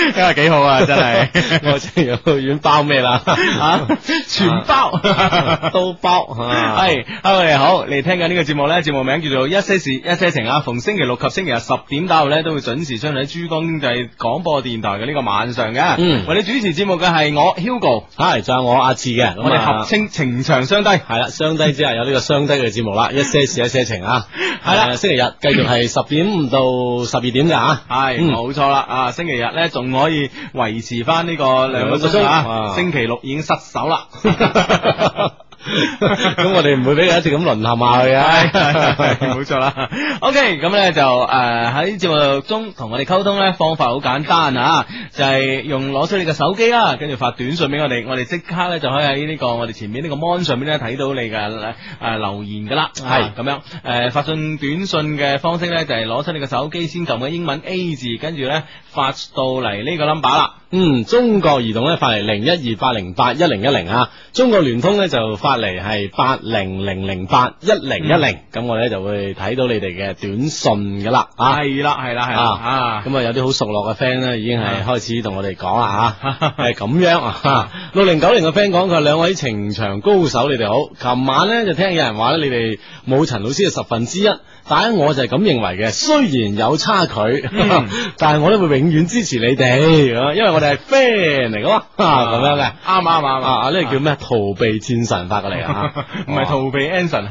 今日幾好啊，真係。 我真係幼兒園包咩啦？ 全包都包。 係，hello 你好，你聽緊呢個節目咧，節目名叫做一些事一些情啊，逢星期六及星期日10點打後咧，都會準時出現喺珠江經濟廣播電台嘅呢個晚上嘅。為你主持節目嘅係我 Hugo， 係仲有我阿志嘅。 我哋合稱情長雙低。 係啦，雙低之後有呢個雙低嘅節目啦，一些事一些情啊。係啦，星期日繼續係10點到12點嘅吓。 係，冇錯啦。啊，星期日咧仲可以維持翻呢個2個鐘啊，星期六已經失手啦。 咁我哋唔會俾佢一直咁淪陷下去啊， 冇錯啦。OK， 咁咧就喺節目中同我哋溝通咧，方法好簡單啊，就係用攞出你嘅手機啦，跟住發短信俾我哋即刻咧就可以喺呢個我哋前面呢個 mon 上面咧睇到你嘅留言噶啦。係咁樣發信短信嘅方式咧就係攞出你嘅手機，先撳個英文 A 字，跟住咧發到嚟呢個 number 啦。 中國移動咧發嚟0128081010啊，中國聯通咧就發嚟係8000811010，咁我哋就會睇到你哋嘅短信噶啦。 係啦， 咁啊有啲好熟絡嘅 friend 咧，已經係開始同我哋講啦吓，係咁樣啊。6090嘅 friend 講佢話兩位情場高手，你哋好。琴晚咧就聽有人話咧，你哋冇陳老師嘅1/10，但係我就係咁認為嘅。雖然有差距，但係我都會永遠支持你哋，因為我哋係 friend 嚟噶嘛，咁樣嘅。啱，呢個叫咩？逃避戰神發過嚟啊， 唔係逃避 Anson。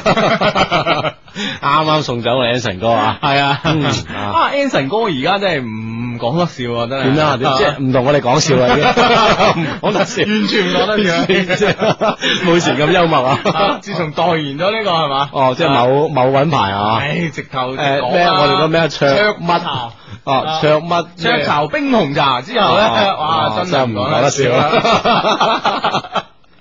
啱送走我 Anson 哥啊，係啊 ，Anson 哥而家真係唔講得笑啊，真係。 點樣啊？即係唔同我哋講笑啊，唔講得笑， 完全唔講得笑， 冇以前咁幽默啊。 自從代言咗呢個係嘛？ 即係某品牌啊。 直頭咩？ 我哋個咩卓乜？卓乜？ 雀巢冰紅茶之後咧，哇，真係唔講得笑啦。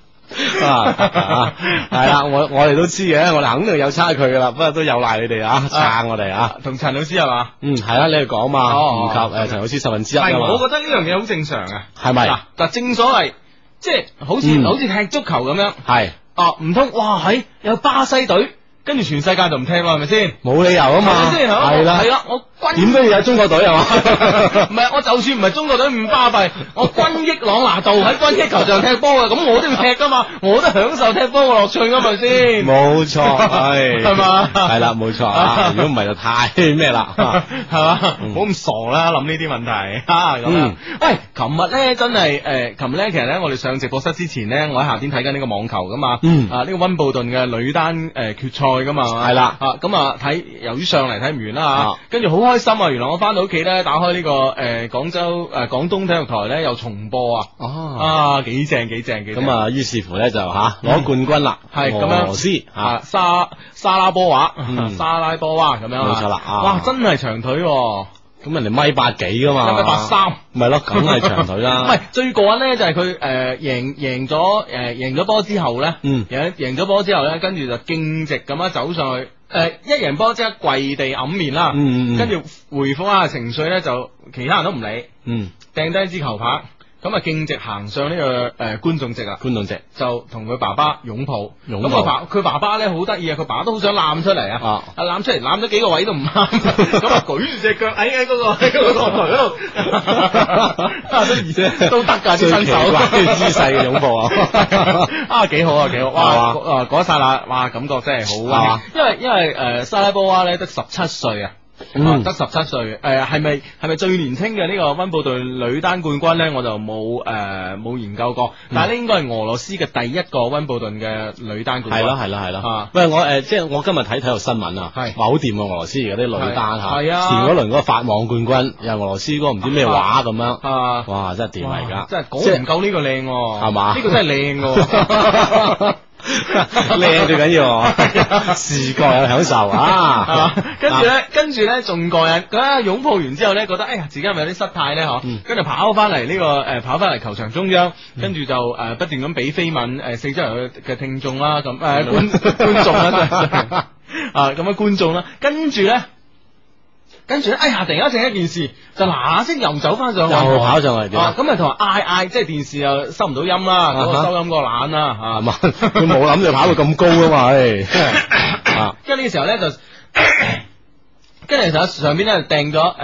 係啦，我哋都知嘅，我哋肯定有差距噶啦，不過都有賴你哋啊，撐我哋啊。 同陳老師係嘛？ 係啦，你哋講嘛，唔及陳老師1/10啊嘛。 我覺得呢樣嘢好正常啊， 係咪？ 嗱，正所謂即係好似踢足球咁樣，係唔通哇有巴西隊，跟住全世界就唔踢啦，係咪先？ 冇理由啊嘛， 係啦，我點都要有中國隊係嘛？ 唔係，我就算唔係中國隊咁巴閉，我軍益朗拿度喺軍益球場踢波嘅，咁我都要踢噶嘛，我都享受踢波嘅樂趣噶，咪先？冇錯，係嘛？係啦，冇錯啊！如果唔係就太咩啦，係嘛？唔好咁傻啦，諗呢啲問題啊咁樣。喂，琴日咧真係琴日咧，其實咧我哋上直播室之前咧，我喺下邊睇緊呢個網球噶嘛，呢個溫布頓嘅女單決賽噶嘛，係啦，咁啊睇，由於上嚟睇唔完啦吓，跟住好開心啊！原來我翻到屋企咧，打開呢個廣州廣東體育台咧，又重播啊！幾正！咁啊，於是乎咧就攞冠軍啦，係咁樣，俄羅斯沙拉波娃咁樣，冇錯啦！哇，真係長腿，咁人哋1.8幾噶嘛，1.83，咪咯，梗係長腿啦。唔係最過癮咧，就係佢贏咗波之後咧，贏咗波之後咧，跟住就徑直咁樣走上去。一贏波即刻跪地揞面啦，跟住回復下情緒咧，就其他人都唔理，掟低支球拍，咁啊徑直行上呢個觀眾席啦，就同佢爸爸擁抱，咁佢爸爸咧好得意啊，佢爸爸都好想攬出嚟啊，攬出嚟攬咗幾個位都唔啱，咁啊舉住隻腳喺嗰個台嗰度，都得噶，最奇怪姿勢嘅擁抱啊，幾好，哇，嗰一剎那，哇，感覺真係好，因為沙拉波娃咧得17歲啊。得17歲，係咪最年輕嘅呢個溫布頓女單冠軍咧？我就冇研究過，但係咧應該係俄羅斯嘅第一個溫布頓嘅女單冠軍。係咯。喂，即係我今日睇體育新聞啊，話好掂啊！俄羅斯而家啲女單吓，前嗰輪嗰個法網冠軍又係俄羅斯嗰個唔知咩話咁樣，哇，真係掂啊！而家真係講唔夠呢個靚，係嘛？呢個真係靚。靚最緊要，視覺有享受啊！跟住咧仲過癮，佢擁抱完之後咧，覺得哎呀自己係咪有啲失態咧？跟住跑翻嚟呢個跑翻嚟球場中央，跟住就不斷咁俾飛吻四周圍嘅聽眾啦，咁觀眾啦，咁樣觀眾啦，跟住咧，哎呀！突然間整一件事，就嗱聲又走翻上去，又跑上嚟，咁啊同埋嗌，即係電視又收唔到音啦，嗰個收音個懶啦，係嘛？佢冇諗住跑到咁高啊嘛，跟住呢個時候咧就，跟住就上邊咧掟咗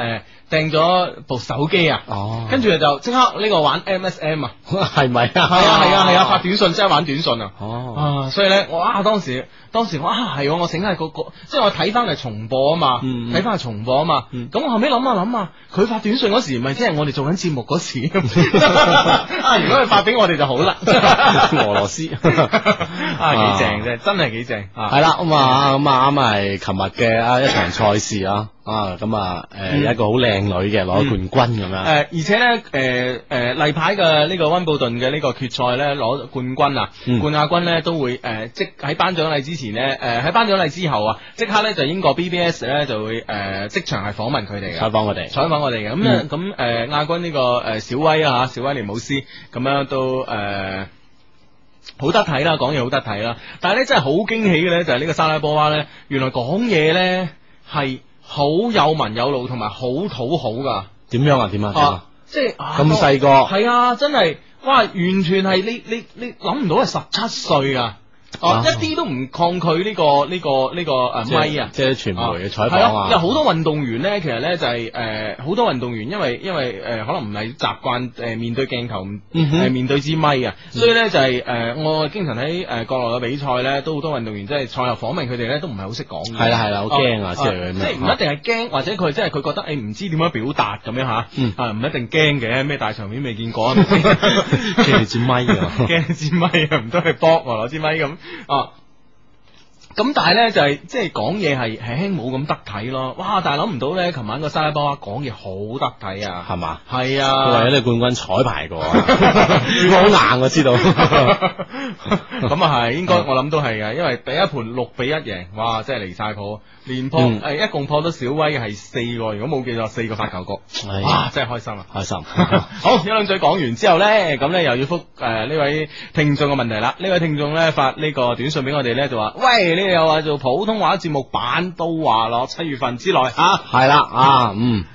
訂咗部手機啊，跟住就即刻呢個玩 MSM 啊， 係咪啊？ 係啊，發短信即係玩短信啊，所以咧我當時我係我醒下個即係我睇翻嚟重播啊嘛，睇翻係重播啊嘛，咁我後尾諗下，佢發短信嗰時咪即係我哋做緊節目嗰時，如果佢發俾我哋就好啦， 俄羅斯幾正啫，真係幾正， 係啦咁啱係琴日嘅一場賽事啊。有一個好靚女嘅攞咗冠軍咁樣， 而且咧例牌嘅呢個溫布頓嘅呢個決賽咧攞冠軍啊，冠亞軍咧都會即喺頒獎禮之前咧喺頒獎禮之後啊，即刻咧就英國 BBS 咧就會即場係訪問佢哋嘅，採訪我哋嘅，咁亞軍呢個小威啊小威廉姆斯咁樣都好得體啦，講嘢好得體啦，但係咧真係好驚喜嘅咧就係呢個莎拉波娃咧，原來講嘢咧係好有文有路同埋好討好噶，點樣啊？即係咁細個，係啊，真係哇，完全係你諗唔到係17歲啊！一啲都唔抗拒呢個咪啊！即係傳媒嘅採訪啊！有好多運動員咧，其實咧就係好多運動員因為可能唔係習慣面對鏡頭，面對支咪啊，所以咧就係我經常喺國內嘅比賽咧，都好多運動員即係賽後訪問佢哋咧，都唔係好識講嘅。係啦，好驚啊！即係唔一定係驚，或者佢即係佢覺得唔知點樣表達咁樣吓，唔一定驚嘅，咩大場面未見過，驚支咪啊，驚支咪啊，唔通去搏攞支咪咁。咁但係咧就係即係講嘢係輕冇咁得體咯，哇！但係諗唔到咧，琴晚個莎拉波娃講嘢好得體啊，係嘛？係啊，佢為咗呢冠軍彩排過，好硬我知道。咁啊係，應該我諗都係嘅，因為第一盤6-1贏，哇！真係離晒譜。連破一共破咗小威係4個，如果冇記錯4個發球局，哇！真係開心啊，開心。好，一兩嘴講完之後咧，咁咧又要覆呢位聽眾嘅問題啦。呢位聽眾咧發呢個短信俾我哋咧，就話：喂，你哋又話做普通話節目版都話咯，7月份之內係啦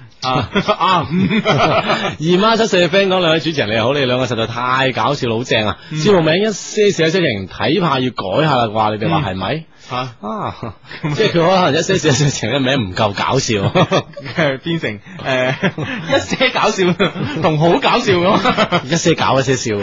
姨媽7歲嘅 friend 講，兩位主持人你好，你哋兩個實在太搞笑，好正啊！節目名一些事一些情，睇怕要改下啦啩？你哋話係咪？即係佢可能一些事一些情嘅名唔夠搞笑，變成一些搞笑同好搞笑咁，一些搞一些笑。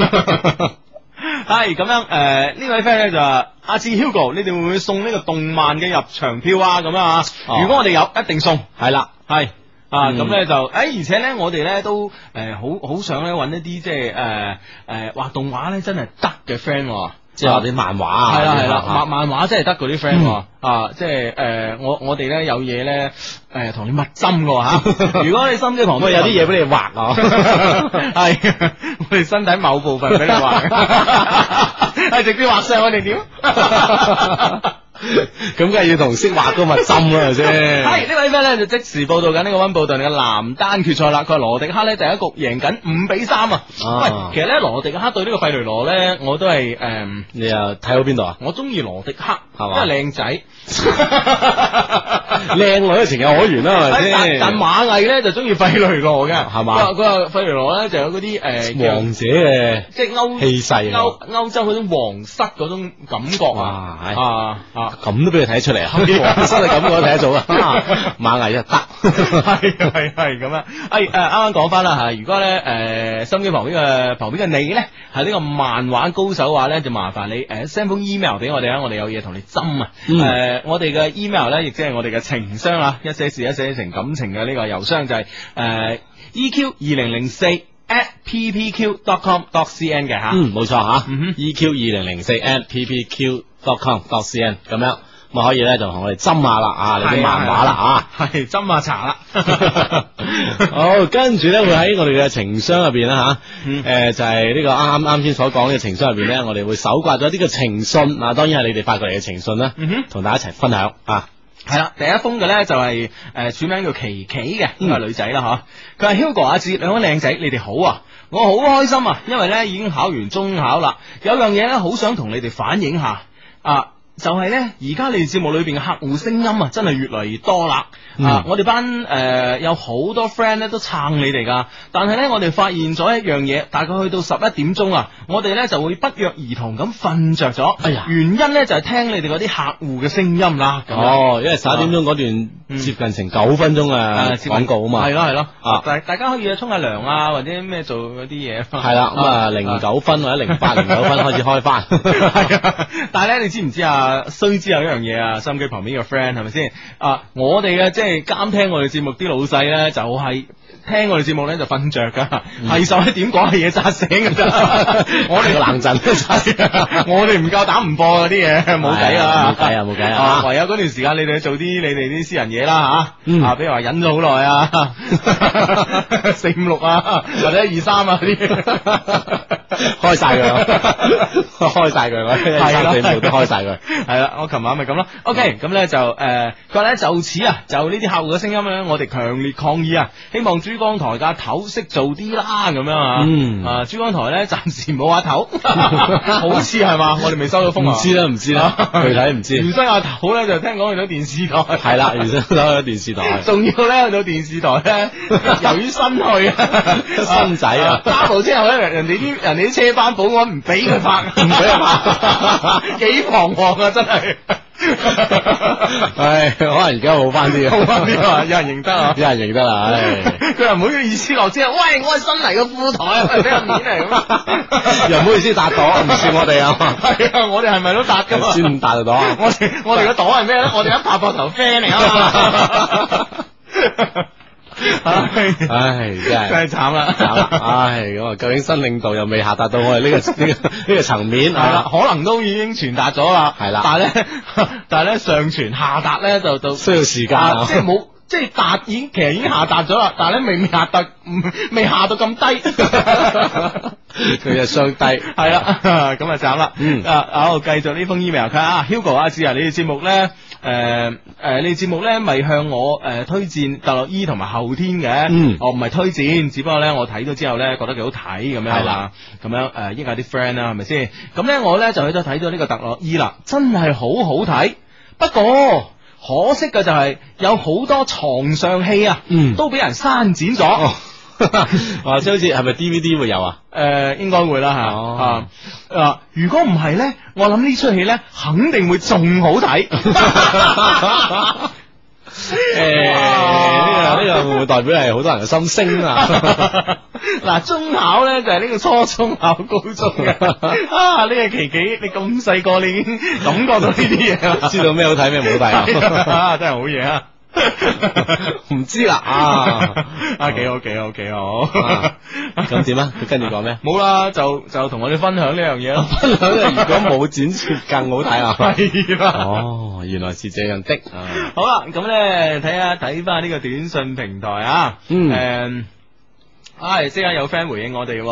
係咁樣呢位 friend 咧就話：阿志 Hugo，你哋會唔會送呢個動漫嘅入場票啊？咁啊，如果我哋有，一定送。係啦，係。咁咧就而且咧我哋咧都好想咧揾一啲即係畫動畫咧真係得嘅 friend，即係畫啲漫畫啊，係啦，漫畫真係得嗰啲 friend，即係我哋咧有嘢咧同你密針嘅吓，如果你心機旁邊有啲嘢俾你畫啊，係我哋身體某部分俾你畫，係直接畫上我哋點？咁梗係要同識畫嗰個密針啦，係咪先？係呢位 friend 咧就即時報道緊呢個溫布頓嘅男單決賽啦。佢話羅迪克咧第一局贏緊5-3啊！喂，其實咧羅迪克對呢個費雷羅咧，我都係你又睇到邊度啊？我中意羅迪克，係嘛？因為靚仔，靚女嘅情有可原啦，係咪先？但馬毅咧就中意費雷羅嘅，係嘛？佢話費雷羅咧就有嗰啲王者嘅，即係氣勢，歐洲嗰種皇室嗰種感覺啊！咁都俾佢睇出嚟啊！皇室嘅感覺睇得到啊！馬毅就得，係咁樣。啱啱講翻啦吓，如果咧收音機旁邊嘅你咧係呢個漫畫高手嘅話咧，就麻煩你send 封 email 俾我哋啊！我哋有嘢同你針啊！我哋嘅 email 咧亦即係我哋嘅情商啊，一些事一些情感情嘅呢個郵箱就係EQ2004@ppq.com.cn 嘅吓，冇錯吓，EQ2004@ppq.com.cn 咁樣，咁可以咧就同我哋針下啦你啲漫畫啦係針下茶啦。好，跟住咧會喺我哋嘅情商入邊啦就係呢個啱先所講嘅情商入邊咧，我哋會搜刮咗呢個情信當然係你哋發過嚟嘅情信啦，同大家一齊分享啊。係啦，第一封嘅咧就係署名叫琪琪嘅，呢個係女仔啦佢話 Hugo 阿志兩位靚仔，你哋好啊！我好開心啊，因為咧已經考完中考啦，有樣嘢咧好想同你哋反映下就係咧，而家你哋節目裏邊嘅客戶聲音啊，真係越嚟越多啦。我哋班有好多 friend 咧都撐你哋噶，但係咧我哋發現咗一樣嘢，大概去到11點鐘啊，我哋咧就會不約而同咁瞓着咗。哎呀，原因咧就係聽你哋嗰啲客戶嘅聲音啦。 哦，因為11點鐘嗰段接近成9分鐘嘅廣告啊嘛。係咯。大家可以沖下涼啊，或者咩做嗰啲嘢。 係啦，咁啊09分或者08、09分開始開翻。 係啊，但係咧你知唔知啊？須知有一樣嘢啊，收音機旁邊嘅 friend 係咪先？我哋嘅即係監聽我哋節目啲老細咧，就係聽我哋節目咧就瞓着噶，係11點講嘅嘢扎醒噶咋。我哋個冷陣都扎，我哋唔夠膽唔播嗰啲嘢，冇計啊， 冇計啊， 唯有嗰段時間你哋做啲你哋啲私人嘢啦吓，比如話忍咗好耐啊，4、5、6啊，或者1、2、3啊啲。 開晒佢，開晒佢，我1、2、3、4、5都開晒佢。 係啦，我琴晚咪咁咯。OK，咁咧就佢話咧就此啊，就呢啲客戶嘅聲音咧，我哋強烈抗議啊！希望珠江台嘅頭識做啲啦，咁樣啊。珠江台咧暫時冇阿頭，好似係嘛？我哋未收到風啊。 唔知啦，具體唔知。 原生阿頭咧就聽講去咗電視台。 係啦，原生去咗電視台。 仲要咧去到電視台咧，由於新去新仔啊， 揸部車後咧，人哋啲車班保安唔俾佢拍，唔俾佢拍，幾彷徨啊！真係， 唉，可能而家好翻啲， 好翻啲啊！有人認得啊， 有人認得啦，唉， 佢又唔好意思落車，喂，我係新嚟嘅副台，俾人面嚟咁， 又唔好意思搭朵，唔算我哋啊， 係啊，我哋係咪都搭噶嘛？ 先唔搭到朵， 我哋個朵係咩咧？我哋一拍膊頭 friend 嚟啊嘛。唉，真係慘啦！ 唉，咁啊，究竟新領導又未下達到我哋呢個層面， 係啦，可能都已經傳達咗啦， 係啦， 但係咧上傳下達咧就需要時間， 即係冇。即係達其實已經下達咗啦，但係咧未下到咁低， 佢就相低， 係啦，咁啊慘啦。好，繼續呢封 email， 佢啊 Hugo 阿志啊，你哋節目咧，你哋節目咧咪向我推薦特洛伊同埋後天嘅，我唔係推薦，只不過咧我睇咗之後咧覺得幾好睇咁樣，係啦，咁樣益下啲 friend 啦，係咪先？咁咧我咧就去咗睇咗呢個特洛伊啦，真係好好睇，不過。可惜嘅就係有好多床上戲啊，都俾人刪剪咗。 即係好似係咪 DVD 會有啊？ 應該會啦吓。如果唔係咧，我諗呢出戲咧肯定會仲好睇。 呢個會唔會代表係好多人嘅心聲啊？ 嗱，中考咧就係呢個初中考高中嘅。呢個琪琪，你咁細個你已經感覺到呢啲嘢， 知道咩好睇咩唔好睇啊？ 真係好嘢啊！ 唔知啦幾好。 咁點啊？佢跟住講咩？ 冇啦，就同我哋分享呢樣嘢咯。 分享如果冇剪接更好睇啊！ 係啦。 哦，原來是這樣的。 好啦，咁咧睇翻呢個短信平台啊。即刻有 friend 回應我哋。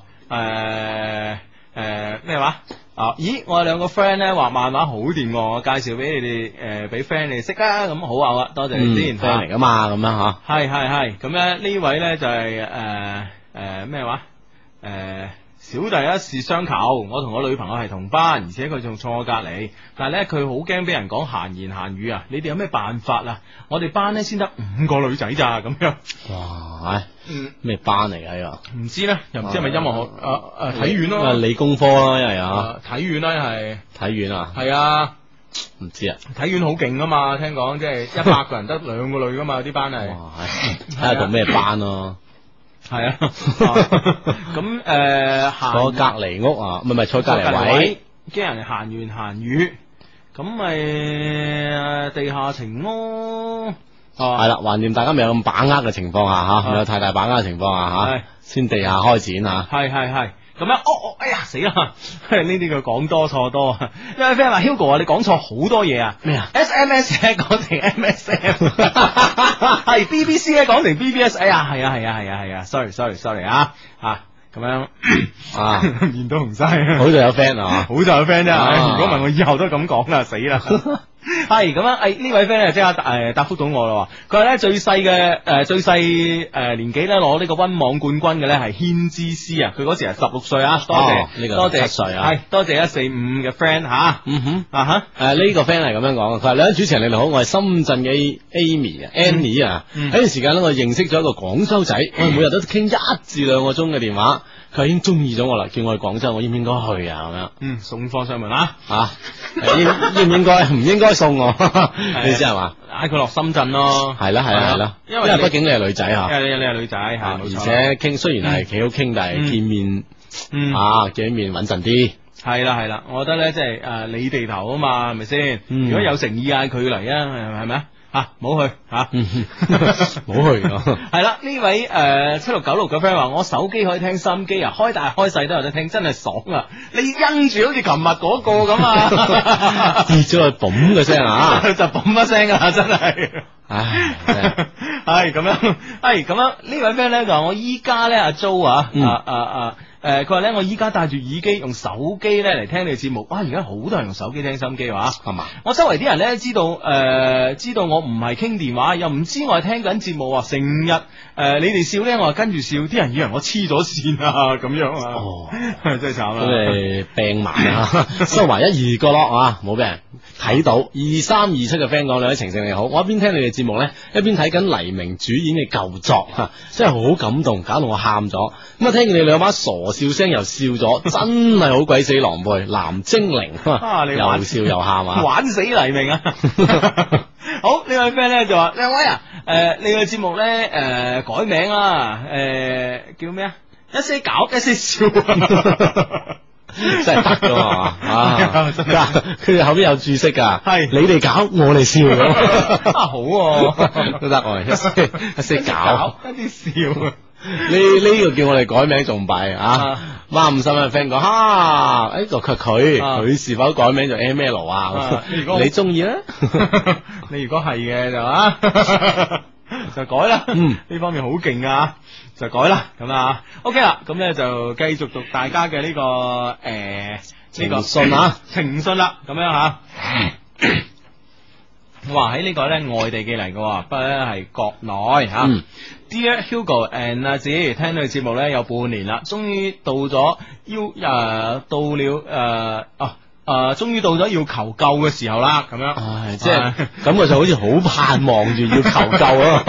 咩話？咦，我有2個 friend 咧畫漫畫好掂，我介紹俾你哋俾 friend 你哋識啊，咁好啊，多謝你先。 friend 嚟噶嘛，咁樣吓。 係，咁咧呢位咧就係咩話？小弟一事相求，我同我女朋友係同班，而且佢仲坐我隔籬，但係咧佢好驚俾人講閒言閒語啊！你哋有咩辦法啊？我哋班咧先得5個女仔咋咁樣？ 哇！咩班嚟噶呢個？ 唔知咧，又唔知係咪音樂學體院咯？ 理工科咯，因為體院啦，係體院啊？ 係啊， 唔知啊？ 體院好勁啊嘛，聽講即係100個人得2個女噶嘛，啲班係。 哇！睇下讀咩班咯？ 係啊，咁坐隔籬屋啊，唔係坐隔籬位， 驚人閒言閒語，咁咪地下情咯。 係啦，橫掂大家未有咁把握嘅情況下未有太大把握嘅情況下先地下開展啊。係。咁樣， 哎呀死啦！呢啲佢講多錯多。因為 friend 話 Hugo 啊，你講錯好多嘢啊。咩啊 ？SMS 咧講成 MSM， 係 BBC 咧講成 BBS。哎呀，係啊 ，sorry 啊，咁樣面都紅晒。 好在有 friend 啊， 好在有 friend 啫。如果唔係我以後都咁講啦，死啦。 係咁樣，呢位 friend 咧即刻答覆到我啦。佢話咧最細年紀咧攞呢個溫網冠軍嘅咧係軒之師啊，佢嗰時係16歲啊，多謝呢個多謝 7歲啊， 係多謝145嘅 friend 吓，呢個 friend 係咁樣講，佢話兩位主持人你哋好，我係深圳嘅 Amy 啊 Annie 啊，喺段時間咧我認識咗一個廣州仔，我哋每日都傾1至2個鐘嘅電話。佢已經中意咗我啦，叫我去廣州，我應唔應該去啊？咁樣， 送貨上門啦， 應唔應該？唔應該送我，你知係嘛？ 嗌佢落深圳咯， 係啦，因為畢竟你係女仔吓， 因為你係女仔吓， 而且傾雖然係幾好傾，但係見面，見面穩陣啲。 係啦，我覺得咧即係你地頭啊嘛，係咪先？如果有誠意嗌佢嚟啊，係咪啊？唔好去唔好去。係啦，呢位7696嘅 friend 話我手機可以聽收音機啊，開大開細都有得聽，真係爽啊！你因住好似琴日嗰個咁啊， 跌咗去嘣嘅聲啊， 就嘣一聲啊，真係。唉，係咁樣，呢位 friend 咧就話我依家咧阿 Jo 佢話咧我依家戴住耳機用手機咧嚟聽你嘅節目，哇！而家好多人用手機聽收音機話，係嘛？我周圍啲人咧知道我唔係傾電話，又唔知我係聽緊節目啊，成日你哋笑咧，我係跟住笑，啲人以為我黐咗線啊，咁樣啊，真係慘啦！咁你病埋啊，收埋1、2個咯啊，冇俾人睇到。2327嘅 friend 講，兩位情聖你好，我一邊聽你哋節目咧，一邊睇緊黎明主演嘅舊作，真係好感動，搞到我喊咗。咁啊，聽見你兩把傻笑聲又笑咗，真係好鬼死狼狽，藍精靈你又笑又喊啊，玩死黎明啊！好，呢位 friend 咧就話兩位啊，你個節目咧改名啦，叫咩啊？一些搞一些笑。真係得噶嘛？佢哋後邊有注釋噶，係你哋搞，我哋笑咁。好都得，我哋一些搞一啲笑。呢個叫我哋改名仲弊啊！孖五心嘅 friend 講，佢是否改名做 ML 啊？你中意咧？你如果係嘅就改啦。呢方面好勁啊！就改啦，咁啊 ，OK 啦，咁咧就繼續讀大家嘅呢個情信啊，情信啦，咁樣吓。哇，喺呢個咧外地寄嚟嘅，不過咧係國內吓。Dear Hugo and 阿子，聽到你節目咧有半年啦，終於到咗終於到咗要求救嘅時候啦，咁樣，即係感覺就好似好盼望住要求救咯，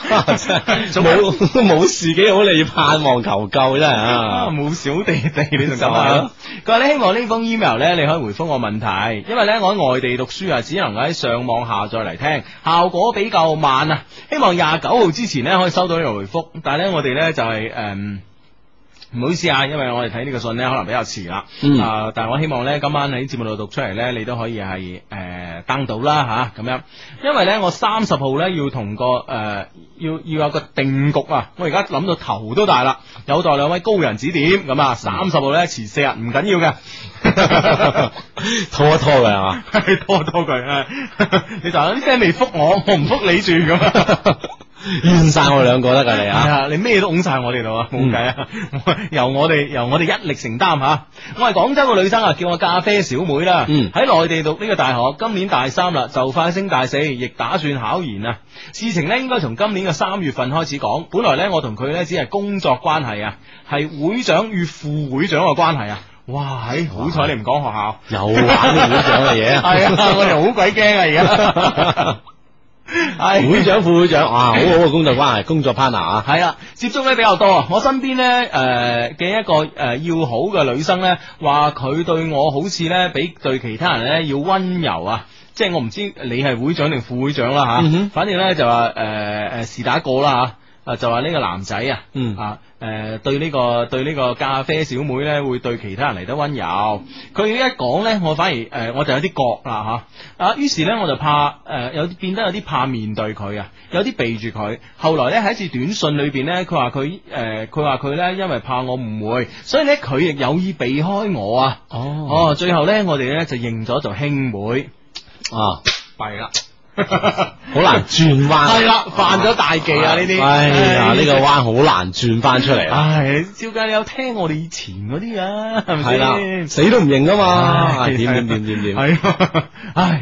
冇事幾好，你要盼望求救真係啊，冇小地地你仲咁啊？佢話咧希望呢封 email 咧你可以回覆我問題，因為咧我喺外地讀書啊，只能夠喺上網下載嚟聽，效果比較慢啊，希望29號之前咧可以收到呢個回覆，但係咧我哋咧就係唔好意思啊，因為我哋睇呢個信咧可能比較遲啦，但係我希望咧今晚喺節目度讀出嚟咧，你都可以係登到啦吓，咁樣，因為咧我30號咧要同個要有個定局啊，我而家諗到頭都大啦，有待兩位高人指點，咁啊30號咧遲4日唔緊要嘅，拖一拖佢係嘛，拖佢，你就有啲 friend 未覆我唔覆你住咁。怨晒我哋兩個得噶你啊！你咩都拱晒我哋度啊，冇計啊！由我哋一力承擔吓。我係廣州個女生啊，叫我咖啡小妹啦。喺內地讀呢個大學，今年大3啦，就快升大4，亦打算考研啊。事情呢應該從今年嘅3月份開始講。本來呢，我同佢呢只係工作關係啊，係會長與副會長嘅關係啊。哇！好彩你唔講學校，又玩啲會長嘅嘢。係啊，我哋好鬼驚啊而家。係會長副會長好好嘅工作關係，工作 partner 啊，係啦，接觸咧比較多啊。我身邊咧嘅一個要好嘅女生咧，話佢對我好似咧比對其他人咧要溫柔啊。即係我唔知你係會長定副會長啦吓，反正咧就話是打一個啦吓，就話呢個男仔對呢個咖啡小妹咧會對其他人嚟得溫柔。佢一講咧，我反而我就有啲覺啦吓，於是咧我就怕變得有啲怕面對佢啊，有啲避住佢。後來咧喺一次短信裏邊咧，佢話佢咧因為怕我誤會，所以咧佢亦有意避開我啊。最後咧我哋咧就認咗做兄妹弊啦。好難轉彎，係啦，犯咗大忌啊！呢啲，哎呀，呢個彎好難轉翻出嚟。唉，照計你有聽我哋以前嗰啲啊，係咪先？死都唔認噶嘛，點？係，唉，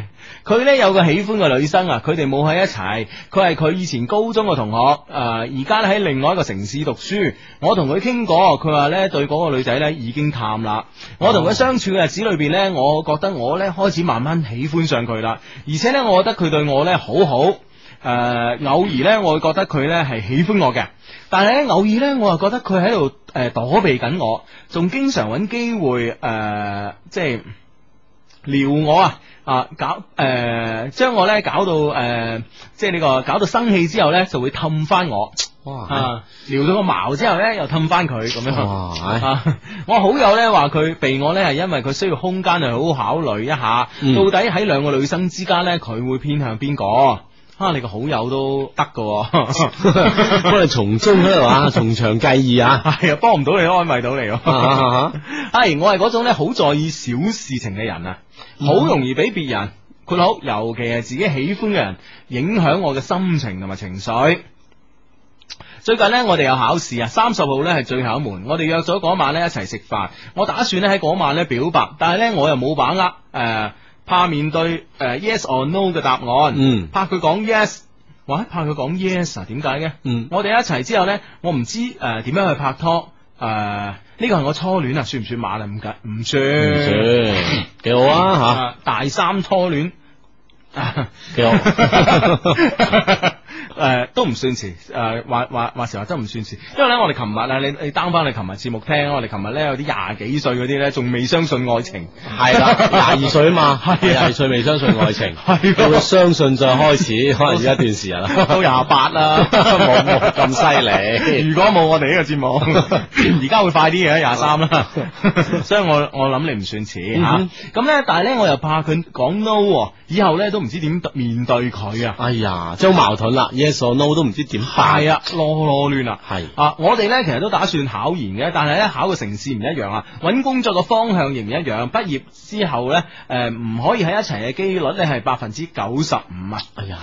佢呢有個喜歡嘅女生啊，佢哋冇喺一齊，佢係佢以前高中嘅同學，而家咧喺另外一個城市讀書。我同佢傾過，佢話呢對嗰個女仔呢已經淡啦。我同佢相處嘅日子裏邊呢，我覺得我呢開始慢慢喜歡上佢啦，而且呢，我覺得佢對我呢好好。偶爾呢，我會覺得佢呢係喜歡我嘅，但係呢，偶爾呢，我又覺得佢喺度躲避緊我，仲經常揾機會即係撩我搞將我呢搞到即係呢個搞到生氣之後呢，就會氹翻我。哇！撩到個矛之後呢，又氹翻佢咁樣。哇！我好友呢話佢避我呢係因為佢需要空間去好好考慮一下，到底喺兩個女生之間呢，佢會偏向邊個？你個好友都得噶， 幫你從中喺度啊，從長計議啊， 係啊，幫唔到你，安慰到你。係我係嗰種咧好在意小事情嘅人啊，好容易俾別人括好，尤其係自己喜歡嘅人影響我嘅心情同埋情緒。最近呢，我哋有考試啊，30號呢係最後一門，我哋約咗嗰晚呢一齊食飯，我打算呢喺嗰晚呢表白，但係呢，我又冇把握怕面對yes or no 嘅答案，怕佢講 yes， 怕佢講 yes 啊？點解嘅？我哋一齊之後呢，我唔知點樣去拍拖，呢個係我初戀啊，算唔算晚啊？唔算， 幾好啊吓， 大三初戀， 幾好。 都唔算遲，話時話真唔算遲，因為咧我哋琴日啊，你 down 翻你琴日節目聽，我哋琴日咧有啲廿幾歲嗰啲咧仲未相信愛情， 係啦，22歲啊嘛，係22歲未相信愛情，到佢相信再開始，可能要一段時日啦， 到28啦， 冇咁犀利。 如果冇我哋呢個節目，而家會快啲嘅23啦，所以我諗你唔算遲吓，咁咧但係咧我又怕佢講 no， 以後咧都唔知點面對佢啊， 哎呀，真好矛盾啦。Yes or no 都唔知點辦， 係啊，囉亂啊， 係我哋咧其實都打算考研嘅，但係咧考嘅城市唔一樣啊，揾工作嘅方向亦唔一樣，畢業之後咧唔可以喺一齊嘅機率咧係95%啊， 哎呀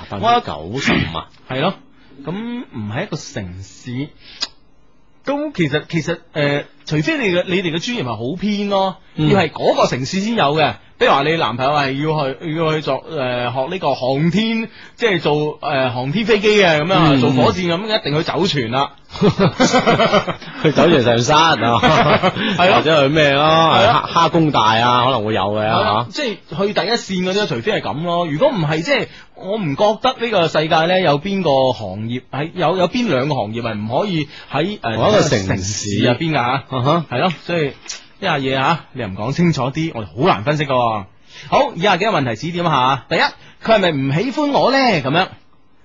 ，95%啊， 係咯，咁唔係一個城市，都其實除非你哋嘅專業係好偏咯，要係嗰個城市先有嘅。比如話你男朋友係要去做學呢個航天，即係做航天飛機嘅咁樣，做火箭咁，一定去走船啦， 去走船上山啊，係或者去咩咯，蝦工大啊，可能會有嘅吓， 即係去第一線嗰啲，除非係咁咯。如果唔係，即係我唔覺得呢個世界咧有邊個行業喺有邊兩個行業係唔可以喺嗰個城市入邊噶吓，係咯，所以。呢下嘢吓，你又唔講清楚啲，我哋好難分析噶。好，以下幾個問題指點下。第一，佢係咪唔喜歡我咧？咁樣，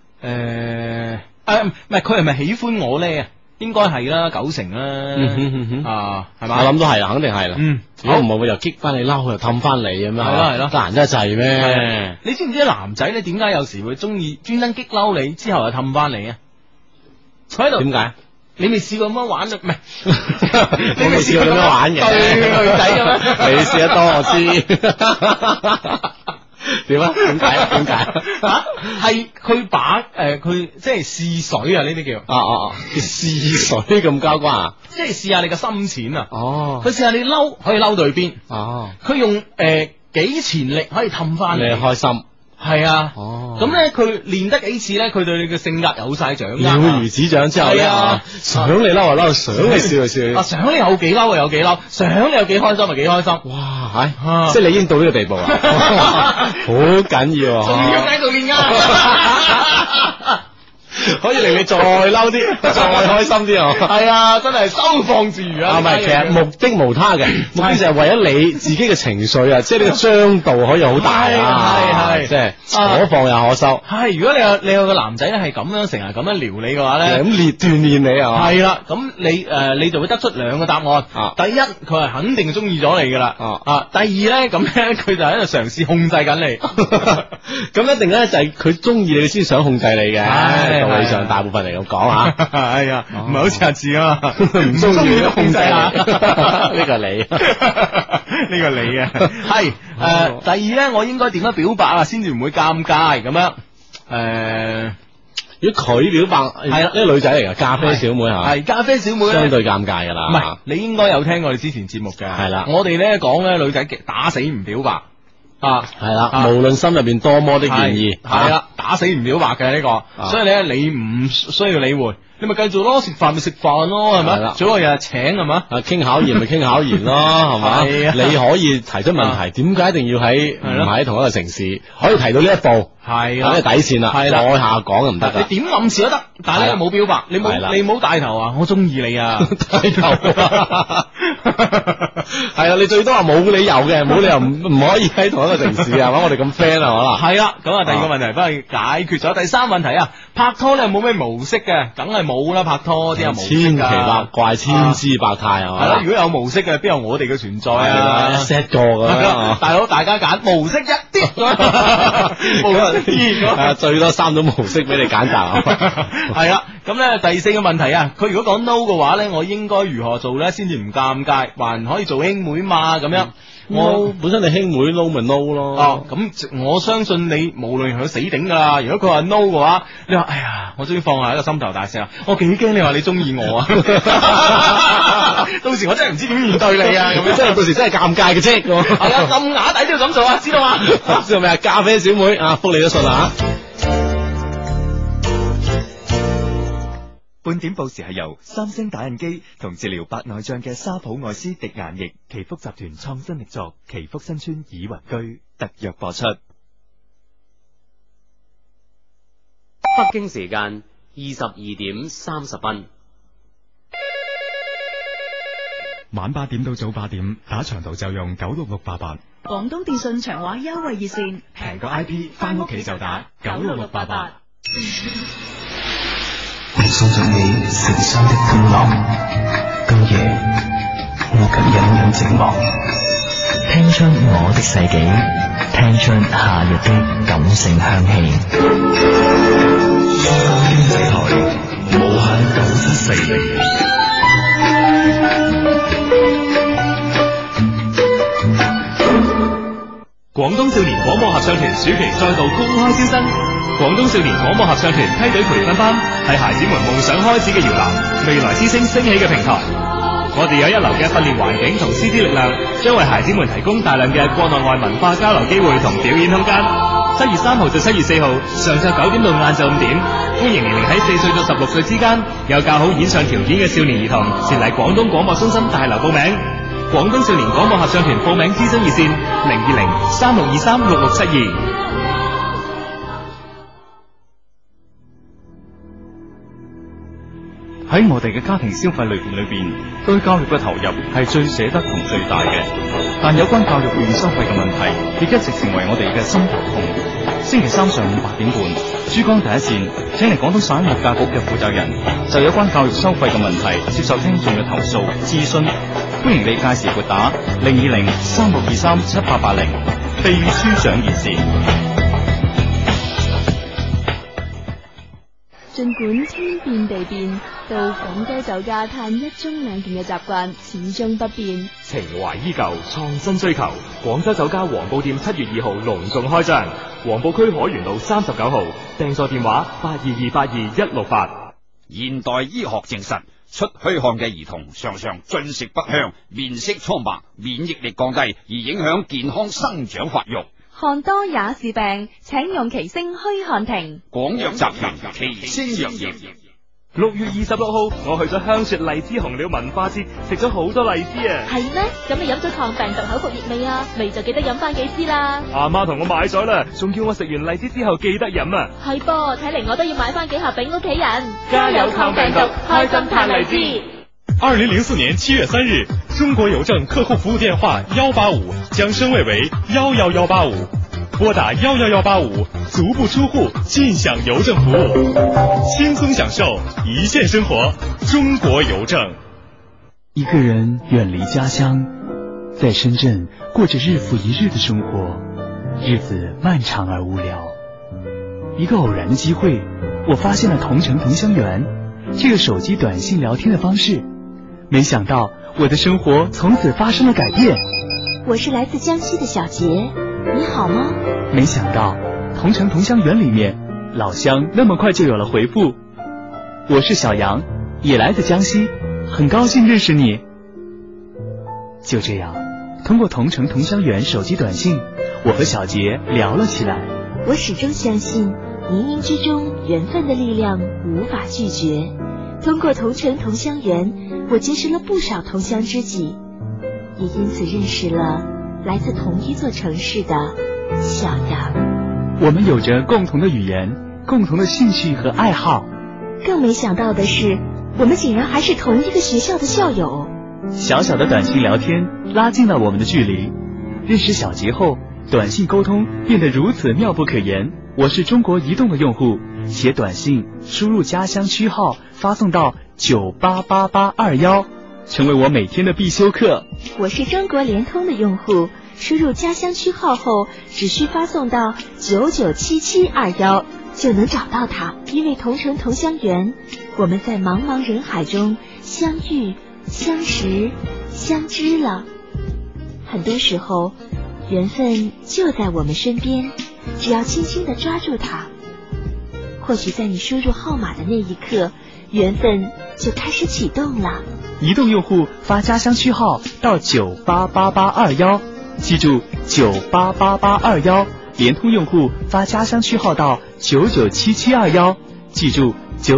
唔係，佢係咪喜歡我咧？應該係啦，90%啦，係嘛？ 我諗都係啦，肯定係啦。如果唔係，會又激翻你嬲，又氹翻你咁樣。 係咯， 得閒真係滯咩？ 你知唔知男仔咧點解有時會中意專登激嬲你，之後又氹翻你啊？喺度點解？你未試過咁樣玩啊？唔係， 你未試過咁樣玩嘅對女仔嘅咩？ 你試得多我知。點啊？點解？ 係佢把佢即係試水啊！呢啲叫叫試水咁交關啊！ 即係試下你嘅深淺啊！ 哦， 佢試下你嬲可以嬲到去邊？ 哦， 佢用幾錢力可以氹翻你開心。 係啊，咁咧佢練得幾次咧，佢對你嘅性格有晒掌握，了如指掌之後咧，想你嬲就嬲，想你笑就笑， 想你有幾嬲就有幾嬲，想你有幾開心就幾開心， 哇，即係你已經到呢個地步啦，好緊要， 仲要喺度練啊！ 可以令你再嬲啲，再開心啲啊！ 係啊，真係收放自如啊！ 唔係，其實目的無他嘅，目的就係為咗你自己嘅情緒啊，即係呢個張度可以好大啊！係，即係可放又可收。 係，如果你有個男仔咧係咁樣成日咁樣撩你嘅話咧， 咁鍛煉你啊！ 係啦，咁你就會得出兩個答案。第一，佢係肯定中意咗你噶啦。第二咧，咁咧佢就喺度嘗試控制緊你。 咁一定咧就係佢中意你先想控制你嘅。道理上大部分嚟咁講吓， 係啊，唔係好似阿志啊嘛， 唔中意都控制下，呢個你， 呢個你啊，係第二咧，我應該點樣表白啊，先至唔會尷尬咁樣？ 如果佢表白，係啦，呢個女仔嚟噶，咖啡小妹吓， 係咖啡小妹咧， 相對尷尬噶啦。 唔係，你應該有聽我哋之前節目嘅， 係啦， 我哋咧講咧女仔打死唔表白。 係啦，無論心入邊多麼的願意， 係啦，打死唔表白嘅呢個，所以咧你唔需要理會。你咪繼續咯，食飯咪食飯咯，係咪？最好日日請係嘛？ 傾考研咪傾考研咯，係嘛？你可以提出問題，點解一定要喺唔喺同一個城市？可以提到呢一步，係啦，呢底線啦，再下講就唔得。 你點暗示都得，但係你又冇表白，你冇帶頭啊！我中意你啊！帶頭係啦，你最多話冇理由嘅，冇理由唔可以喺同一個城市係嘛？我哋咁 friend 係嘛？ 係啦，咁啊第二個問題幫你解決咗。第三問題啊，拍拖咧有冇咩模式嘅？梗係冇啦，拍拖啲有模式千奇百怪、千姿百態係嘛？ 係啦，如果有模式嘅，邊有我哋嘅存在啊？ 一 set 個咁大佬大家揀模式一啲，模式啲， 最多3種模式俾你揀擇。 係啦，咁咧第四個問題啊，佢如果講 no 嘅話咧，我應該如何做咧先至唔尷尬，還可以做兄妹嘛？咁樣。 我本身你兄妹 no 咪 no 咯， 咁我相信你無論佢死頂噶啦。如果佢話 no 嘅話，你話哎呀，我終於放下一個心頭大石啦。我幾驚你話你中意我啊！到時我真係唔知點面對你啊！咁樣真係到時真係尷尬嘅啫。 係啊，咁啞底都要咁做啊，知道嘛？ 知道未啊？咖啡小妹啊，覆你都信啊！ 半點報時係由三星打印機同治療白內障嘅沙普愛斯滴眼液祈福集團創新力作祈福新村倚雲居特約播出。 北京時間22:30。 晚8點到早8點，打長途就用96688。 廣東電信長話優惠熱線， 平過 IP， 翻屋企就打96688。 我送着你成雙的歡樂，今夜我卻隱隱寂寞，聽出我的世紀，聽出夏日的感性香氣。香港經濟台無限974。 廣東少年廣播合唱團暑期再度公開招生。廣東少年廣播合唱團梯隊培訓班係孩子們夢想開始嘅搖籃，未來之星升起嘅平台。我哋有一流嘅訓練環境同師資力量，將為孩子們提供大量嘅國內外文化交流機會同表演空間。7月3號到7月4號，上晝9點到晏晝5點，歡迎年齡喺4歲到16歲之間，有較好演唱條件嘅少年兒童前嚟廣東廣播中心大樓報名。廣東少年廣播合唱團報名諮詢熱線020-3623-6672。 喺我哋嘅家庭消費類別裏邊，對教育嘅投入係最捨得同最大嘅。但有關教育券收費嘅問題，亦一直成為我哋嘅心頭痛。星期三上午8點半，珠江第一線請嚟廣東省物價局嘅負責人，就有關教育收費嘅問題接受聽眾嘅投訴諮詢。歡迎你屆時撥打020-3623-7880秘書長熱線。 盡管天變地變，到廣州酒家嘆一盅兩件嘅習慣始終不變。 情懷依舊，創新追求。廣州酒家黃埔店7月2號隆重開張，黃埔區海源路39號，訂座電話822822168。 現代醫學證實，出虛汗嘅兒童常常進食不香，面色蒼白，免疫力降低，而影響健康生長發育。 汗多也是病，請用奇星虛汗停。 廣藥集團奇星藥業。 6月26號，我去咗香雪荔枝紅鳥文化節，食咗好多荔枝啊！ 係咩？咁你飲咗抗病毒口服液未啊？未就記得飲翻幾支啦。 阿媽同我買咗啦，仲叫我食完荔枝之後記得飲啊！ 係噃，睇嚟我都要買翻幾盒俾屋企人。 加油抗病毒，開心嘆荔枝。 2004年7月3日，中國郵政客戶服務電話185將升位為11185，撥打11185，足不出戶盡享郵政服務，輕鬆享受一線生活。中國郵政。 一個人遠離家鄉，在深圳過着日復一日的生活，日子漫長而無聊。一個偶然的機會，我發現了同城同鄉園這個手機短信聊天的方式。沒想到我的生活從此發生了改變。 我是來自江西的小杰，你好嗎？ 沒想到同城同鄉園裏面，老鄉那麼快就有了回復。我是小楊，也來自江西，很高興認識你。就這樣，通過同城同鄉園手機短信， 我和小杰聊了起来。 我始终相信，冥冥之中缘分的力量无法拒绝。通过同城同乡缘，我结识了不少同乡知己，也因此认识了来自同一座城市的小杨。 我们有着共同的语言，共同的兴趣和爱好。 更没想到的是，我们竟然还是同一个学校的校友。 小小的短信聊天拉近了我们的距离。认识小杰后，短信沟通变得如此妙不可言。我是中国移动的用户，写短信输入家乡区号发送到988821，成为我每天的必修课。 我是中国联通的用户，输入家乡区号后只需发送到997721就能找到它。因为同城同乡缘，我们在茫茫人海中相遇、相识、相知了。很多时候，缘分就在我们身边，只要轻轻地抓住它。或许在你输入号码的那一刻，缘分就开始启动了。 移动用户发家乡区号到988821，记住988821。联通用户发家乡区号到997721，记住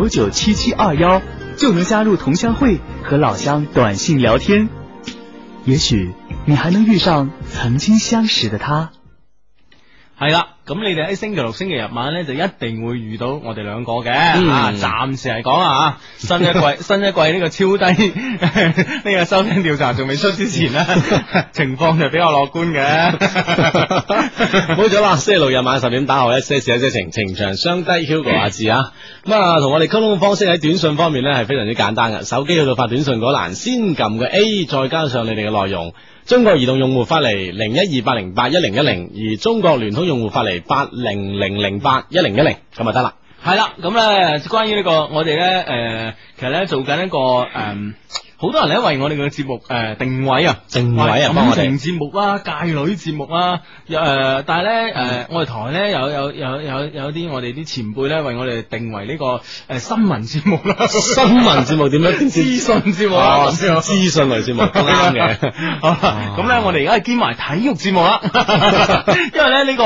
997721，就能加入同乡会和老乡短信聊天。也許你還能遇上曾經相識的他。 係啦，咁你哋喺星期六、星期日晚咧就一定會遇到我哋兩個嘅。暫時嚟講啊，新一季呢個超低呢個收聽調查仲未出之前咧，情況就比較樂觀嘅。 冇咗啦，星期六日晚10點打後一些事一些情，情長雙低 Hugo 阿志啊。咁啊，同我哋溝通嘅方式喺短信方面咧係非常之簡單嘅，手機去到發短信嗰欄，先撳個 A， 再加上你哋嘅內容。中國移動用戶發嚟0128081010，而中國聯通用戶發嚟800081010，咁就得啦。 係啦，咁咧關於呢個我哋咧其實咧做緊一個好多人咧為我哋嘅節目定位啊，感情節目啊，界女節目啊，但係咧我哋台咧有啲我哋啲前輩咧為我哋定為呢個新聞節目啦。 新聞節目點樣？ 資訊節目啦， 資訊類節目都啱嘅。 好啦，咁咧我哋而家係兼埋體育節目啦。因為咧呢個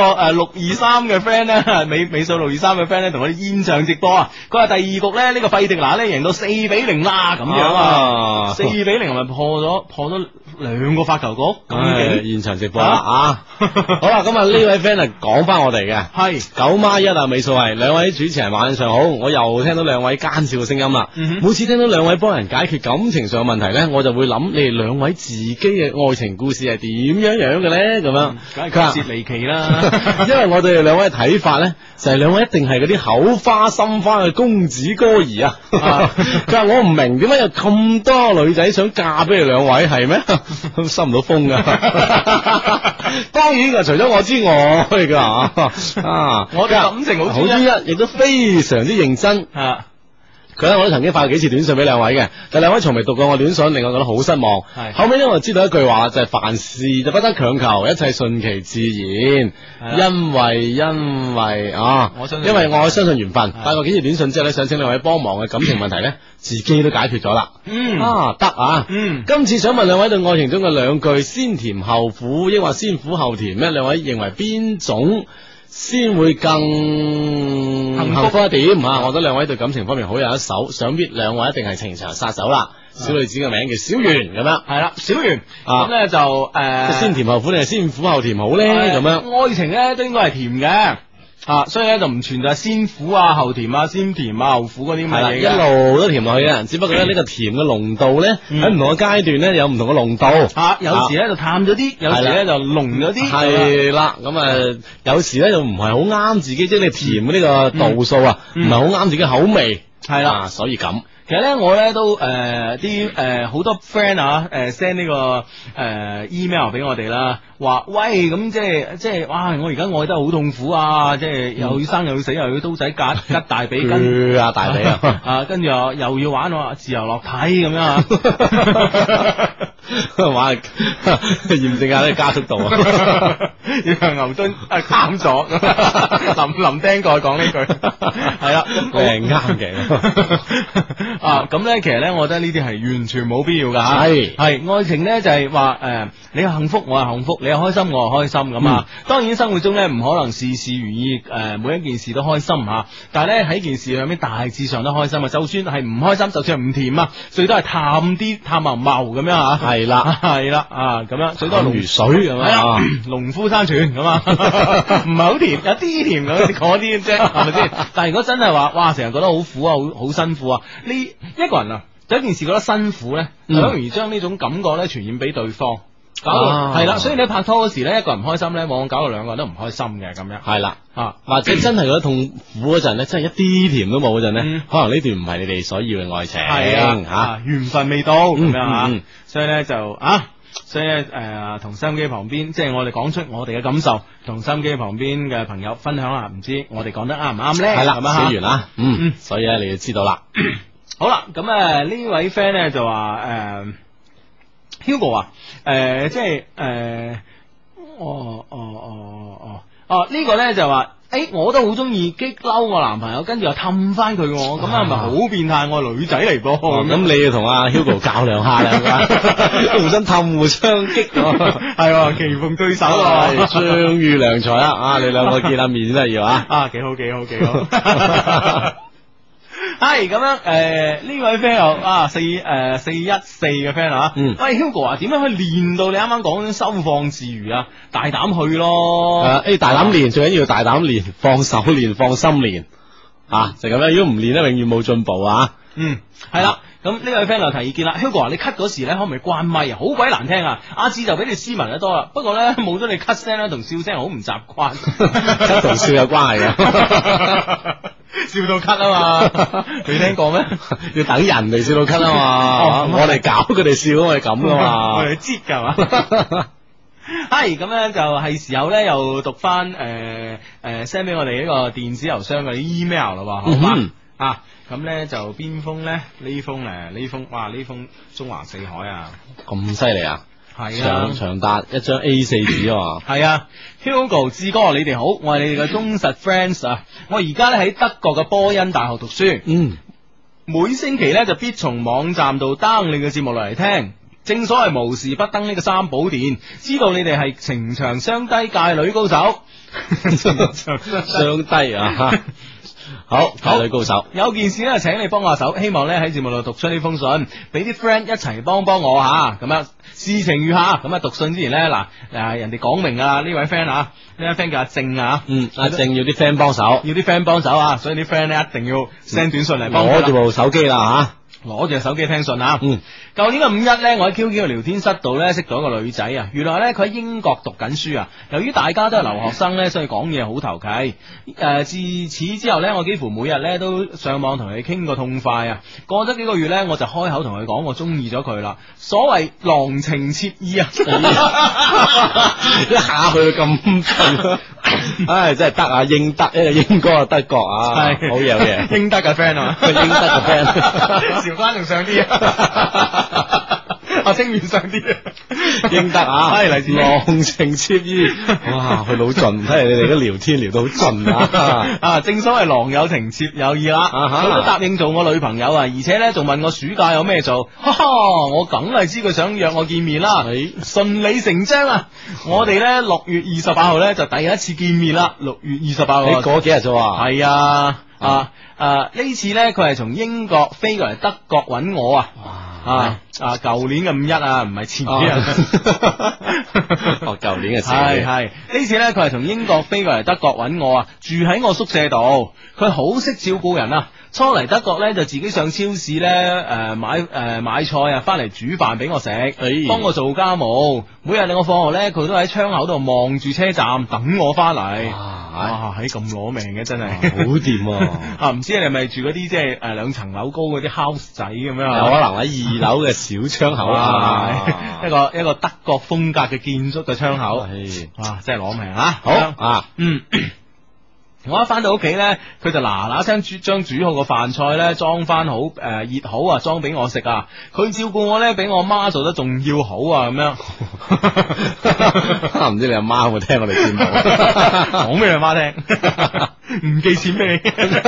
623嘅 friend 咧，尾數623嘅 friend 咧同我哋現場直播啊，佢話第二局咧呢個費迪拿咧贏到4-0啦，咁樣啊。4-0係咪破咗2個發球局？咁現場直播啦啊！好啦，咁啊呢位 friend 係講翻我哋嘅，係9+1啊，尾數係兩位主持人晚上好，我又聽到兩位奸笑嘅聲音啦。每次聽到兩位幫人解決感情上嘅問題咧，我就會諗你哋兩位自己嘅愛情故事係點樣嘅咧？咁樣， 梗係曲折離奇啦。 因為我對兩位嘅睇法咧，就係兩位一定係嗰啲口花心花嘅公子哥兒啊！佢話我唔明點解有咁多女仔想嫁俾你兩位，係咩？收唔到風噶。當然除咗我之外噶我哋感情好專一，亦都非常之認真啊。佢咧我都曾經發過幾次短信俾兩位嘅，但兩位從未讀過我短信，令我覺得好失望。後尾咧我就知道一句話，就係凡事就不得強求，一切順其自然。因為我相信緣分。發過幾次短信之後咧，想請兩位幫忙嘅感情問題咧，自己都解決咗啦。得啊。今次想問兩位對愛情中嘅兩句先甜後苦，抑或先苦後甜咧？兩位認為邊種先會更幸福一點啊？我覺得兩位對感情方面好有一手，想必兩位一定係情場殺手啦。小女子嘅名叫小圓咁樣， 係啦，小圓咁咧就先甜後苦定係先苦後甜好咧？咁樣愛情咧都應該係甜嘅。所以咧就唔存在先苦啊後甜啊先甜啊後苦嗰啲咁嘅嘢， 一路都甜落去嘅。只不過咧呢個甜嘅濃度咧喺唔同嘅階段咧有唔同嘅濃度。 有時咧就淡咗啲，有時咧就濃咗啲。 係啦，咁有時咧就唔係好啱自己，即係你甜嘅呢個度數啊，唔係好啱自己口味。係啦，所以咁。 其實咧，我咧都啲好多 friend send 呢個email 俾我哋啦，話喂咁即係哇！我而家愛得好痛苦啊！即係又要生又要死，又要刀仔吉大髀跟大髀啊！ 跟住又要玩我自由落體咁樣話驗證下呢個加速度啊， 要向牛頓啱咗，林釘過講呢句係啦， 咁啱嘅啊，咁咧其實咧，我覺得呢啲係完全冇必要噶吓，係愛情咧就係話你係幸福我係幸福，你係開心我係開心咁啊。當然生活中咧唔可能事事如意，每一件事都開心吓，但係咧喺件事上面大致上都開心啊。就算係唔開心，就算係唔甜啊，最多係淡茂茂咁樣吓。係啦啊，咁樣最多係如水咁啊， 農夫山泉咁啊，唔係好甜，有啲甜咁嗰啲啫，係咪先？但係如果真係話，哇，成日覺得好苦啊，好辛苦啊，呢一個人啊，有一件事覺得辛苦咧，好容易將呢種感覺咧傳染俾對方。搞到係啦，所以你拍拖嗰時咧，一個人唔開心咧，往往搞到兩個人都唔開心嘅咁樣。係啦， 或者真係覺得痛苦嗰陣咧，真係一啲甜都冇嗰陣咧，可能呢段唔係你哋所要嘅愛情。係啊， 緣分未到咁樣啊，所以咧就所以咧同收音機旁邊，即係我哋講出我哋嘅感受，同收音機旁邊嘅朋友分享下，唔知我哋講得啱唔啱咧？ 係啦，寫完啦，所以咧你就知道啦。 好啦，咁呢位 friend 咧就話Hugo 啊，即係呢個咧就話，我都好中意激嬲我男朋友，跟住又氹翻佢，咁係咪好變態？我係女仔嚟噃， 咁你要同阿 Hugo 較量下啦，互相氹，互相激， 係棋逢對手， 相遇良才啊！你兩個見下面真係要啊， 幾好。係咁樣，呢位 friend 又414嘅 friend 啊，喂 Hugo 啊，點樣可以練到你啱啱講嗰種收放自如啊？大膽去咯， 大膽練，最緊要大膽練，放手練，放心練，就咁樣。如果唔練咧，永遠冇進步啊。 係啦。咁呢位 friend 又提意見啦 ，Hugo 話你咳嗰時咧，可唔可以關咪啊？好鬼難聽啊！阿志就比你斯文得多啦，不過咧冇咗你咳聲咧同笑聲好唔習慣， 咳同笑有關係嘅。 笑到咳啊嘛，未聽過咩？ 要等人哋笑到咳啊嘛，我哋搞佢哋笑，我哋咁噶嘛， 我哋擠噶嘛。係咁咧，就係時候咧，又讀翻send 俾我哋呢個電子郵箱嘅 email 啦，好嘛？咁咧就邊封咧？呢封哇！呢封中華四海啊， 咁犀利啊！ 係啊， 長達一張 A4 紙啊！ 係啊 ，Hugo 志哥，你哋好，我係你哋嘅忠實 friends 啊！我而家咧喺德國嘅波恩大學讀書，每星期咧就必從網站度 down 你嘅節目落嚟聽。正所謂無事不登呢個三寶殿，知道你哋係情場雙低界女高手， 雙低啊！好，女高手， 有件事咧，請你幫下手，希望咧喺節目度讀出呢封信，俾啲 friend 一齊幫我吓，咁樣事情如下，咁讀信之前咧，人哋講明啊，呢位 friend 呢位 friend 叫阿正啊， 阿正要啲 friend 幫手， 啊，所以啲 friend 咧一定要 send 短信嚟幫攞住部手機啦吓， 攞住手機聽信啊。舊年嘅5一咧，我喺 QQ 嘅聊天室度咧識到一個女仔啊，原來咧佢喺英國讀緊書啊。由於大家都係留學生咧，所以講嘢好投契。自此之後咧，我幾乎每日咧都上網同佢傾個痛快啊。過咗幾個月咧，我就開口同佢講我中意咗佢啦。所謂郎情妾意啊， 一下去咁盡，唉，真係得啊！英德一個英哥啊，德國啊，好嘢， 英德嘅 friend 啊， 英德嘅 friend， 韶關仲上啲啊，清遠上啲， 英德啊， 係嚟自郎情妾意，哇，去到盡，睇嚟你哋都聊天聊到好盡啊！ 正所謂郎有情妾有意啦，佢都答應做我女朋友啊，而且咧仲問我暑假有咩做，我梗係知佢想約我見面啦，順理成章啊！我哋咧6月28號咧就第一次見面啦，6月28號， 你過幾日啫？ 係啊，呢次咧佢係從英國飛過嚟德國揾我啊，舊年嘅5一啊，唔係前幾日， 舊年嘅事，係呢次咧佢係從英國飛過嚟德國揾我啊，住喺我宿舍度，佢好識照顧人啊。初嚟德國咧就自己上超市咧買菜啊，翻嚟煮飯俾我食，幫我做家務。每日我放學咧，佢都喺窗口度望住車站等我翻嚟。哇，喺咁攞命嘅真係， 好掂啊！ 唔知你係咪住嗰啲即係2層樓高嗰啲 house 仔咁樣？ 有可能喺2樓嘅小窗口啊， 一個德國風格嘅建築嘅窗口。哇，真係攞命啊！好啊， 我一翻到屋企咧，佢就嗱嗱聲將煮好個飯菜咧裝翻好熱好啊，裝俾我食啊。佢照顧我咧比我媽做得仲要好啊，咁樣。 唔知你阿媽有冇聽我哋節目？ 講俾你阿媽聽，唔寄錢俾你，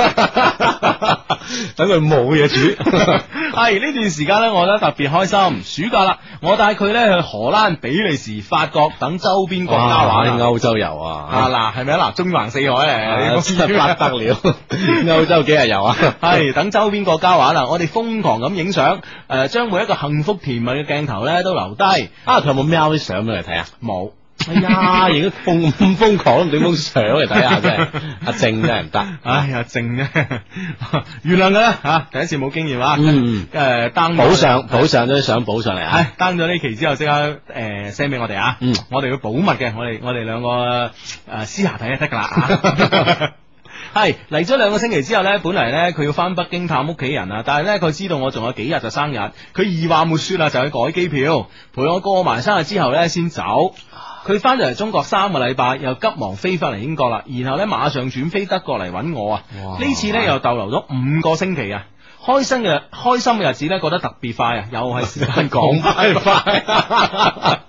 等佢冇嘢煮。 係呢段時間咧，我覺得特別開心。暑假啦，我帶佢咧去荷蘭、比利時、法國等周邊國家玩。 歐洲遊啊！ 嗱，係咪啊？嗱，中橫四海嚟， 真係不得了。歐洲幾日遊啊？ 係等周邊國家玩啦，我哋瘋狂咁影相，將每一個幸福甜蜜嘅鏡頭咧都留低。 佢有冇瞄啲相俾嚟睇啊？ 冇。 哎呀，影得咁瘋狂，都唔整封相嚟睇下，真係阿正真係唔得。 哎呀，正咧，原諒佢啦吓，第一次冇經驗啊。down 補上咗啲相補上嚟啊。 係 down 咗呢期之後，即刻send 俾我哋啊。我哋要保密嘅，我哋兩個私下睇就得噶啦。係嚟咗2個星期之後呢，本嚟呢，佢要翻北京探屋企人啊，但係呢，佢知道我仲有幾日就生日，佢二話沒說啦，就去改機票，陪我過埋生日之後呢，先走。佢翻咗嚟中國3個禮拜，又急忙飛翻嚟英國啦，然後呢，馬上轉飛德國嚟揾我啊。呢次呢，又逗留咗5個星期啊，開心嘅日子呢，過得特別快啊，又係時間講快快。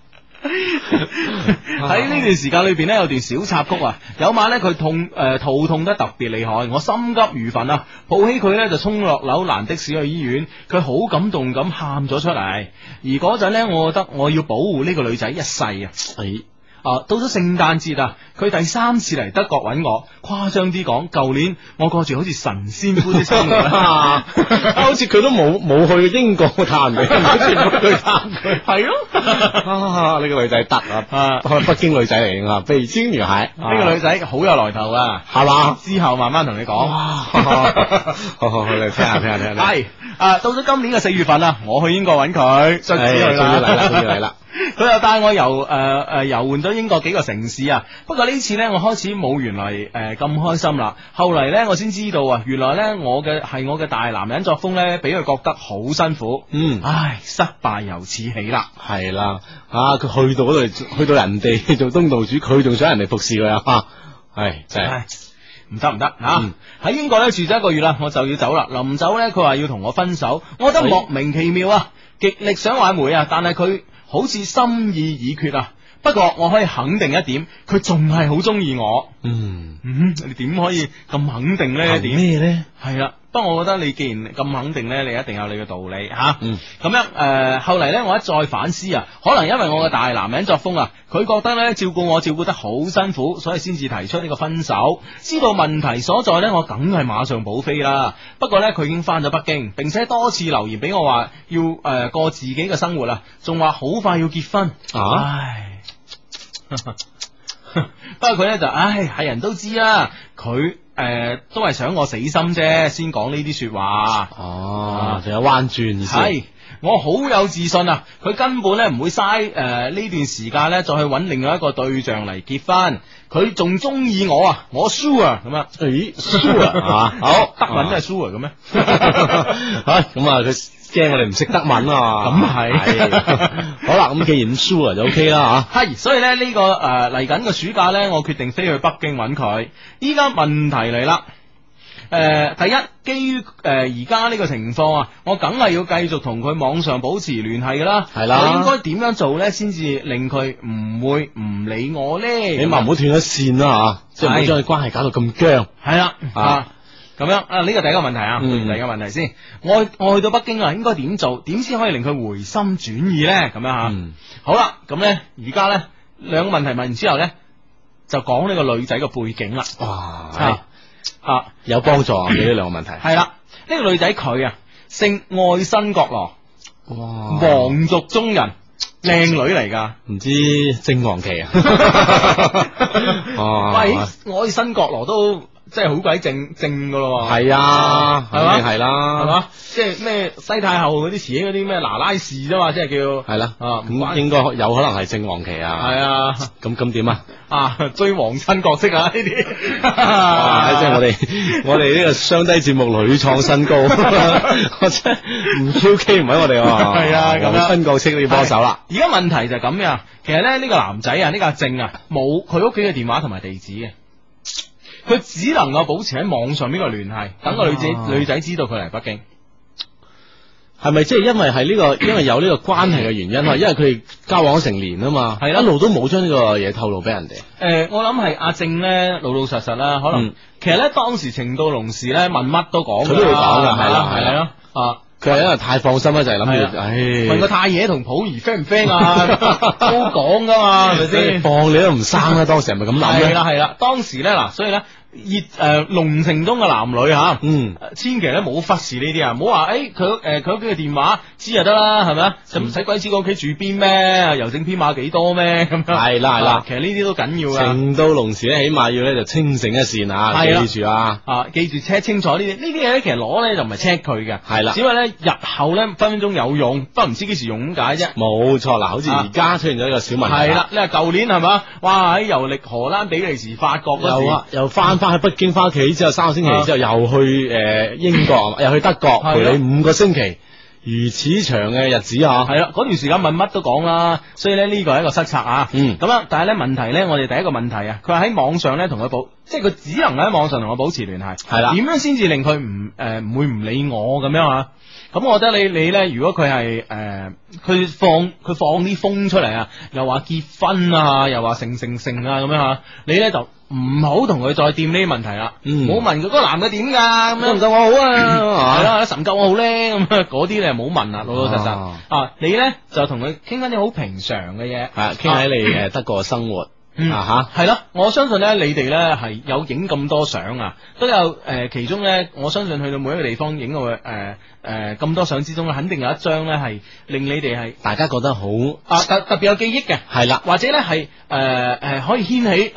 喺呢段時間裏邊呢，有段小插曲啊。有晚呢，佢肚痛得特別厲害，我心急如焚啊，抱起佢呢，就衝落樓攔的士去醫院。佢好感動咁喊咗出嚟，而嗰陣呢，我覺得我要保護呢個女仔一世啊。到咗聖誕節啊，佢第3次嚟德國揾我。誇張啲講，舊年我過住好似神仙般的生活啦， 好似佢都冇去英國探你，冇去探佢， 係咯。 呢個女仔得啊，北京女仔嚟噶，北京女孩。 呢個女仔好有來頭啊， 係嘛？ 之後慢慢同你講。 好，你聽下。 係到咗今年嘅4月份啊，我去英國揾佢，終於嚟啦。 佢又帶我遊玩咗英國幾個城市啊，不過呢次呢，我開始冇原來咁開心啦。後嚟呢，我先知道啊，原來呢，我嘅大男人作風呢，俾佢覺得好辛苦。唉，失敗由此起啦。 係啦，佢去到嗰度，去到人哋做東道主，佢仲想人哋服侍佢啊。係真係唔得吓。喺英國呢，住咗1個月啦，我就要走啦。臨走呢，佢話要同我分手，我覺得莫名其妙啊，極力想挽回啊，但係佢好似心意已決啊！不過我可以肯定一點，佢仲係好中意我。你點可以咁肯定呢？點咩呢？ 係啦，不過我覺得你既然咁肯定呢，你一定有你嘅道理吓。咁樣後嚟呢，我一再反思啊，可能因為我嘅大男人作風啊，佢覺得呢，照顧我照顧得好辛苦，所以先至提出呢個分手。知道問題所在呢，我梗係馬上補飛啦。不過呢，佢已經翻咗北京，並且多次留言俾我話要過自己嘅生活啦，仲話好快要結婚。唉。不過佢咧就係人都知啦，佢都係想我死心啫，先講呢啲說話。 仲有彎轉意思。 係我好有自信啊，佢根本咧唔會嘥呢段時間咧再去揾另外一個對象嚟結婚，佢仲中意我啊，我 sure 咁啊。 sure 好，德文都係 sure 嘅咩？ 咁啊佢。驚我哋唔識德文啊！ 咁係， 好啦，咁既然 sure 就 OK 啦吓。 係，所以咧呢個嚟緊嘅暑假咧，我決定飛去北京揾佢。依家問題嚟啦，第一，基於而家呢個情況啊，我梗係要繼續同佢網上保持聯繫噶啦。 係啦， 我應該點樣做咧，先至令佢唔會唔理我咧？ 起碼唔好斷咗線啦吓，即係唔好將佢關係搞到咁僵。 係啦咁樣呢個第一個問題啊，第二個問題先，我去到北京啊，應該點做？點先可以令佢回心轉意咧？咁樣吓，好啦，咁咧而家咧2個問題問完之後咧，就講呢個女仔嘅背景啦。哇， 有幫助啊！呢2個問題係啦，呢個女仔佢啊姓愛新覺羅， 哇， 皇族中人，靚女嚟噶， 唔知正黃旗啊？ 喂，愛新覺羅都。即係好鬼正噶咯， 係啊，係嘛，係啦， 係嘛，即係咩西太后嗰啲詞嗰啲咩拿拉氏啫嘛，即係叫係啦，咁應該有可能係正黃旗啊， 係啊， 咁點啊？ 追皇親角色啊呢啲， 即係我哋呢個雙低節目屢創新高，我真係唔 QK 唔喺我哋， 係啊，咁樣新角色都要幫手啦。 而家問題就係咁樣，其實咧呢個男仔啊，呢個阿正啊，冇佢屋企嘅電話同埋地址嘅。 佢只能夠保持喺網上呢個聯繫，等個女仔知道佢嚟北京。 係咪即係因為係呢個，因為有呢個關係嘅原因啊？因為佢哋交往咗成年啊嘛，係一路都冇將呢個嘢透露俾人哋。 我諗係阿正咧老老實實啦，可能其實咧當時情到濃時咧問乜都講， 佢都會講噶，係啦係咯啊。 佢係因為太放心啦，就係諗住， 問個太爺同普兒 friend 唔 friend 啊，都講噶嘛，係咪先？ 放你都唔生啦，當時係咪咁諗咧？ 係啦，當時咧嗱，所以咧濃情中嘅男女吓，千祈咧冇忽視呢啲啊，唔好話佢屋企嘅電話知就得啦，係咪啊？使鬼知佢屋企住邊咩？郵政編碼幾多咩？咁樣係啦， 其實呢啲都緊要噶。 情到濃時咧，起碼要咧就清醒一線啊，記住啊， 記住 check 清楚呢啲嘢咧，其實攞咧就唔係 check 佢嘅， 係啦， 只不過咧日後咧分分鐘有用，不過唔知幾時用咁解啫。 冇錯啦，好似而家出現咗呢個小問題。 係啦，你話舊年係嘛？哇！喺遊歷荷蘭、比利時、法國嗰時， 又翻去北京，翻屋企之後3個星期之後又去英國，又去德國陪你5個星期，如此長嘅日子啊！ 係啦，嗰段時間問乜都講啦，所以咧呢個係一個失策啊。咁樣，但係咧問題咧，我哋第一個問題啊，佢喺網上咧同佢即係佢只能喺網上同我保持聯繫。係啦，點樣先至令佢唔會唔理我咁樣啊？咁我覺得你咧，如果佢係佢放啲風出嚟啊，又話結婚啊，又話成啊咁樣吓，你咧就唔好同佢再掂呢啲問題啦。唔好問佢嗰個男嘅點噶，咁樣唔夠我好啊，係啦，神夠我好咧，咁嗰啲你又唔好問啦，老老實實啊。你咧就同佢傾翻啲好平常嘅嘢， 係傾喺你德國嘅生活。 係咯，我相信咧，你哋咧係有影咁多相啊，都有其中咧，我相信去到每一個地方影到咁多相之中咧，肯定有一張咧係令你哋係大家覺得好特別有記憶嘅，係啦，或者咧係可以掀起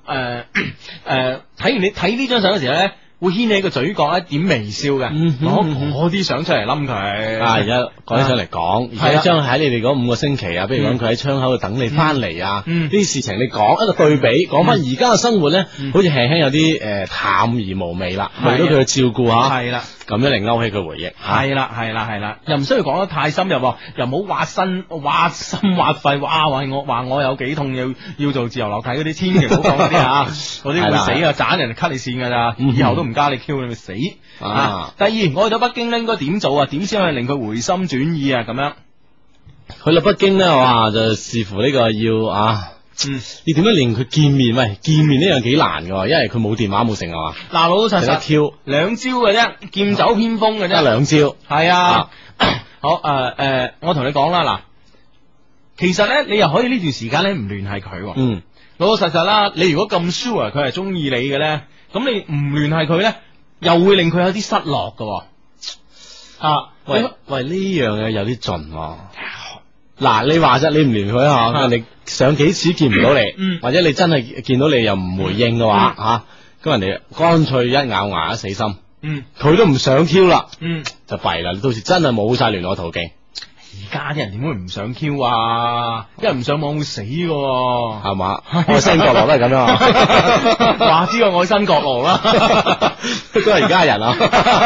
睇完你睇呢張相嘅時候咧，會掀起個嘴角一點微笑嘅，攞啲相出嚟冧佢。 而家講起上嚟講，而且將喺你哋嗰5個星期啊，比如講佢喺窗口度等你翻嚟啊，呢啲事情你講一個對比，講翻而家嘅生活咧，好似輕輕有啲淡而無味啦，為咗佢嘅照顧吓，係啦，咁樣嚟勾起佢回憶。 係啦，又唔需要講得太深入，又唔好挖心挖肺，話我有幾痛，要做自由落體嗰啲，千祈唔好講嗰啲啊，嗰啲會死啊，斬人哋 cut 你線噶咋，以後都唔加你 Q 你咪死啊！第二，我去到北京咧，應該點做啊？點先可以令佢回心轉意啊？咁樣去到北京咧，哇，就視乎呢個要你點樣令佢見面？喂，見面呢樣幾難噶，因為佢冇電話冇成啊嘛。 嗱，老老實實 Q 2招嘅啫，劍走偏鋒嘅啫， 得2招。 係啊，好我同你講啦，嗱，其實咧，你又可以呢段時間咧唔聯繫佢。老老實實啦，你如果咁 sure 佢係中意你嘅咧，咁你唔聯繫佢咧，又會令佢有啲失落噶。 喂，呢樣嘢有啲盡。嗱，你話啫，你唔聯佢吓，人哋上幾次見唔到你，或者你真係見到你又唔回應嘅話，咁人哋乾脆一咬牙一死心，佢都唔想 Q 啦，就弊啦，你到時真係冇晒聯絡途徑。 而家啲人點會唔想 Q 啊？因為唔上網會死嘅， 係嘛？愛新覺羅都係咁樣， 話知個愛新覺羅啦， 都係而家人啊，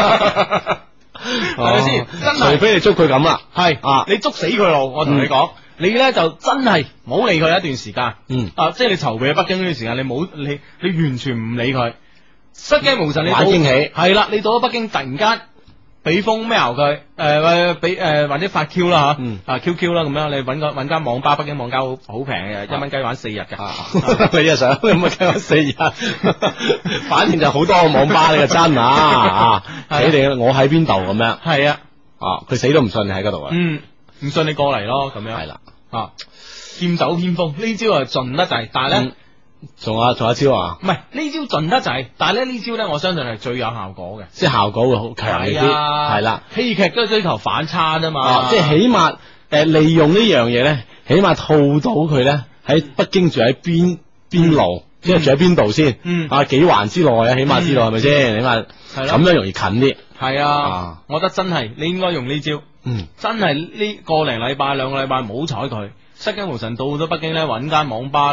係咪先？真係， 除非你捉佢咁啦， 係你捉死佢咯。我同你講，你咧就真係唔好理佢一段時間，即係你籌備喺北京呢段時間，你完全唔理佢，失驚無神，你玩驚喜係啦。你到咗北京，突然間俾封 mail 佢，或者發 Q 啦吓，QQ 啦咁樣，你搵間網吧，北京網吧好平嘅，1蚊雞玩4日嘅， 你又想1蚊雞玩4日，反正就好多個網吧，你就真你哋我喺邊度咁樣， 係啊， 佢死都唔信你喺嗰度啊， 唔信你過嚟咯，咁樣係啦，劍走偏鋒呢招係盡得滯，但係咧。 仲有一招啊？ 唔係呢招盡得滯，但係咧呢招咧，我相信係最有效果嘅， 即係效果會好強啲，係啦。 戲劇都係追求反差啫嘛， 即係起碼利用呢樣嘢咧，起碼套到佢咧喺北京住喺邊路，即係住喺邊度先，幾環之內啊，起碼知道係咪先？起碼咁樣容易近啲。係啊，我覺得真係你應該用呢招，真係呢個零禮拜2個禮拜唔好睬佢。失驚無神到咗北京咧，揾間網吧咧，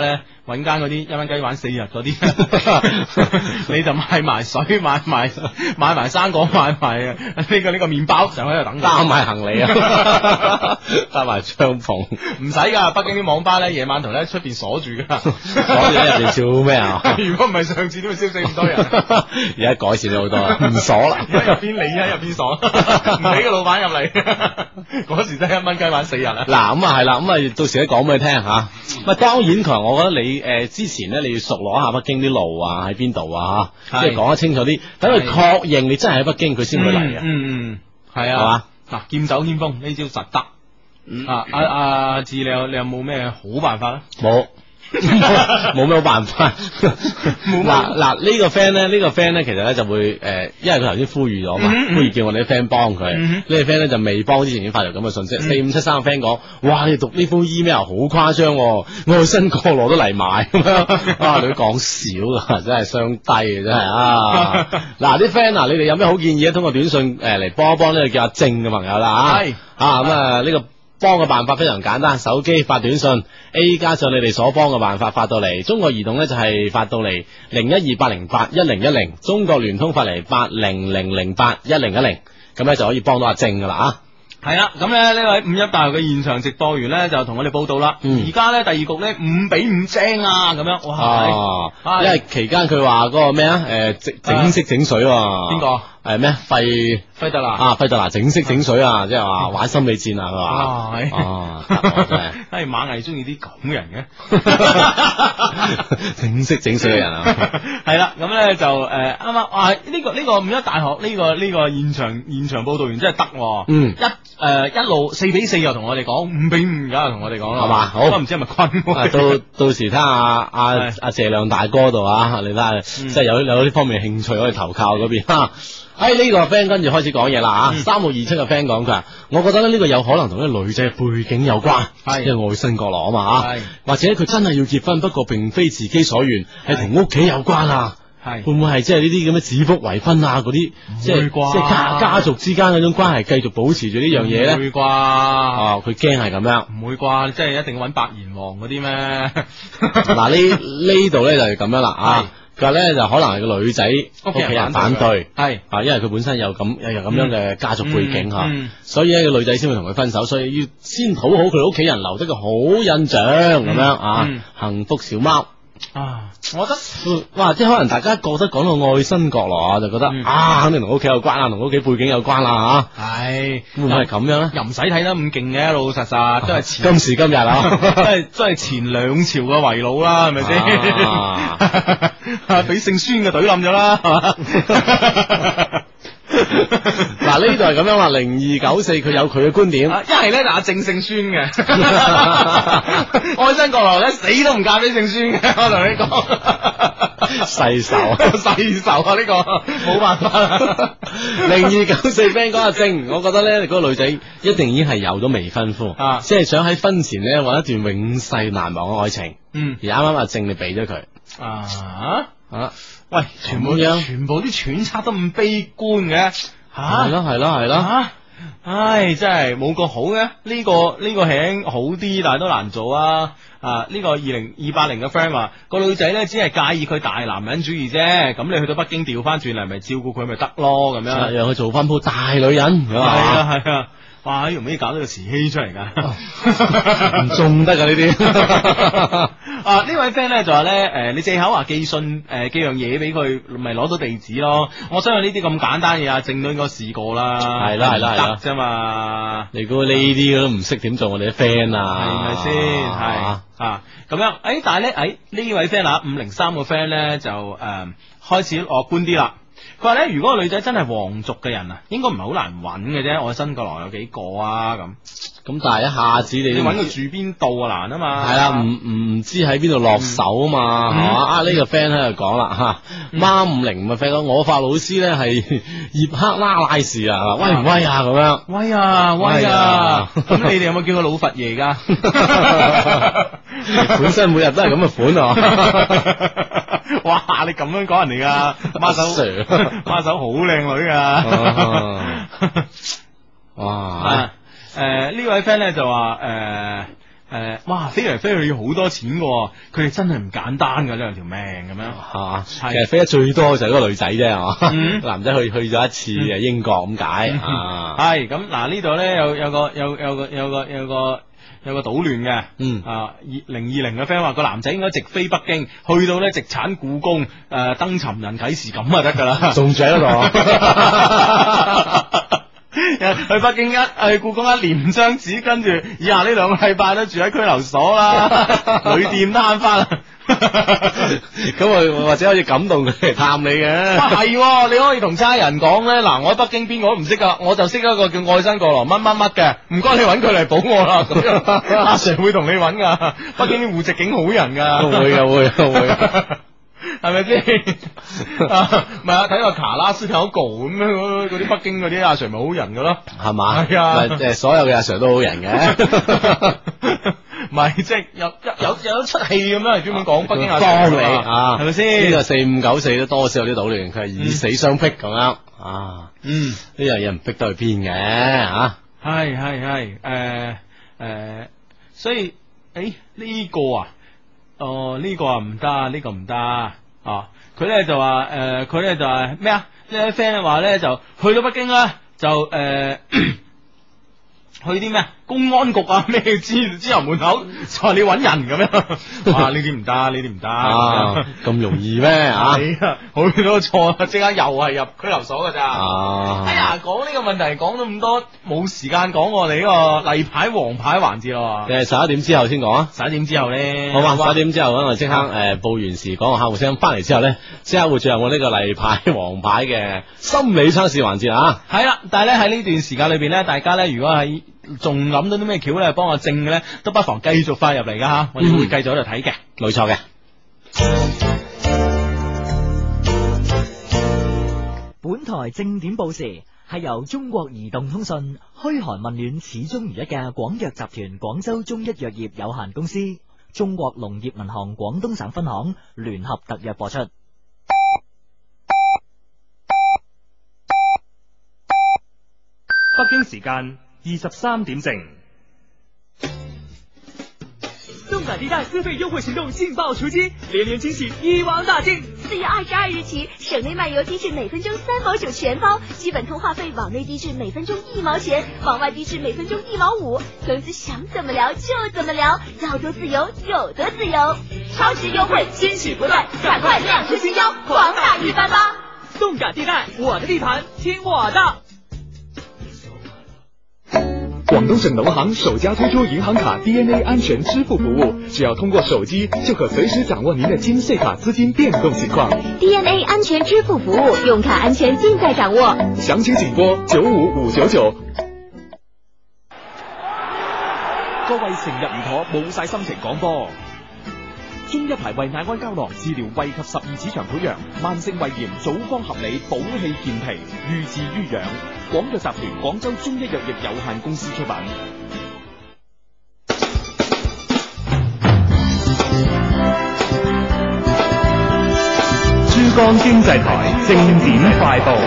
揾間嗰啲一蚊雞玩4日嗰啲，你就買埋水，買埋生果，買埋呢個麵包，就喺度等。 擔埋行李啊，擔埋帳篷， 唔使噶。北京啲網吧咧，夜晚同咧出邊鎖住噶， 鎖住喺入邊做咩啊？ 如果唔係上次都會燒死咁多人。 而家改善咗好多，唔鎖啦， 入邊你喺入邊鎖，唔俾個老闆入嚟。嗰時真係1蚊雞玩4日啊！ 嗱咁啊係啦，咁啊到時咧講俾你聽吓。咁當然強，我覺得你之前咧你要熟攞下北京啲路啊，喺邊度啊，即係講得清楚啲，等佢確認你真係喺北京，佢先會嚟啊。 係啊，係嘛？嗱，劍走偏鋒呢招實得。阿志，你有冇咩好辦法咧？ 冇咩好辦法。嗱呢個 friend 咧，其實咧就會因為佢頭先呼籲咗嘛，呼籲叫我哋啲 friend 幫佢。呢個 friend 咧就未幫之前已經發咗咁嘅信息。4573個 friend 講，哇！你讀呢封 email 好誇張，愛新覺羅都嚟埋咁樣。啊，你都講少噶，真係雙低嘅真係啊！嗱啲 friend 嗱，你哋有咩好建議咧？通過短信嚟幫一幫呢個叫阿正嘅朋友啦吓。咁啊呢個。幫嘅辦法非常簡單，手機發短信 A 加上你哋所幫嘅辦法發到嚟，中國移動呢就係發到嚟0128081010，中國聯通發嚟8000081010，咁呢就可以幫到阿正噶啦啊！ 係啦，咁咧呢位51大學嘅現場直播員咧就同我哋報道啦。而家咧第二局咧5-5正啊，咁樣哇！ 因為期間佢話嗰個咩啊？整色整水邊個？ 係咩？費德拿整色整水啊，即係話玩心理戰啊，佢話係馬藝中意啲咁人嘅整色整水嘅人啊。 係啦，咁咧就啱啱哇呢個51大學呢個現場報道員真係得，一路4-4又同我哋講5-5，而家又同我哋講啦， 係嘛？好， 都唔知係咪坤。 到時睇下阿謝亮大哥度啊，你睇下，即係有呢方面興趣可以投靠嗰邊。呢個 friend 跟住開始講嘢啦吓，3527嘅 friend 講佢話，我覺得咧呢個有可能同呢個女仔嘅背景有關，即係愛新覺羅啊嘛吓，或者佢真係要結婚，不過並非自己所願，係同屋企有關啊。會唔會係即係呢啲咁嘅指腹為婚啊？嗰啲即係家族之間嗰種關係繼續保持住呢樣嘢咧？唔會啩？ 佢驚係咁樣。 唔會啩？即係一定要揾白猿王嗰啲咩？ 嗱呢度咧就係咁樣啦啊！佢話咧就可能係個女仔屋企人反對，因為佢本身有咁樣嘅家族背景吓，所以咧個女仔先會同佢分手，所以要先討好佢屋企人，留得個好印象咁樣啊！幸福小貓。 我覺得哇，即係可能大家覺得講到愛新覺羅就覺得肯定同屋企有關，同屋企背景有關啦吓。係會唔會係咁樣咧？ 又唔使睇得咁勁嘅，老老實實都係今時今日啊， 都係前兩朝嘅遺老啦，係咪先？俾姓孫嘅隊冧咗啦，係嘛？ 嗱呢度係咁樣啦，0294佢有佢嘅觀點， 一係咧就阿正姓孫嘅，愛新覺羅咧死都唔嫁俾姓孫嘅，我同你講， 世仇啊呢個冇辦法啦。 0294 friend 講阿正，我覺得咧嗰個女仔一定已經係有咗未婚夫，即係想喺婚前咧搵一段永世難忘嘅愛情，而啱啱阿正你俾咗佢喂，全部啲揣測都咁悲觀嘅， 係咯， 唉，真係冇個好嘅，呢個係好啲，但係都難做啊！呢個20280嘅 friend 話個女仔咧只係介意佢大男人主義啫，咁你去到北京調翻轉嚟，咪照顧佢咪得咯，咁樣讓佢做翻鋪大女人， 係啊。哇！容易搞到個慈禧出嚟噶， 唔中得噶呢啲。 呢位 friend 咧就話咧，你借口話寄信寄樣嘢俾佢，咪攞到地址咯。我相信呢啲咁簡單嘢，正都應該試過啦。 係啦得啫嘛。 你估呢啲都唔識點做我哋啲 friend 啊？ 係咪先？係咁樣。但係咧，呢位 friend 503個 friend 咧就開始樂觀啲啦。佢話咧，如果個女仔真係皇族嘅人啊，應該唔係好難揾嘅啫。愛新覺羅有幾個啊？ 咁但係一下子你揾佢住邊度啊難啊嘛。 係啦，唔知喺邊度落手啊嘛，係嘛？呢個 friend 喺度講啦吓，孖50嘅 friend 講，我發老師咧係葉克拉士啊，威唔威啊？咁樣威啊！咁你哋有冇叫佢老佛爺噶？ 本身每日都係咁嘅款啊！ 哇！你咁樣講人哋噶，孖手好靚女噶。哇！呢位 friend 咧就話哇飛嚟飛去要好多錢噶，佢哋真係唔簡單噶呢兩條命咁樣，係嘛？ 其實飛得最多就係嗰個女仔啫，係嘛？男仔去咗一次英國咁解啊。 係咁嗱，呢度咧有個搗亂嘅，2020嘅 friend 話個男仔應該直飛北京，去到咧直產故宮登尋人啟事咁就得噶啦， 仲住喺嗰度。 去北京去故宮一連張紙，跟住以下呢2個禮拜都住喺拘留所啦，旅店攤翻。 咁或者可以感動佢嚟探你嘅。 係，你可以同差人講咧，嗱，我喺北京邊個都唔識噶，我就識一個叫愛新覺羅乜乜乜嘅，唔該你揾佢嚟保我啦。咁樣阿 Sir 會同你揾噶，北京啲戶籍警好人噶。 會。 係咪先？唔係啊，睇個卡拉斯有個咁樣嗰啲北京嗰啲阿 Sir 咪好人噶咯， 係嘛？ 係啊， 所有嘅阿 Sir 都好人嘅。 唔係，即係有出戲咁樣，專門講北京阿 Sir 幫你啊， 係咪先？ 呢個4594都多少有啲搗亂，佢係以死相逼咁樣啊。呢樣嘢唔逼得去邊嘅吓。 係所以呢個啊。呢個唔得，呢個唔得啊！佢咧就話佢咧就係咩啊？呢位 friend 話咧就去到北京啦，就去啲咩公安局啊咩之後門口就話你揾人咁樣，哇！呢啲唔得， 咁容易咩啊？ 係啊，去到錯，即刻又係入拘留所噶咋？哎呀，講呢個問題講咗咁多，冇時間講我哋呢個例牌黃牌環節咯。 誒，11點之後先講啊 ！11點之後咧， 好嘛？11點之後我即刻報完時講個客戶聲，翻嚟之後咧，即刻會進入我呢個例牌黃牌嘅心理測試環節啊！ 係啦，但係咧喺呢段時間裏邊咧，大家咧如果係仲諗到啲咩橋咧，幫我正嘅咧，都不妨繼續發入嚟噶吓，我哋會繼續喺度睇嘅， 冇錯嘅。 本台正點報時係由中國移動通訊噓寒問暖始終如一嘅廣藥集團廣州中一藥業有限公司、中國農業銀行廣東省分行聯合特約播出。 北京時間23點正。 動感地帶資費優惠行動勁爆出擊，連連驚喜一網打盡。 4月22日起，省內漫遊低至每分鐘3毛9全包，基本通話費往內低至每分鐘1毛錢，往外低至每分鐘1毛5。總之想怎麼聊就怎麼聊，要多自由有多自由，超值優惠驚喜不斷，趕快亮出新腰，狂打一番吧！ 動感地帶，我的地盤，聽我的。 廣東省農行首家推出銀行卡 DNA 安全支付服務，只要通過手機就可隨時掌握您的金穗卡資金變動情況。 DNA 安全支付服務，用卡安全盡在掌握。 詳情請撥95599。 各位成日唔妥冇晒心情講波。中一牌胃乃安膠囊治療胃及12指腸潰瘍、慢性胃炎，組方合理，補氣健脾，寓治於養。廣藥集團廣州中一藥業有限公司出品。 珠江經濟台正點快報。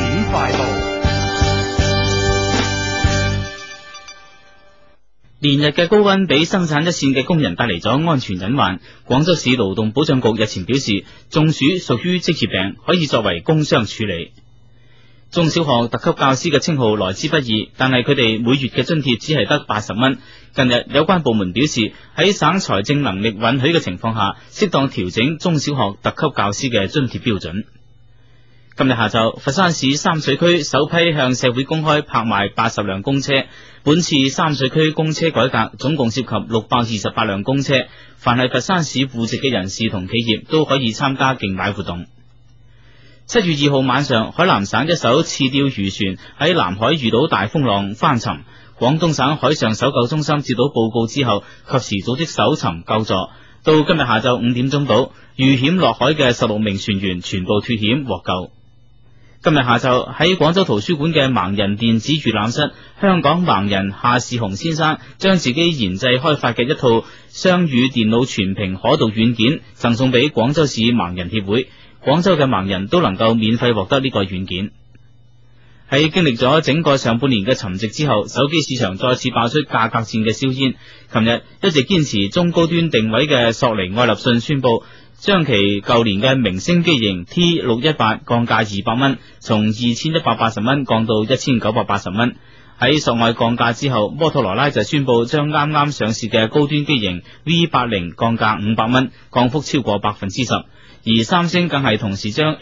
連日嘅高溫俾生產一線嘅工人帶嚟咗安全隱患。廣州市勞動保障局日前表示，中暑屬於職業病，可以作為工傷處理。中小學特級教師嘅稱號來之不易，但係佢哋每月嘅津貼只係得80蚊。近日有關部門表示，喺省財政能力允許嘅情況下，適當調整中小學特級教師嘅津貼標準。今日下晝，佛山市三水區首批向社會公開拍賣80輛公車。本次三水區公車改革總共涉及628輛公車，凡係佛山市戶籍嘅人士同企業都可以參加競買活動。7月2號晚上，海南省一艘刺釣漁船喺南海遇到大風浪翻沉，廣東省海上搜救中心接到報告之後，及時組織搜尋救助。到今日下晝5點鐘到，遇險落海嘅16名船員全部脫險獲救。今日下晝喺廣州圖書館嘅盲人電子閱覽室，香港盲人夏士雄先生將自己研製開發嘅一套雙語電腦全屏可讀軟件贈送俾廣州市盲人協會，廣州嘅盲人都能夠免費獲得呢個軟件。 喺經歷咗整個上半年嘅沉寂之後，手機市場再次爆出價格戰嘅硝煙。琴日一直堅持中高端定位嘅索尼愛立信宣布，將其舊年嘅明星機型 T618 降價200蚊，從2180蚊降到1980蚊。喺索愛降價之後，摩托羅拉就宣布將啱啱上市嘅高端機型 V80 降價500蚊，降幅超過 10%。而三星更係同時將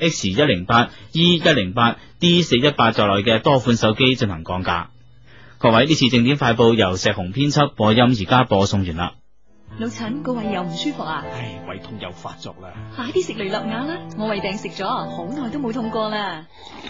X108、E108、D418 在內嘅多款手機進行降價。各位，呢次正點快報由石紅編輯播音，而家播送完啦。 老陳，個胃又唔舒服啊？ 唉，胃痛又發作啦！ 快啲食雷立雅啦，我胃病食咗，好耐都冇痛過啦。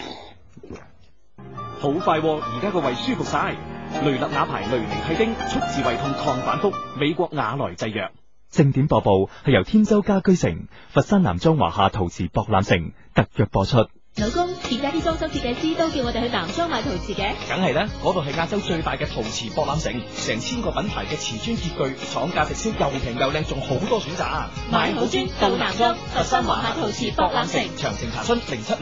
好快而家個胃舒服晒。雷立雅牌雷尼替丁，速治胃痛抗反復，美國雅萊製藥。 正點播報係由天舟家居城、佛山南莊華夏陶瓷博覽城特約播出。 老公，點解啲裝修設計師都叫我哋去南莊買陶瓷嘅？ 梗係啦，嗰度係亞洲最大嘅陶瓷博覽城，成千個品牌嘅瓷磚潔具，廠價直銷，又平又靚，仲好多選擇。 買好磚到南莊，佛山華夏陶瓷博覽城。 詳情查詢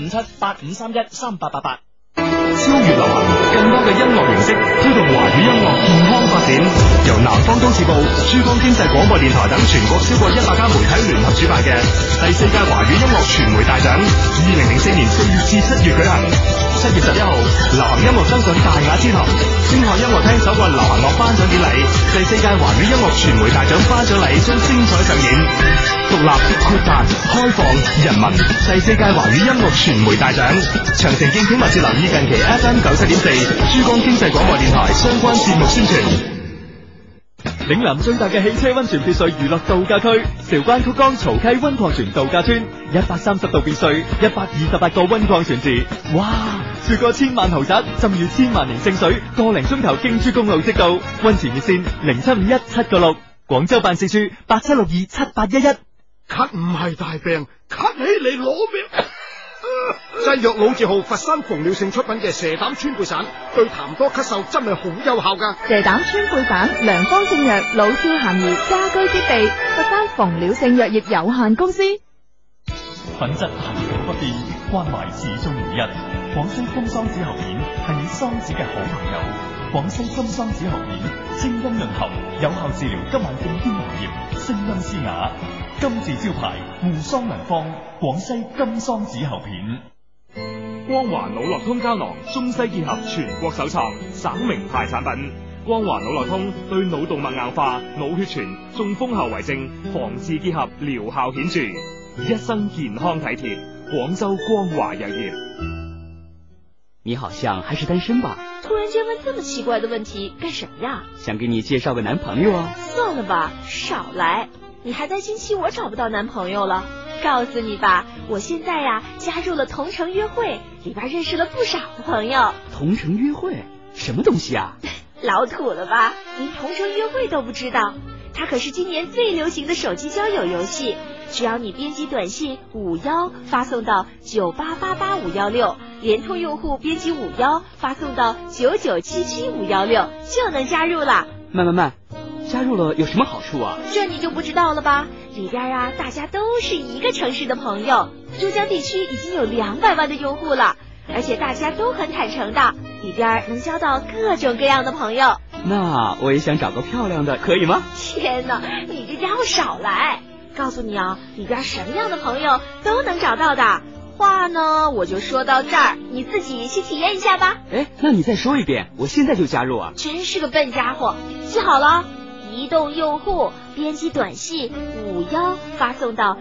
075785313888。 超越流行，更多嘅音樂形式推動華語音樂健康發展。由南方都市報、珠江經濟廣播電台等全國超過100家媒體聯合主辦嘅第4屆華語音樂傳媒大獎，2004年4月至7月舉行。7月11號，流行音樂登上大雅之堂，星海音樂廳首個流行樂頒獎典禮，第4屆華語音樂傳媒大獎頒獎禮將精彩上演。獨立、豁達、開放、人民，第4屆華語音樂傳媒大獎。詳情敬請密切留意近期 FM 97.4珠江經濟廣播電台相關節目宣傳。 嶺南最大嘅汽車溫泉別墅娛樂度假區，韶關曲江曹溪溫礦泉度假村，130度別墅，128個溫礦泉池，哇！住過千萬豪宅，浸浴千萬年聖水，個零鐘頭京珠公路即到。溫泉熱線07517966，廣州辦事處87627811。 咳唔係大病，咳起嚟攞命。製藥老字號佛山馮了性出品嘅蛇膽川貝散，對痰多咳嗽真係好有效噶。 蛇膽川貝散，良方正藥，老少咸宜，家居必備。佛山馮了性藥業有限公司。 品質恒久不變，關懷始終如一。廣西金桑子喉片係你桑子嘅好朋友。廣西金桑子喉片，清音潤喉，有效治療急慢性咽喉炎，聲音嘶啞。金字招牌護桑良方，廣西金桑子喉片。 光華腦絡通膠囊，中西結合，全國首創，省名牌產品。光華腦絡通對腦動脈硬化、腦血栓、中風後遺症防治結合，療效顯著，一生健康體貼。廣州光華藥業。 你好像還是單身吧？ 突然間問這麼奇怪的問題，幹什麼呀？ 想給你介紹個男朋友啊。 算了吧，少來。你還擔心起我找不到男朋友了？告訴你吧，我現在呀加入了同城約會，裏邊認識了不少的朋友。 同城約會什麼東西啊？ 老土了吧，連同城約會都不知道？它可是今年最流行的手機交友遊戲，只要你編輯短信51發送到9888516，聯通用戶編輯51發送到9977516，就能加入了。 慢，加入了有什麼好處啊？ 這你就不知道了吧？裏邊啊，大家都是一個城市的朋友，珠江地區已經有200萬的用戶了，而且大家都很坦誠的，裏邊能交到各種各樣的朋友。 那我也想找個漂亮的，可以嗎？ 天哪，你這家伙少來！告訴你啊，裏邊什麼樣的朋友都能找到的。話呢，我就說到這兒，你自己去體驗一下吧。 哎，那你再說一遍，我現在就加入啊！ 真是個笨家伙，記好了。移動用戶編輯短信51發送到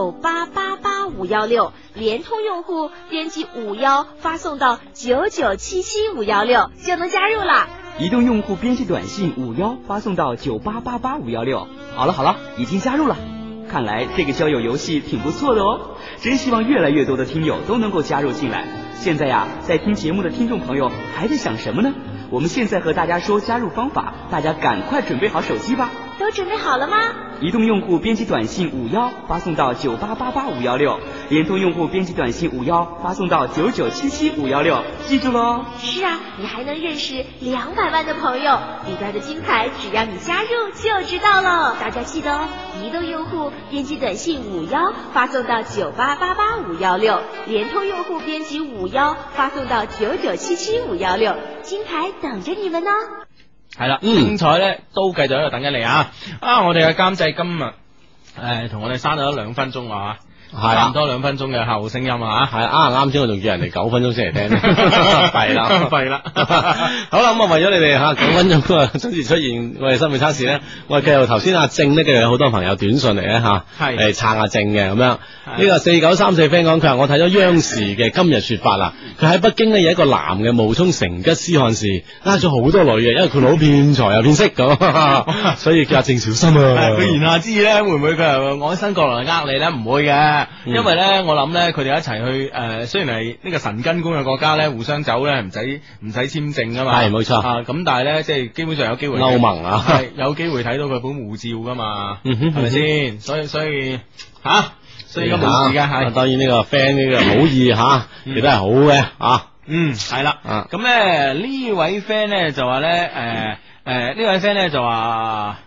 9888516，聯通用戶編輯51發送到9977516，就能加入了。 移動用戶編輯短信51發送到9888516。好了，已經加入了。看來這個交友遊戲挺不錯的哦，真希望越來越多的聽友都能夠加入進來。現在呀，在聽節目的聽眾朋友還在想什麼呢？我們現在和大家說加入方法，大家趕快準備好手機吧。 都準備好了嗎？ 移動用戶編輯短信51發送到9888516，聯通用戶編輯短信51發送到9977516，記住嘍。 是啊，你還能認識200萬的朋友，裡邊的精彩只要你加入就知道了。大家記得哦，移動用戶編輯短信51發送到9888516，聯通用戶編輯51發送到9977516，精彩等着你們呢。 係啦，精彩咧都繼續喺度等緊你啊！我哋嘅監製今日同我哋刪咗2分鐘啊，差唔多2分鐘嘅客戶聲音啊， 係啱先我仲叫人哋9分鐘先嚟聽，弊啦，好啦，咁啊為咗你哋9分鐘準時出現我哋心理測試咧，我哋繼續頭先阿正咧，繼續有好多朋友短信嚟咧嚟撐阿正嘅咁樣。呢個4934 friend 講，佢話我睇咗央視嘅今日說法啦，佢喺北京呢有一個男嘅冒充成吉思汗氏，呃咗好多女嘅，因為佢老騙財又騙色咁，所以叫阿正小心啊。 佢言下之意咧，會唔會佢係愛新覺羅嚟呃你咧？唔會嘅，因為咧我諗咧佢哋一齊去雖然係呢個神根公嘅國家咧，互相走咧唔使簽證噶嘛，係冇錯咁但係咧即係基本上有機會歐盟啊， 係有機會睇到佢本護照噶嘛，係咪先？所以所以而家冇事嘅係，當然呢個 friend 呢個好意亦都係好嘅係啦。咁咧呢位 friend 咧就話咧呢位 friend 咧就話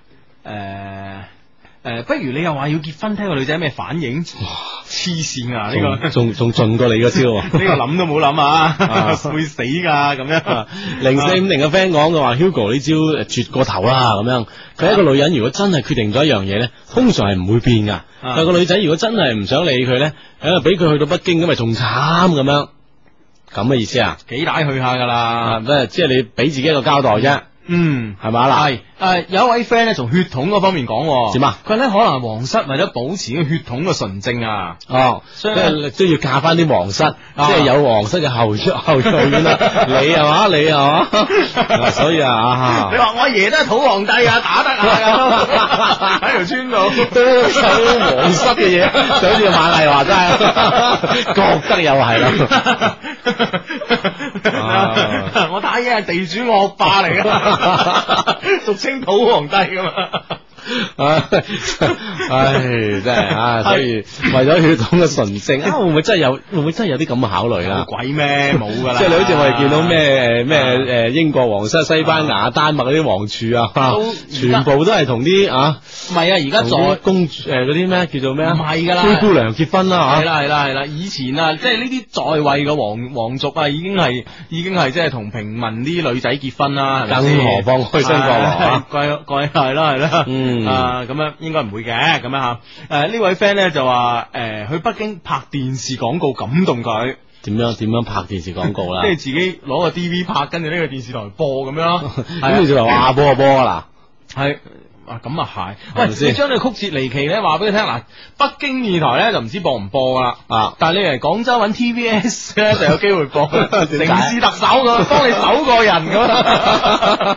不如你又話要結婚，睇個女仔咩反應？黐線啊！呢個仲盡過你個招，呢個諗都冇諗啊，會死噶咁樣。 0450嘅 friend 講嘅話 ，Hugo 呢招絕過頭啦咁樣。佢一個女人如果真係決定咗一樣嘢咧，通常係唔會變噶。但個女仔如果真係唔想理佢咧，俾佢去到北京咁咪仲慘咁樣。咁嘅意思啊？幾大去下噶啦，即係你俾自己一個交代啫。係咪啦？係有一位 friend 咧，從血統嗰方面講， 點啊？ 佢咧可能係皇室為咗保持個血統嘅純正啊， 所以都要嫁翻啲皇室，即係有皇室嘅後裔啦。你係嘛？你係嘛？所以你話我阿爺都係土皇帝啊，打得啊，喺條村度都有皇室嘅嘢，就好似馬麗話齋，覺得又係啦。 我打嘢係地主惡霸嚟噶，俗稱土皇帝噶嘛。 真係所以為咗血統嘅純正會唔會真係有啲咁嘅考慮啊？ 鬼咩冇噶啦！ 即係你好似我哋見到咩英國皇室、西班牙、丹麥嗰啲王儲全部都係同啲唔係而家在公主嗰啲咩叫做咩唔係噶啦， 灰姑娘結婚啦係啦，以前即係呢啲在位嘅皇族已經係即係同平民啲女仔結婚啦， 更何況開新國王係啦。咁樣應該唔會嘅，咁樣呢位 friend 咧就話去北京拍電視廣告感動佢， 點樣拍電視廣告啦？ 即係自己攞個 DV 拍，跟住呢個電視台播咁樣， 跟住就話播啦， 係咁啊係，喂，你將你曲折離奇咧話俾佢聽嗱，北京電台咧就唔知播唔播噶啦，但係你嚟廣州揾 TVS 咧就有機會播，城市特首咁幫你搜個人咁。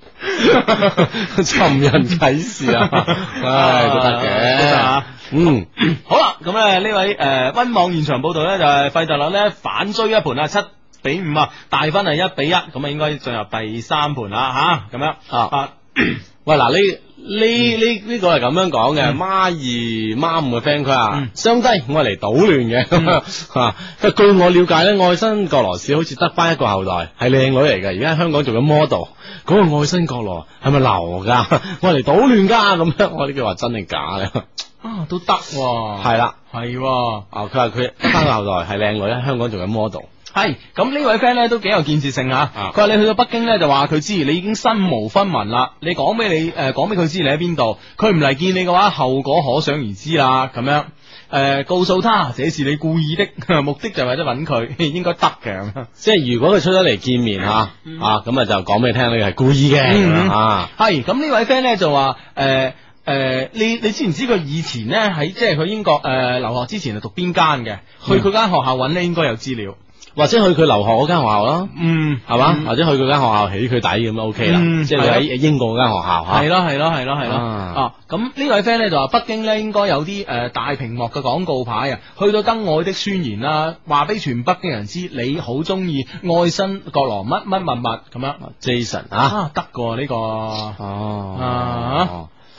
尋人啟事都得嘅， 好啦，咁呢位溫網現場報道咧就係費特勒咧反追一盤7-5大分係1-1，咁應該進入第3盤啦咁樣喂嗱呢個係咁樣講嘅，孖2孖5嘅 friend 佢話相低我嚟搗亂嘅，據我了解咧愛新覺羅氏好似得翻一個後代係靚女嚟嘅，而家喺香港做緊 model， 嗰個愛新覺羅係咪流噶？我嚟搗亂噶咁樣，我呢句話真定假咧？ 都得係啦， 係佢話佢得翻個後代係靚女喺香港做緊 model。 係咁呢位 friend 咧都幾有建設性吓，佢話你去到北京咧就話佢知你已經身無分文啦，你講俾佢知你喺邊度，佢唔嚟見你嘅話，後果可想而知啦。咁樣告訴他這是你故意的，目的就係為咗揾佢，應該得嘅。 即係如果佢出咗嚟見面咁就講俾你聽你係故意嘅。 係咁呢位 friend 咧就話你知唔知佢以前咧喺即係佢英國留學之前係讀邊間嘅？去佢間學校揾咧應該有資料。 或者去佢留學嗰間學校啦，係嘛？或者去佢間學校起佢底咁就 OK 啦，即係你喺英國嗰間學校吓。 係咯。咁呢位 friend 咧就話北京咧應該有啲大屏幕嘅廣告牌啊，去到登愛的宣言啦，話俾全北京人知你好中意愛新覺羅乜咁樣。Jason 得㗎呢個。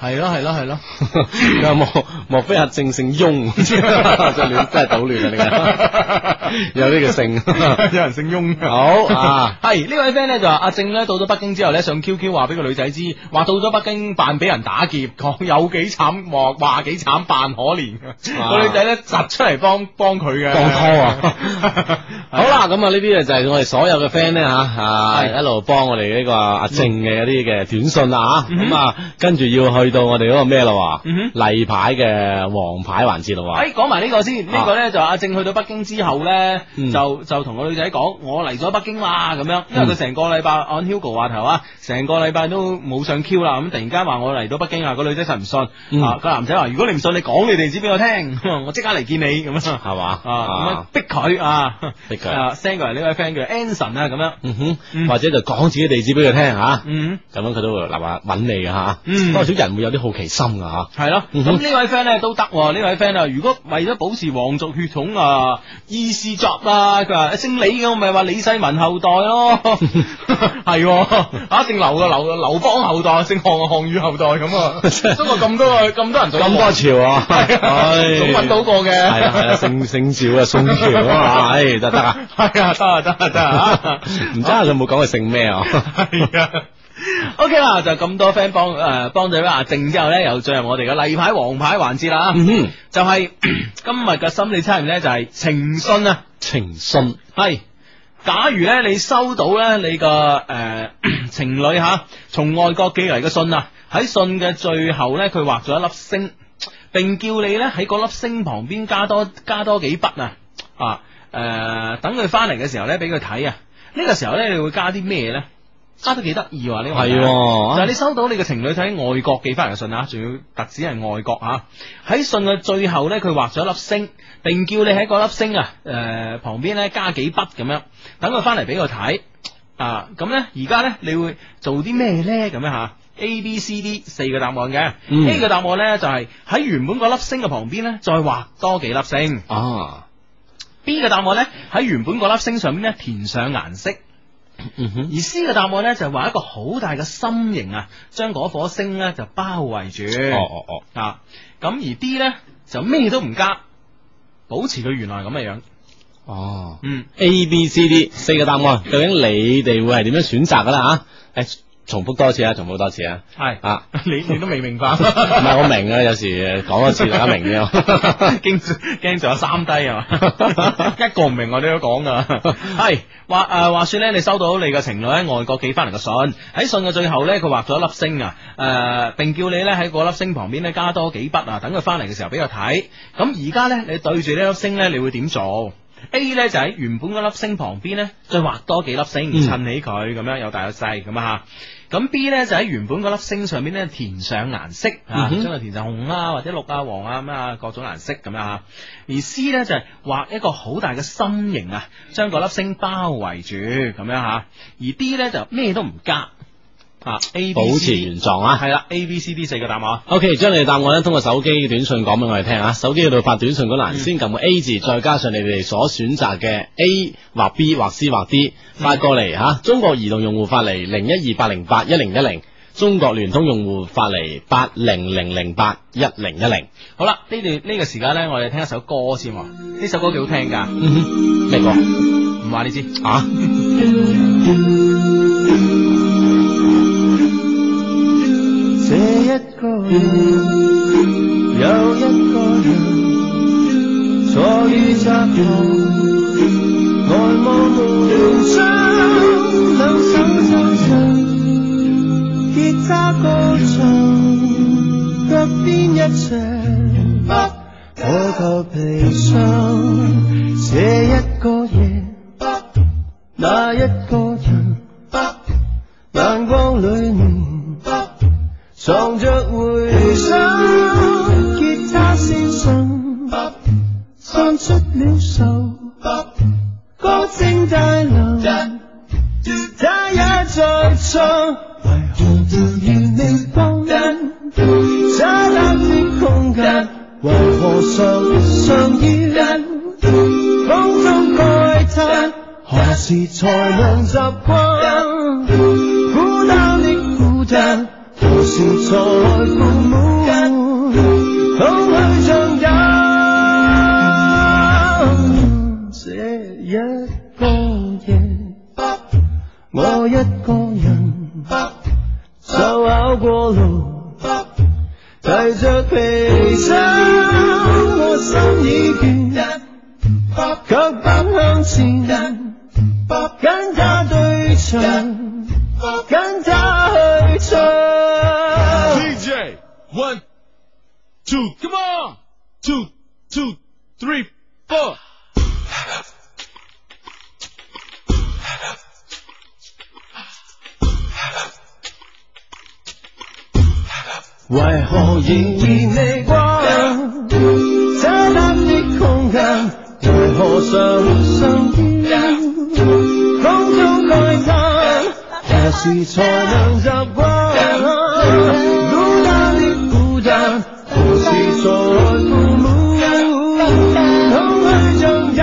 係咯係咯係咯， 莫非阿正姓翁？真係搗亂啊！你有呢個姓， 有人姓翁。 好啊， 係呢位 friend 咧就話阿正咧到咗北京之後咧上 QQ 話俾個女仔知，話到咗北京扮俾人打劫，講有幾慘，話幾慘扮可憐。個女仔咧窒出嚟幫佢嘅， 幫拖啊！好啦，咁啊呢啲就係我哋所有嘅 friend 咧吓，一路幫我哋呢個阿正嘅一啲嘅短信啦吓，咁啊跟住要去到我哋嗰個咩咯，例牌嘅黃牌環節咯。 講埋呢個先，呢個咧就阿正去到北京之後咧，就同個女仔講，我嚟咗北京啦咁樣，因為佢成個禮拜按 Hugo 話頭啊，成個禮拜都冇上 Q 啦，咁突然間話我嚟到北京啊，個女仔實唔信，個男仔話如果你唔信，你講你地址俾我聽，我即刻嚟見你咁樣，係嘛，咁樣逼佢啊，逼佢 send 過嚟呢位 friend 叫 Anson 啊，咁樣，或者就講自己地址俾佢聽吓，咁樣佢都會立話揾你嘅吓，多少人會有啲好奇心噶吓，係咯，咁呢位 friend 咧都得，呢位 friend 啊，如果為咗保持皇族血統啊，意思作啦，佢話姓李嘅，我咪話李世民後代咯，係，姓劉嘅劉邦後代，姓項嘅項羽後代咁啊，中國咁多人做咁多朝啊，總揾到過嘅，係啦，姓趙啊，宋朝啊，唉，得啊，係啊，得啊，唔知佢有冇講佢姓咩啊？係啊。OK 啦，就咁多 friend 幫咗阿正之後咧，又進入我哋嘅例牌黃牌環節啦。就係今日嘅心理測驗咧，就係情信啊，情信係。假如咧你收到咧你個情侶吓從外國寄嚟嘅信啊，喺信嘅最後咧佢畫咗一粒星，並叫你咧喺嗰粒星旁邊加多幾筆等佢翻嚟嘅時候咧俾佢睇啊。呢個時候咧你會加啲咩咧？加得幾得意喎呢個係，就係你收到你嘅情侶喺外國寄翻嚟嘅信啊，仲要特指係外國啊。喺信嘅最後咧，佢畫咗一粒星，並叫你喺嗰粒星旁邊咧加幾筆咁樣，等佢翻嚟俾佢睇啊。咁咧而家咧你會做啲咩咧？咁樣吓 A、B、C、D 四個答案嘅。A 嘅答案咧就係喺原本嗰粒星嘅旁邊咧再畫多幾粒星啊。B 嘅答案咧喺原本嗰粒星上邊咧填上顏色。而 C 嘅答案咧就係畫一個好大嘅心形啊，將嗰顆星咧就包圍住。咁而 D 咧就咩都唔加，保持佢原來咁嘅樣。A、B、C、D 四個答案，究竟你哋會係點樣選擇噶啦吓？重複多次啊！係啊，你都未明白？唔係我明啊，有時講多次大家明嘅，驚仲有三低啊嘛，一個唔明我都講噶。係話說咧，你收到你嘅情侶喺外國寄翻嚟嘅信，喺信嘅最後咧，佢畫咗一粒星啊，並叫你咧喺嗰粒星旁邊咧加多幾筆啊，等佢翻嚟嘅時候俾佢睇。咁而家咧，你對住呢粒星咧，你會點做？A 咧就喺原本嗰粒星旁邊咧，再畫多幾粒星，襯起佢咁樣有大有細咁啊。咁 B 咧就喺原本嗰粒星上邊咧填上顏色啊，將佢填上紅啊或者綠啊黃啊咁啊各種顏色咁樣啊。而 C 咧就係畫一個好大嘅心形啊，將嗰粒星包圍住咁樣吓。而 D 咧就咩都唔加。A、B、C、D 保持原狀啊，係啦 ，A、B、C、D 四個答案。OK， 將你嘅答案咧通過手機嘅短信講俾我哋聽啊，手機嗰度發短信嗰欄先撳個 A 字，再加上你哋所選擇嘅 A 或 B 或 C 或 D 發過嚟吓。中國移動用戶發嚟0128081010，中國聯通用戶發嚟8000811010。好啦，呢個時間咧，我哋聽一首歌先。呢首歌幾好聽噶。咩歌？唔話你知啊。 這一個人，有一個人，坐於窄巷，呆望無聊窗，兩手撐着吉他歌唱，腳邊一場，我夠悲傷。這一個夜，那一個人，眼光裏面藏着回想，吉他先生唱出了愁，歌聲帶流，他也在唱，為何突然未放人？渣打的空間，為何常常要風中慨嘆？何時才能習慣孤單的孤單？何時才會滿提着皮箱，我心已倦，卻不向前，跟他對唱，跟他去唱。 DJ 1 2 come on 2 2 3 4。 為何仍然未關？這刻的空間，為何常常見？空中慨嘆，何時才能習慣？孤單的孤單，何時才父母？空虛像人，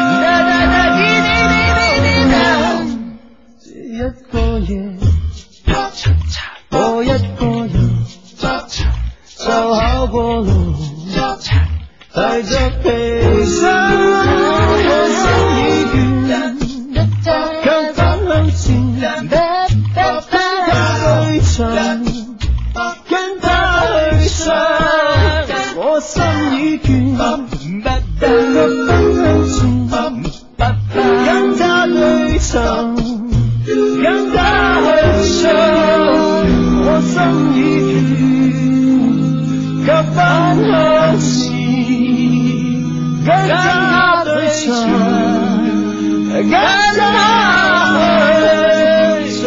這一個夜，我一個人。就考過路，提着皮箱，我心已倦，卻不向前，跟他對唱，跟他去唱，我心已倦，卻不向前，跟他對唱，跟他去唱，我心已倦。卻不向前，跟他對唱，跟他去唱。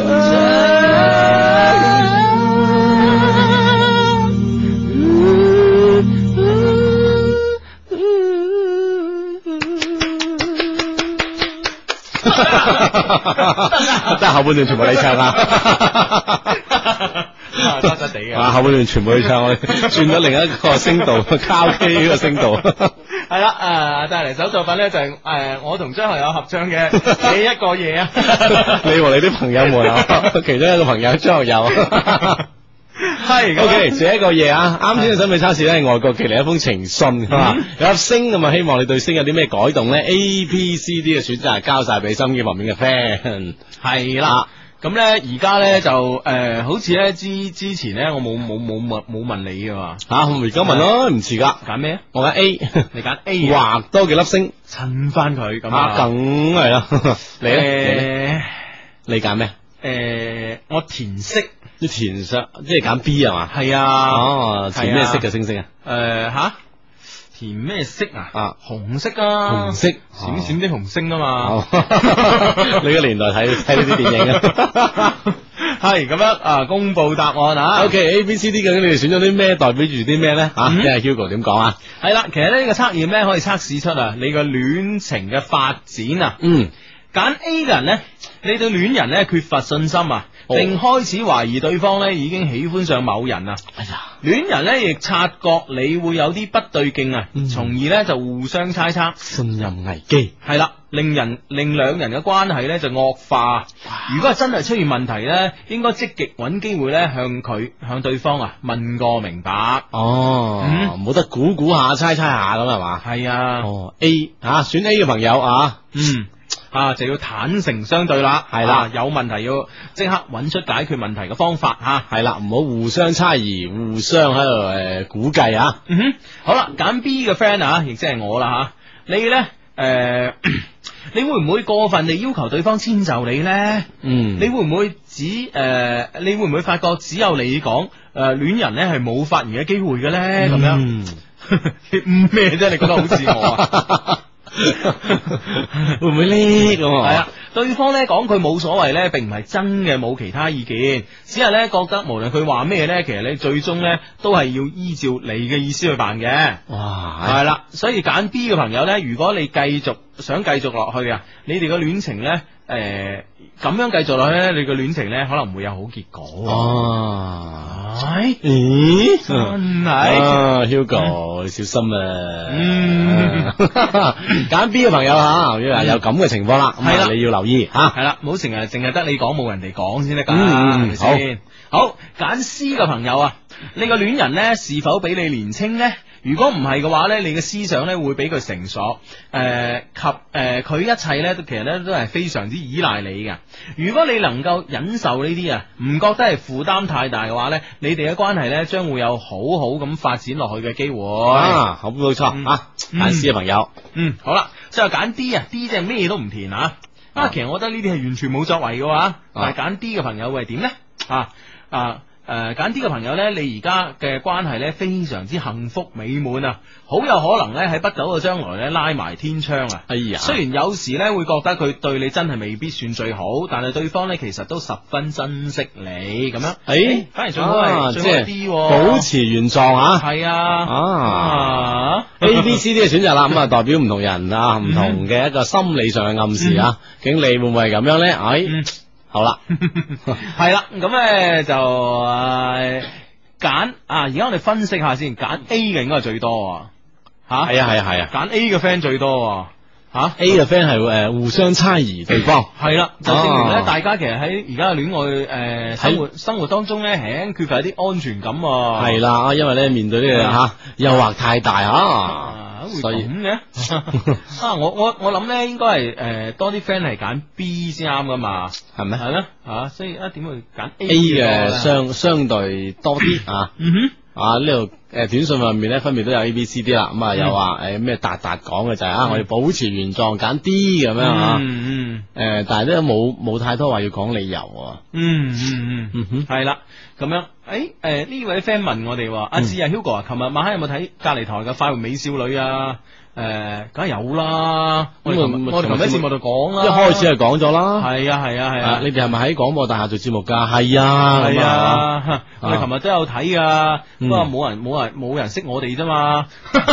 得後半段全部你唱啊！ 得得地嘅， 後半段全部去唱，我哋轉咗另一個聲道，卡 K 呢個聲道。 係啦，帶嚟首作品咧就係我同張學友合唱嘅《這一個夜》啊。 你和你啲朋友們啊，其中一個朋友張學友。係 OK， 這一個夜啊，啱先嘅審美測試咧係外國寄嚟一封情信，係嘛？有粒星咁啊，希望你對星有啲咩改動咧 ？A、B、C、D 嘅選擇係交晒俾心機旁邊嘅 friend。 係啦。咁咧，而家咧就好似咧之前咧，我冇問你嘅嘛嚇，我而家問咯，唔遲噶。 揀咩？ 我揀 A， 你揀 A， 畫多幾粒星， 襯翻佢咁啊，梗係啦。你咧？你揀咩？ 我填色。 你填色，即係揀 B 係嘛？ 係啊。 哦，填咩色嘅星星啊？ 吓？填咩色啊？紅色啊， 紅色， 閃閃啲紅星啊嘛。 你個年代睇呢啲電影啊？ 係咁樣公布答案啊。 OK，A、B、C、D 究竟你哋選咗啲咩？代表住啲咩咧？吓，聽下 Hugo 點講啊？ 係啦，其實呢個測驗咧可以測試出你個戀情嘅發展啊。揀 A 嘅人咧，你對戀人咧缺乏信心啊，並開始懷疑對方咧已經喜歡上某人啊。哎呀，戀人咧亦察覺你會有啲不對勁啊，從而咧就互相猜測， 信任危機係啦，令兩人嘅關係咧就惡化。如果係真係出現問題咧，應該積極揾機會咧向對方問個明白。 冇得估下猜下咁係嘛？ 係啊。 A 選 A 嘅朋友啊。 就要坦誠相對啦， 係啦， 有問題要即刻揾出解決問題嘅方法吓， 係啦，唔好互相猜疑，互相喺度估計啊。 好啦，揀 B 嘅 friend 亦即係我啦吓，你咧你會唔會過分地要求對方遷就你咧？你會唔會你會唔會發覺只有你講戀人咧係冇發言嘅機會嘅咧？咁樣咩啫？你覺得好似我啊？ 會唔會呢？咁係啊，對方咧講佢冇所謂咧，並唔係真嘅冇其他意見，只係咧覺得無論佢話咩咧，其實你最終咧都係要依照你嘅意思去辦嘅。 哇， 係啦，所以揀 B 嘅朋友咧，如果你想繼續落去啊，你哋嘅戀情咧，咁樣繼續落去咧，你嘅戀情咧可能會有好結果。 咦， 真係 Hugo，你小心啊！揀 B 嘅朋友有咁嘅情況啦，係啦，你要留意吓， 係啦，唔好成日淨係得你講冇人哋講先得噶，係咪先？好，揀 C 嘅朋友你個戀人呢是否比你年輕呢？如果唔係嘅話呢，你嘅思想呢會比佢成熟，佢一切呢其實呢都係非常之依賴你嘅。如果你能夠忍受呢啲啊，唔覺得係負擔太大嘅話呢，你哋嘅關係呢將會有好好咁發展落去嘅機會。 好冇錯啊，揀 C 嘅朋友， 好啦，最後揀 D 啊 ，D 即係咩都唔填啊。其實我覺得呢啲係完全冇作為嘅話，但係揀 D 嘅朋友會係點呢？揀 D 嘅朋友呢，你而家嘅關係呢非常之幸福美滿啊，好有可能呢喺不久嘅將來呢拉埋天窗啊！ 哎呀， 雖然有時呢會覺得佢對你真係未必算最好，但係對方呢其實都十分珍惜你咁樣。反而最好係最好 D， 保持原狀啊！ 係啊 ，A、B、C、D 嘅選擇啦，咁啊代表唔同人啊，唔同嘅一個心理上嘅暗示啊。究竟你會唔會係咁樣呢？好啦， 係啦，咁咧就揀而家我哋分析下先，揀 A 嘅應該係最多吓，係啊，揀 A 嘅 friend 最多 A 嘅 friend 係互相猜疑對方， 係啦，就證明咧大家其實喺而家嘅戀愛生活當中咧，係缺乏一啲安全感。 係啦，因為咧面對呢個誘惑太大會咁嘅我諗咧應該係多啲 friend 係揀 B 先啱噶嘛，係咪？係咧所以點會揀 A 嘅相對多啲呢度短信上面咧分別都有 A、B、C、D 啦，咁又話咩達講嘅就係我哋保持原狀揀 D 咁樣但係都冇太多話要講理由。 係啦，咁樣呢位 friend 問我哋話阿志Hugo 啊，琴日晚黑有冇睇隔籬台嘅快活美少女啊？梗係有啦，我哋琴日節目度講啦， 一開始係講咗啦。 係啊， 你哋係咪喺廣播大廈做節目噶？係啊， 我哋琴日都有睇噶，不過冇人識我哋啫嘛。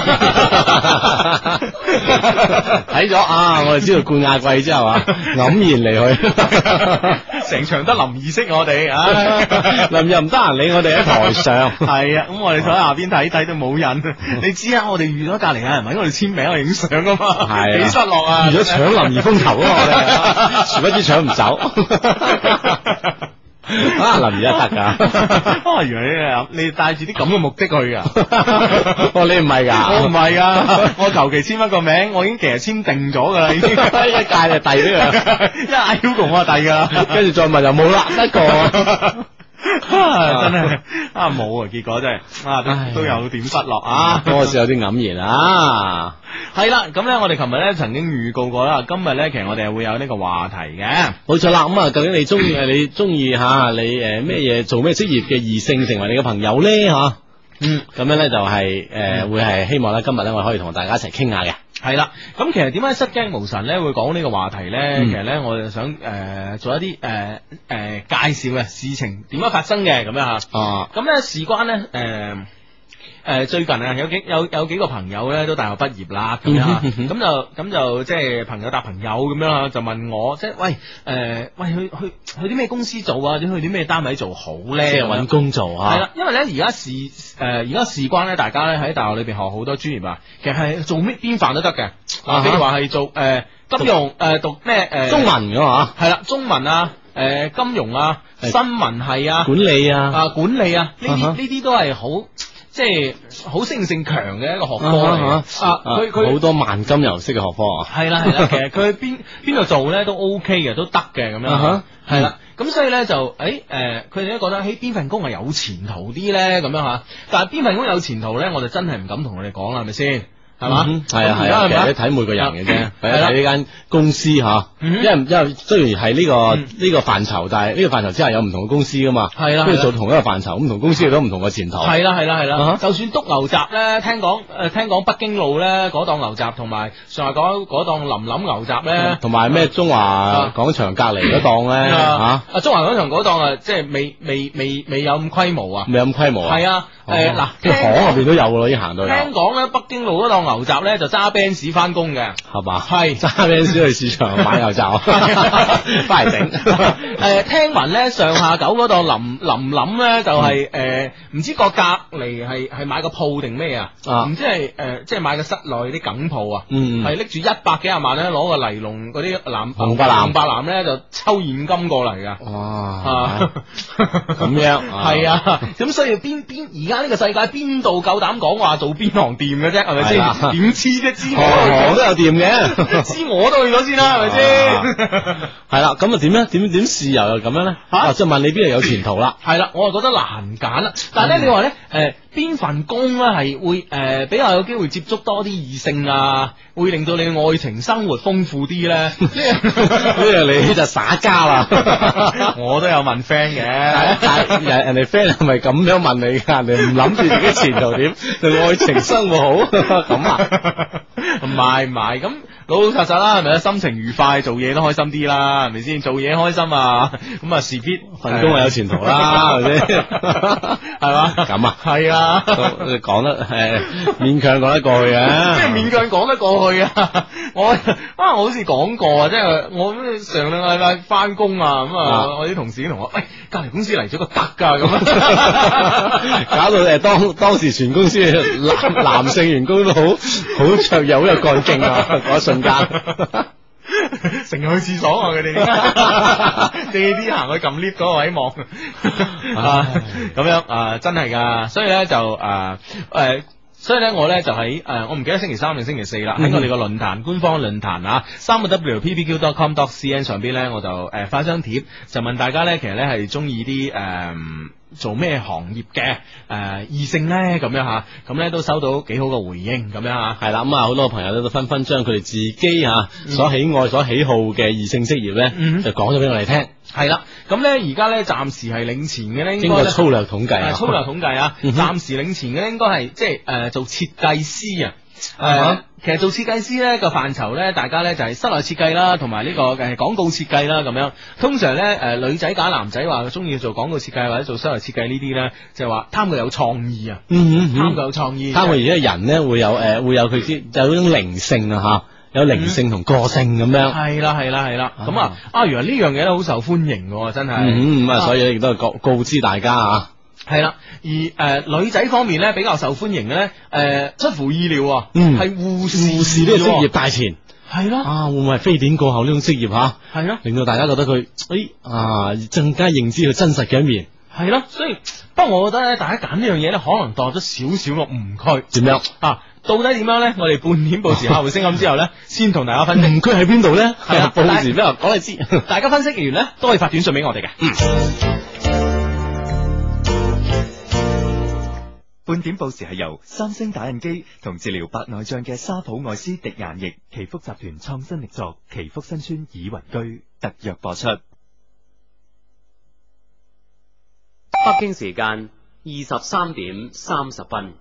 睇咗我哋知道冠亞季之後黯然離去， 成場得林儀識我哋， 林又唔得閒理我哋喺台上。 係啊，咁我哋坐喺下邊睇都冇人。你知我哋遇咗隔籬有人搵我哋簽名去影相噶嘛，幾失落啊！ 如果搶林兒風頭啊，我哋殊不知搶唔走。林兒一得噶， 原來你帶住啲咁嘅目的去噶？ 你唔係噶？ 我唔係噶，我求其簽一個名，我已經其實簽定咗噶啦，已經一屆就遞俾佢，一嗌 Hugo 我就遞噶啦， 跟住再問又冇啦，一個。 真係冇結果真係都有點失落嗰時有啲黯然係啦，咁咧我哋琴日咧曾經預告過啦，今日咧其實我哋係會有呢個話題嘅， 冇錯啦。咁究竟你中意你咩嘢做咩職業嘅異性成為你嘅朋友咧咁樣咧就係會係希望咧今日咧我可以同大家一齊傾下嘅。 係啦，咁其實點解失驚無神咧會講呢個話題咧？其實咧我哋想做一啲介紹嘅事情點樣發生嘅咁樣咁咧事關咧最近有幾個朋友咧都大學畢業啦，咁樣咁就即係朋友搭朋友咁樣就問我即係喂去啲咩公司做啊？或者去啲咩單位做好咧？ 即係搵工做係啦，因為咧而家事關咧，大家咧喺大學裏邊學好多專業啊，其實係做咩邊範都得嘅。譬如話係做金融讀咩中文噶嘛， 係啦，中文金融新聞系管理管理呢啲都係好。即係好適應性強嘅一個學科嚟佢好多萬金油式嘅學科係啦，其實佢邊度做咧都 OK 嘅，都得嘅咁樣係啦，咁所以咧就佢哋都覺得邊份工係有前途啲咧咁樣但係邊份工有前途咧，我就真係唔敢同佢哋講啦，係咪先？係嘛？ 係啊，其實睇每個人嘅啫，睇呢間公司因為雖然係呢個範疇，但係呢個範疇之下有唔同嘅公司噶嘛，係啦，跟住做同一個範疇，唔同公司亦都唔同嘅前途。係啦，就算篤牛雜咧，聽講北京路咧嗰檔牛雜，同埋上海嗰檔林林牛雜咧， 同埋咩中華廣場隔籬嗰檔咧中華廣場嗰檔即係未有咁規模啊， 未有咁規模係啊， 嗱， 巷入邊都有咯，已經行到有。 聽講咧，北京路嗰檔牛雜咧就揸 Benz 翻工嘅， 係嘛？ 係揸 Benz 去市場買牛雜，翻嚟整。 聽聞咧上下九嗰檔林咧就係唔知個隔離係買個鋪定咩啊？唔知係即係買個室內啲梗鋪啊？係拎住100幾廿萬咧，攞個尼龍嗰啲紅白藍咧就抽現金過嚟噶。哇！ 咁樣係啊，咁所以邊而家呢個世界邊度夠膽講話做邊行店嘅啫？係咪先？點知啫？知我都有店嘅， 知我都去咗先啦，係咪先？ 係啦，咁啊點咧？點試又咁樣咧？即係問你邊度有前途啦？ 係啦，我係覺得難揀啦。但係咧，你話咧邊份工咧係會比較有機會接觸多啲異性啊，會令到你嘅愛情生活豐富啲咧？呢樣你就耍家啦。 我都有問 friend 嘅， 人哋 friend 係咪咁樣問你噶？人哋唔諗住自己前途點，對愛情生活好咁啊？ 唔係咁老老實實啦，係咪啊？心情愉快，做嘢都開心啲啦，係咪先？做嘢開心啊，咁啊事必份工係有前途啦，係咪先？ 係嘛？ 咁啊？ 係啊， 講得勉強講得過去啊？ 即係勉強講得過去啊！我好似講過啊，即係我上兩個禮拜翻工啊，咁啊，我啲同事同我喂，隔籬公司嚟咗個得噶咁啊， 搞到當時全公司男性員工都好卓越，好有幹勁啊！嗰一瞬間， 成日去廁所啊！佢哋借啲行去撳 lift 嗰個位望咁樣真係噶，所以咧就所以咧我咧就喺我唔記得星期3定星期4啦，喺我哋個論壇官方論壇啊，3w.ppq.com.cn 上邊咧我就發張帖，就問大家咧其實咧係中意啲做咩行業嘅異性咧咁樣吓，咁咧都收到幾好嘅回應咁樣吓， 係啦，咁啊好多朋友咧都紛紛將佢哋自己所喜愛所喜好嘅異性職業咧就講咗俾我哋聽。 係啦，咁咧而家咧暫時係領前嘅咧， 經過粗略統計， 粗略統計啊，暫時領前嘅應該係即係做設計師啊。其實做設計師咧個範疇咧，大家咧就係室內設計啦，同埋呢個廣告設計啦咁樣。通常咧女仔揀男仔話中意做廣告設計或者做室內設計呢啲咧，就係話貪佢有創意啊，貪佢有創意， 貪佢而家人咧會有佢啲有嗰種靈性啊吓，有靈性同個性咁樣。 係啦，咁原來呢樣嘢都好受歡迎嘅，真係。 所以亦都係告知大家啊。 係啦，而女仔方面咧比較受歡迎嘅咧，出乎意料啊，係護士呢個職業大前。 係咯， 會唔會係非典過後呢種職業吓？ 係咯， 令到大家覺得佢更加認知佢真實嘅一面。 係咯，所以不過我覺得咧，大家揀呢樣嘢咧，可能墮咗少少個誤區。 點樣到底點樣咧？我哋半點報時客戶聲音之後咧，先同大家分析誤區喺邊度咧？ 係啊， 報時俾我講你知。 大家分析完咧，都可以發短信俾我哋嘅。 半點報時係由三星打印機同治療白內障嘅沙普愛斯滴眼液祈福集團創新力作祈福新村倚雲居特約播出。 北京時間23點30分。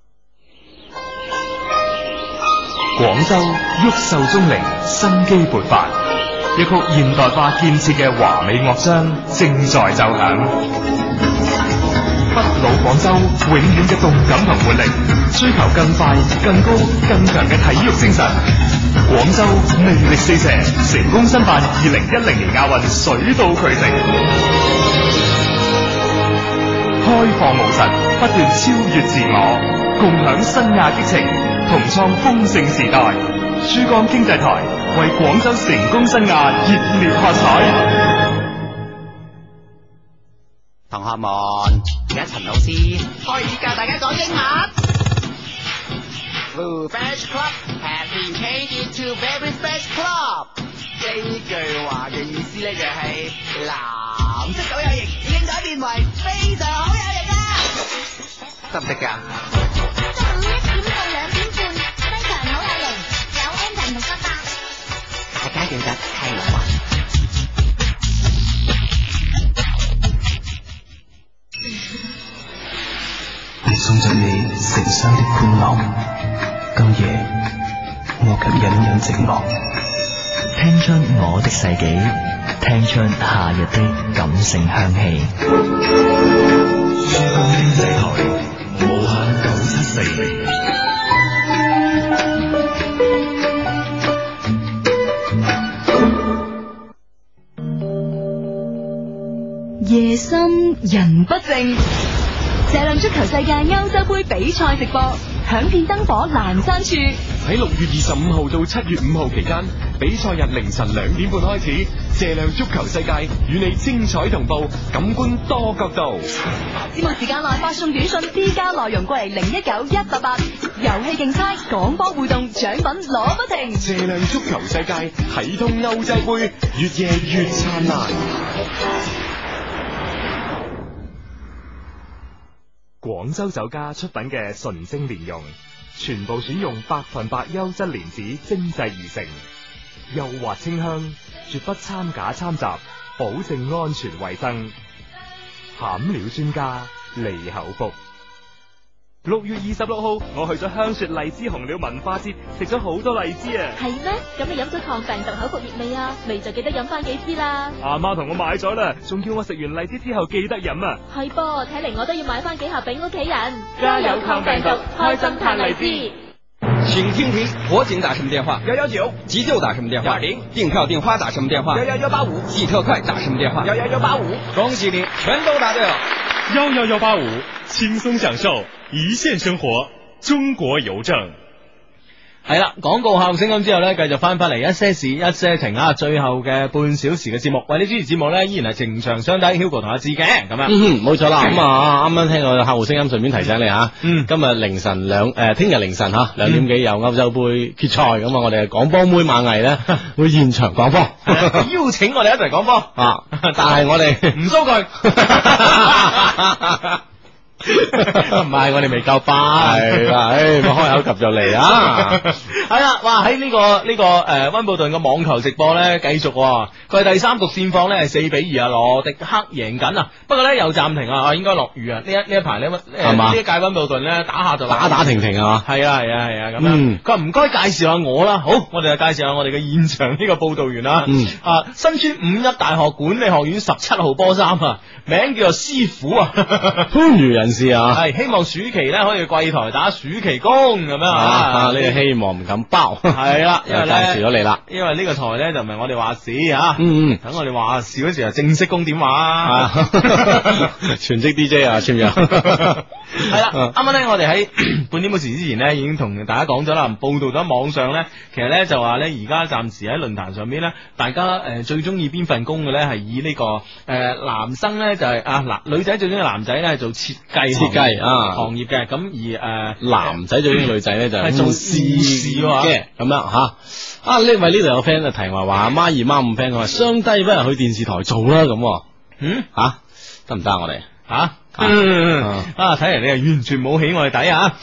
廣州毓秀鐘靈生機勃發，一曲現代化建設嘅華美樂章正在奏響。不老廣州永遠嘅動感同活力，追求更快、更高、更強嘅體育精神。廣州魅力四射，成功申辦2010年亞運水到渠成，開放無實，不斷超越自我，共享新亞激情，同創豐盛時代。珠江經濟台為廣州成功新亞熱烈喝彩。 同學們，而家陳老師可以教大家講英文。Blue Fresh Club has been changed into Very Fresh Club。呢句話嘅意思咧就係藍色好有型，已經改變為非常好有型啦。得唔得㗎？中午1點到2點半，非常好有型，有 Anton 同ป๊ป๊。大家記得聽我話。 送着你成雙的歡樂，今夜我卻隱隱寂寞。 聽出我的世紀，聽出夏日的感性香氣。 珠江經濟台勢力。 夜深人不靜，射量足球世界歐洲盃比賽直播，響遍燈火闌珊處。 喺6月25號到7月5號期間，比賽日凌晨2點半開始，射量足球世界與你精彩同步，感官多角度。 節目時間內發送短信 D 加內容過嚟019188，遊戲競猜、廣播互動、獎品攞不停。 射量足球世界睇通歐洲盃，越夜越燦爛。 廣州酒家出品嘅純正蓮蓉，全部選用100%優質蓮子精製而成，幼滑清香，絕不摻假摻雜，保證安全衛生。餡料專家利口福。6月26號，我去咗香雪荔枝紅鳥文化節，食咗好多荔枝啊！ 係咩？咁你飲咗抗病毒口服液未啊？未就記得飲翻幾支啦。 阿媽同我買咗啦，仲叫我食完荔枝之後記得飲啊！ 係噃，睇嚟我都要買翻幾盒俾屋企人。 加油抗病毒，開心嘆荔枝。 請聽評火警打什麼電話 119， 急救打什麼電話 120， 訂票訂花打什麼電話 11185， 寄特快打什麼電話 11185。 恭喜你，全都答對了。 11185，輕鬆享受一線生活。中國郵政。 係啦，廣告效聲音之後呢，繼續翻嚟一些事一些情啊，最後嘅半小時嘅節目，為你主持節目呢，依然係情長相低 Hugo 同阿志嘅咁樣。 冇錯啦。咁啊，啱啱聽個客戶聲音，順便提醒你吓，今日凌晨聽日凌晨2點幾有歐洲杯決賽，咁啊，我哋廣波妹馬藝呢會現場講波， 邀請我哋一齊講波啊，但係我哋唔騷佢。唔係，我哋未夠班， 係啦，開口及就嚟啊！ 係啦，哇！喺呢個溫布頓嘅網球直播咧，繼續佢係第三局戰況咧係4-2啊，羅迪克贏緊啊！不過咧又暫停啊，應該落雨啊！呢一排咧係嘛？ 呢一屆溫布頓咧打下就打停停啊！ 係啊咁樣。佢話唔該介紹下我啦，好，我哋就介紹下我哋嘅現場呢個報道員啦。身穿51大學管理學院17號波衫啊，名叫做師傅啊， 番禺人士啊， 係希望暑期咧可以櫃台打暑期工咁樣啊！ 呢個希望唔敢包， 係啦，因為咧介紹咗你啦， 因為呢個台咧就唔係我哋話事啊，等我哋話事嗰時就正式供電話啊， 全職 DJ 啊，簽約係啦。啱啱咧我哋喺半點報時之前咧已經同大家講咗啦，報道咗網上咧，其實咧就話咧而家暫時喺論壇上邊咧，大家最中意邊份工嘅咧係以呢個男生咧就係女仔最中意男仔咧係做設計行業嘅，咁而男仔最中意女仔咧就係做試事嘅咁樣吓。呢位呢度有 friend 就提話孖二孖五 friend 佢話雙低不如去電視台做啦咁。得唔得我哋睇嚟你係完全冇起我哋底啊！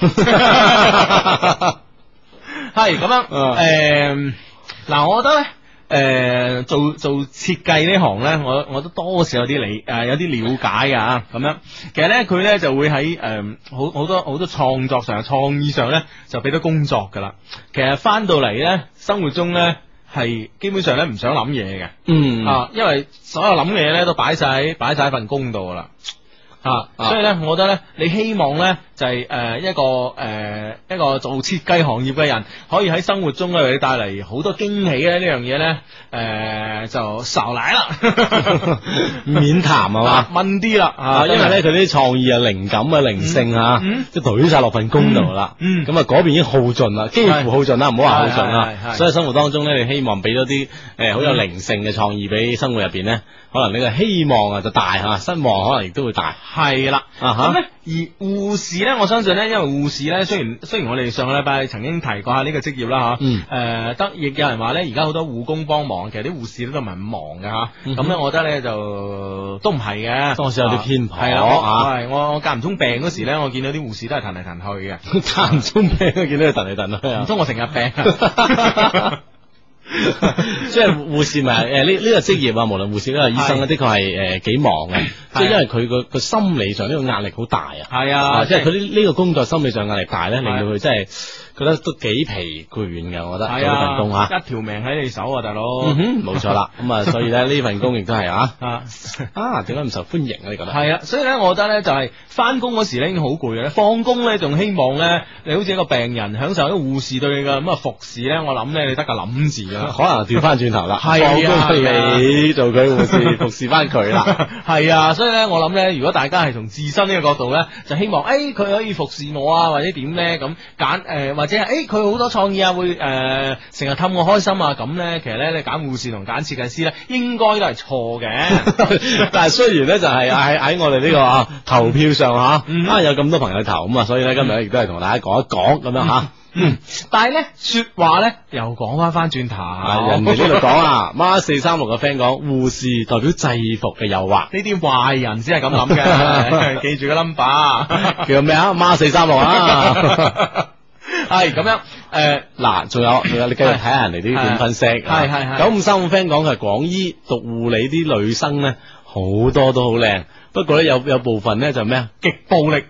係咁樣我覺得咧。做設計呢行咧，我都多少有啲有啲了解噶咁樣。其實咧佢咧就會喺好多創作上、創意上咧就俾到工作噶啦。其實翻到嚟咧生活中咧係基本上咧唔想諗嘢嘅，因為所有諗嘅嘢咧都擺晒喺份工度噶啦。所以咧，我覺得咧，你希望咧就係一個做設計行業嘅人，可以喺生活中咧帶嚟好多驚喜咧。呢樣嘢咧，就少嚟啦， 免談係嘛， 問啲啦， 因為咧佢啲創意啊、靈感啊、靈性啊，即係懟晒落份工度啦。咁嗰邊已經耗盡啦，幾乎耗盡啦，唔好話耗盡啦。所以生活當中咧，你希望俾咗啲好有靈性嘅創意俾生活入邊咧，可能你嘅希望啊就大吓，失望可能亦都會大。 係啦，咁咧而護士咧，我相信咧，因為護士咧，雖然我哋上個禮拜曾經提過下呢個職業啦吓，亦有人話咧，而家好多護工幫忙，其實啲護士都唔係咁忙嘅吓，咁咧我覺得咧就都唔係嘅， 多少有啲偏頗。係啦，我間唔中病嗰時咧，我見到啲護士都係騰嚟騰去嘅， 間唔中病都見到佢騰嚟騰去啊， 唔通我成日病？ 即係護士咪呢個職業啊，無論護士都係醫生咧，的確係幾忙嘅。 即係因為佢個心理上呢個壓力好大啊。 係啊， 即係佢呢個工作心理上壓力大咧，令到佢真係覺得都幾疲倦嘅。我覺得做呢份工啊， 一條命喺你手啊，大佬。 冇錯啦。咁啊，所以咧呢份工亦都係點解唔受歡迎啊？你覺得？ 係啊，所以咧，我覺得咧就係翻工嗰時咧已經好攰嘅，放工咧仲希望咧你好似一個病人享受一個護士對你嘅咁啊服侍咧，我諗咧你得個諗字噶啦， 可能調翻轉頭啦， 放工你做佢護士服侍翻佢啦。 係啊，所以咧我諗咧，如果大家係從自身呢個角度咧，就希望佢可以服侍我啊，或者點咧咁揀或者係佢好多創意啊，會成日氹我開心啊，咁咧其實咧你揀護士同揀設計師咧，應該都係錯嘅。 但係雖然咧就係喺我哋呢個投票上有咁多朋友投咁啊，所以咧今日亦都係同大家講一講咁樣吓。 但係咧說話咧又講翻轉頭， 人哋呢度講啊，孖436嘅 friend 講護士代表制服嘅誘惑， 呢啲壞人先係咁諗嘅，記住個 number 叫咩啊？孖436啊， 係咁樣嗱，仲有你繼續睇下人哋啲點分析。係9535 friend 講佢係廣醫讀護理啲女生咧，好多都好靚。不過咧有部分咧就咩啊？極暴力，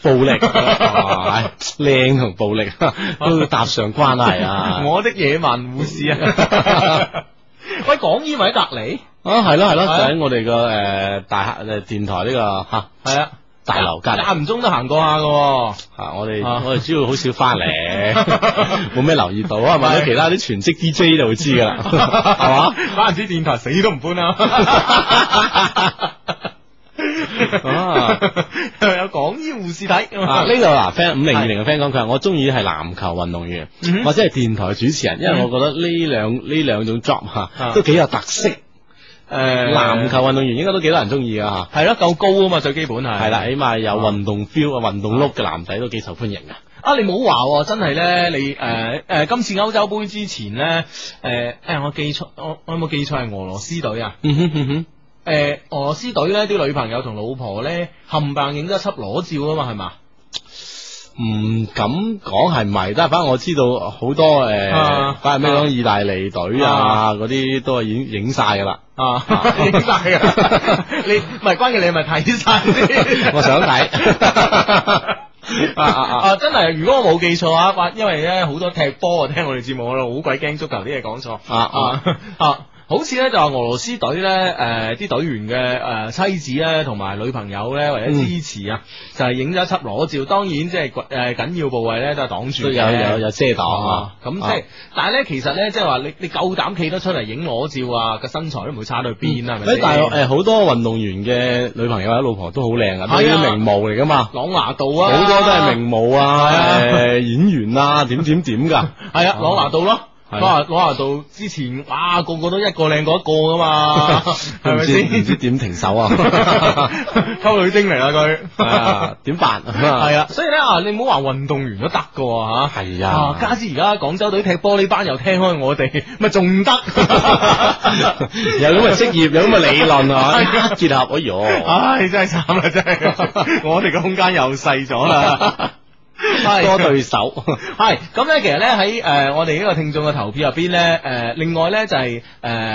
靚同暴力都搭上關係啊！ 我的野蠻護士啊！喂，廣醫咪喺隔籬啊？係咯，就喺我哋個大廈電台呢個係啊大樓隔籬， 間唔中都行過下噶。 我哋主要好少翻嚟，冇咩留意到啊。問咗其他啲全職 DJ 就會知噶啦，係嘛？ 關唔知電台死都唔搬啊！有廣醫護士睇呢度嗱 friend 5020嘅 friend 講佢話我中意係籃球運動員或者係電台主持人，因為我覺得呢兩種 job 都幾有特色。籃球運動員應該都幾多人中意噶係咯，夠高啊嘛，最基本係啦，起碼有運動 feel 運動 look 嘅男仔都幾受歡迎噶。 你唔好話真係咧，你今次歐洲杯之前咧，我記錯，我有冇記錯係俄羅斯隊啊？俄羅斯隊咧啲女朋友同老婆咧冚唪唥影咗一輯裸照啊嘛，係嘛？ 唔敢講係咪，但係反正我知道好多反正咩講意大利隊嗰啲都係影晒噶啦， 影晒噶。你唔係關鍵，你係咪睇晒先？ 我想睇。 真係，如果我冇記錯啊，因為咧好多踢波聽我哋節目，我好鬼驚足球啲嘢講錯。好似咧就話俄羅斯隊咧，啲隊員嘅妻子咧同埋女朋友咧為咗支持啊，就係影咗一輯裸照。當然即係緊要部位咧都係擋住， 有遮擋啊。 咁即係，但係咧其實咧即係話你夠膽企得出嚟影裸照啊，個身材都唔會差到去邊啊，係咪先？ 但係好多運動員嘅女朋友或者老婆都好靚啊，都係名模嚟噶嘛。 朗拿度啊， 好多都係名模啊，演員啊，點噶。 係啊，朗拿度咯。攞下到之前，哇，個個都一個靚過一個噶嘛，係咪先？ 唔知點停手啊？ 溝女精嚟啦佢， 點辦？ 係啊，所以咧你唔好話運動員都得噶吓， 係啊， 加之而家廣州隊踢波呢班又聽開我哋，咪仲得？ 有咁嘅職業，有咁嘅理論啊，結合， 唉，真係慘啦，真係，我哋嘅空間又細咗啦。 多對手係咁咧，其實咧喺我哋呢個聽眾嘅投票入邊咧，另外咧就係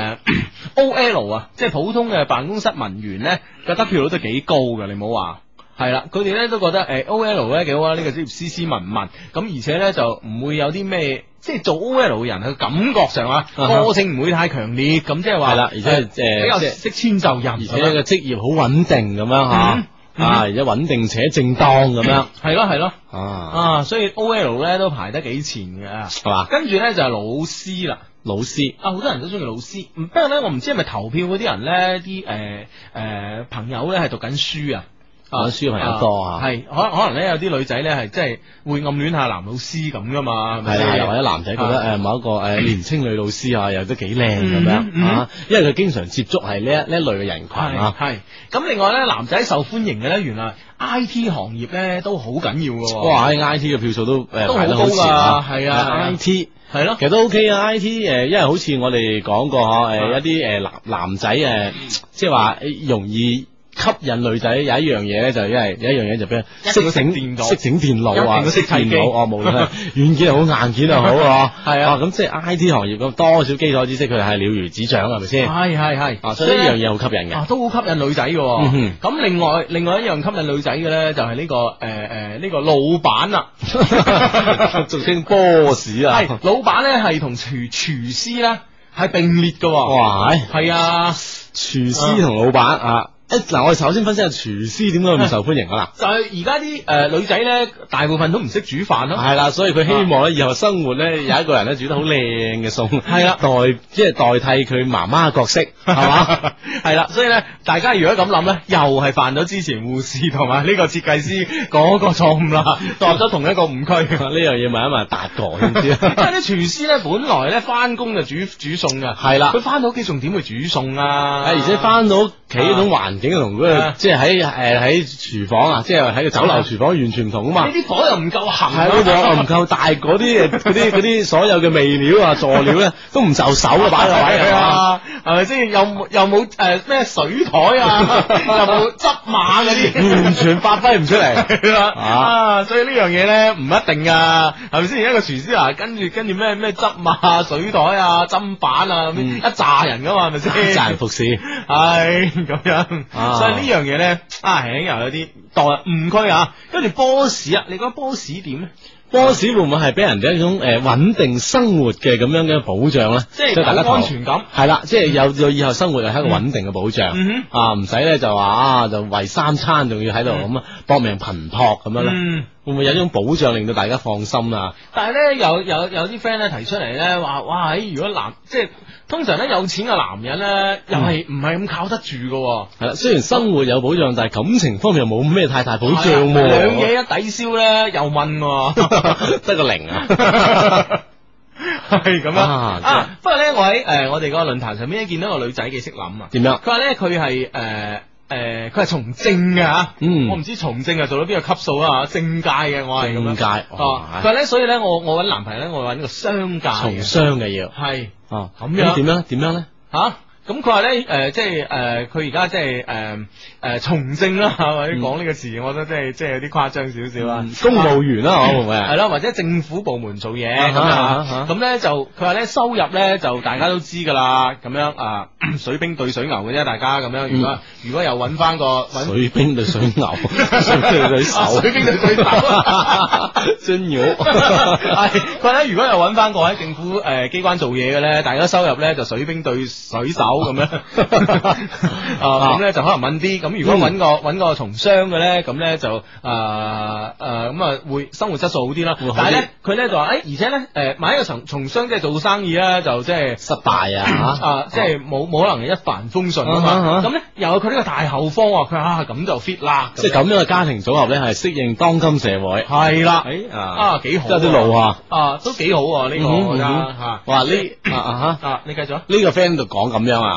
OL 啊，即係普通嘅辦公室文員咧嘅得票率都幾高嘅，你唔好話係啦，佢哋咧都覺得OL 咧幾好啊，呢個職業斯斯文文，咁而且咧就唔會有啲咩，即係做 OL 嘅人佢感覺上個性唔會太強烈，咁即係話係啦，而且比較識遷就人，而且個職業好穩定咁樣吓。而且穩定且正當咁樣， 係咯，所以 OL 咧都排得幾前嘅，係嘛？跟住咧就係老師啦， 老師好多人都中意老師，不過咧我唔知係咪投票嗰啲人咧，啲朋友咧係讀緊書啊。 讀書朋友多啊， 係可能咧有啲女仔咧係即係會暗戀下男老師咁噶嘛， 係啦，又或者男仔覺得某一個年青女老師啊，又都幾靚咁樣因為佢經常接觸係呢一類嘅人群啊。 係咁，另外咧男仔受歡迎嘅咧，原來 I T 行業咧都好緊要噶。 哇！I T 嘅票數都好高噶，係啊 ，I T 係咯， 其實都 OK 啊。I T 因為好似我哋講過一啲男仔即係話容易吸引女仔有一樣嘢咧，就因為有一樣嘢就俾一定要識電腦識整電腦啊， 一定要識砌機電腦無論係軟件又好，硬件又好啊， 係啊， 咁即係 I T 行業咁多少基礎知識，佢係了如指掌，係咪先？ 係， 所以呢樣嘢好吸引嘅， 都好吸引女仔嘅。咁另外一樣吸引女仔嘅咧，就係呢個呢個老闆啦， 俗稱 boss 啊， 係老闆咧係同廚師咧係並列嘅。 哇， 係啊， 廚師同老闆啊。嗱，我哋首先分析下廚師點解咁受歡迎啊？ 就係而家啲女仔咧，大部分都唔識煮飯咯。 係啦，所以佢希望咧以後生活咧有一個人咧煮得好靚嘅餸， 係啦， 代替佢媽媽嘅角色，係嘛？ 係啦，所以咧，大家如果咁諗咧，又係犯咗之前護士同埋呢個設計師嗰個錯誤啦，墮咗同一個誤區。 呢樣嘢問一問達哥先知。 因為啲廚師咧，本來咧翻工就煮餸噶， 係啦， 佢翻到屋企仲點會煮餸啊？ 而且翻到屋企嗰種環境同嗰個即係喺廚房啊，即係喺個酒樓廚房完全唔同啊嘛。 呢啲火又唔夠行， 係嗰個唔夠大，嗰啲所有嘅味料啊、佐料咧都唔就手啊，擺落位啊， 係咪先？又冇咩水台啊，又冇執馬嗰啲， 完全發揮唔出嚟。 所以呢樣嘢咧唔一定噶，係咪先？一個廚師啊，跟住咩執馬、水台啊、砧板啊，一紮人噶嘛，係咪先？ 一紮人服侍， 係咁樣。所以呢樣嘢咧，又有啲墮誤區啊。跟住 boss 啊，你覺得 boss 點咧 ？boss 會唔會係俾人哋一種穩定生活嘅咁樣嘅保障咧？ 即係大家安全感。 係啦，即係有以後生活係一個穩定嘅保障。唔使咧就話就為三餐仲要喺度咁啊搏命頻撲咁樣咧。會唔會有一種保障令到大家放心啊？ 但係咧有啲 friend 咧提出嚟咧話，哇！如果即係通常咧有錢嘅男人咧，又係唔係咁靠得住㗎。 係啦，雖然生活有保障，但係感情方面又冇咩太大保障喎。 兩嘢一抵消咧，又問得個零啊！ 係咁樣不過咧，我喺我哋個論壇上面見到個女仔幾識諗啊。 點樣？ 佢話咧佢係佢係從政嘅吓，我唔知從政做到邊個級數啊？政界嘅我係咁樣。 政界佢話咧，所以咧我搵男朋友咧，我搵個商界從商嘅要係咁樣。 點樣咧？ 咁佢話咧，佢而家即係從政啦，或者講呢個詞，我覺得即係有啲誇張少少啊。 公務員啦，會唔會係啦，或者政府部門做嘢咁樣。咁咧就佢話咧收入咧就大家都知噶啦，咁樣水兵對水牛嘅啫，大家咁樣。如果又揾翻個水兵對水牛，水兵對手， 水兵對水手， 真牛。 係佢話咧，如果又揾翻個喺政府機關做嘢嘅咧，大家收入咧就水兵對水手。咁樣咁咧就可能問啲，咁如果揾個從商嘅咧，咁咧就咁會生活質素好啲啦。但係咧佢咧就話而且咧買一個從商即係做生意咧，就即係失敗啊即係冇可能一帆風順啊嘛。咁咧又有佢呢個大後方，佢話咁就 fit 啦。 即係咁樣嘅家庭組合咧，係適應當今社會。 係啦，幾好， 有啲路都幾好呢個我覺得吓。 哇呢你繼續呢個 friend 度講咁樣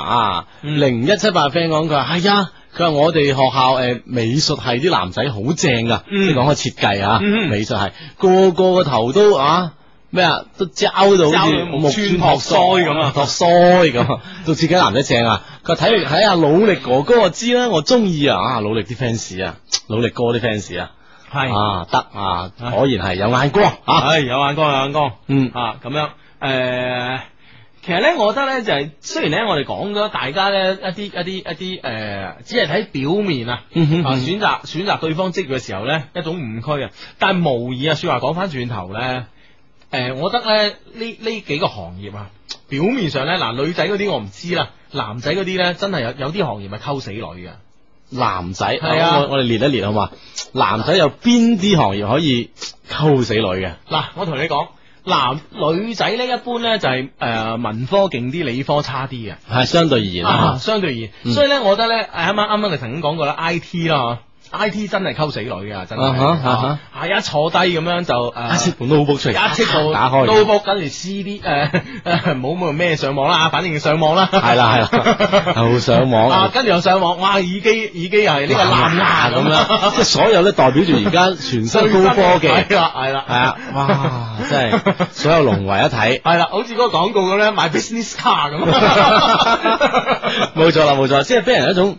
0178 friend 講佢話係啊，佢話我哋學校美術系啲男仔好正噶，即係講開設計美術系個個頭都咩都膠到好似木村拓哉咁啊，拓哉咁，到設計男仔正啊！佢話睇下努力哥哥我知啦，我中意努力啲 fans 努力哥啲 fans 係得果然係有眼光係有眼光咁樣其實咧，我覺得咧就係雖然咧，我哋講咗大家咧一啲只係睇表面選擇對方職業嘅時候咧一種誤區啊，但係無疑說話講翻轉頭咧，我覺得咧呢幾個行業表面上咧女仔嗰啲我唔知啦，男仔嗰啲咧真係有啲行業係溝死女嘅。 男仔係我哋列一列好嘛？男仔有邊啲行業可以溝死女嘅？ 嗱，我同你講。女仔咧一般咧就係文科勁啲，理科差啲嘅， 係相對而言相對而言，所以咧我覺得咧啱啱你曾經講過啦 IT 啦，IT 真係溝死女嘅，真係係一坐低咁樣就一切部 notebook 出嚟， 一切部打開 notebook 跟住 CD 冇咩上網啦，反正上網啦， 係啦又上網跟住又上網，哇耳機又係呢個藍牙咁樣， 即係所有咧代表住而家全新高科技， 係啦， 哇真係所有融為一體， 係啦，好似嗰個廣告咁咧買 business car 咁， 冇錯，即係俾人一種。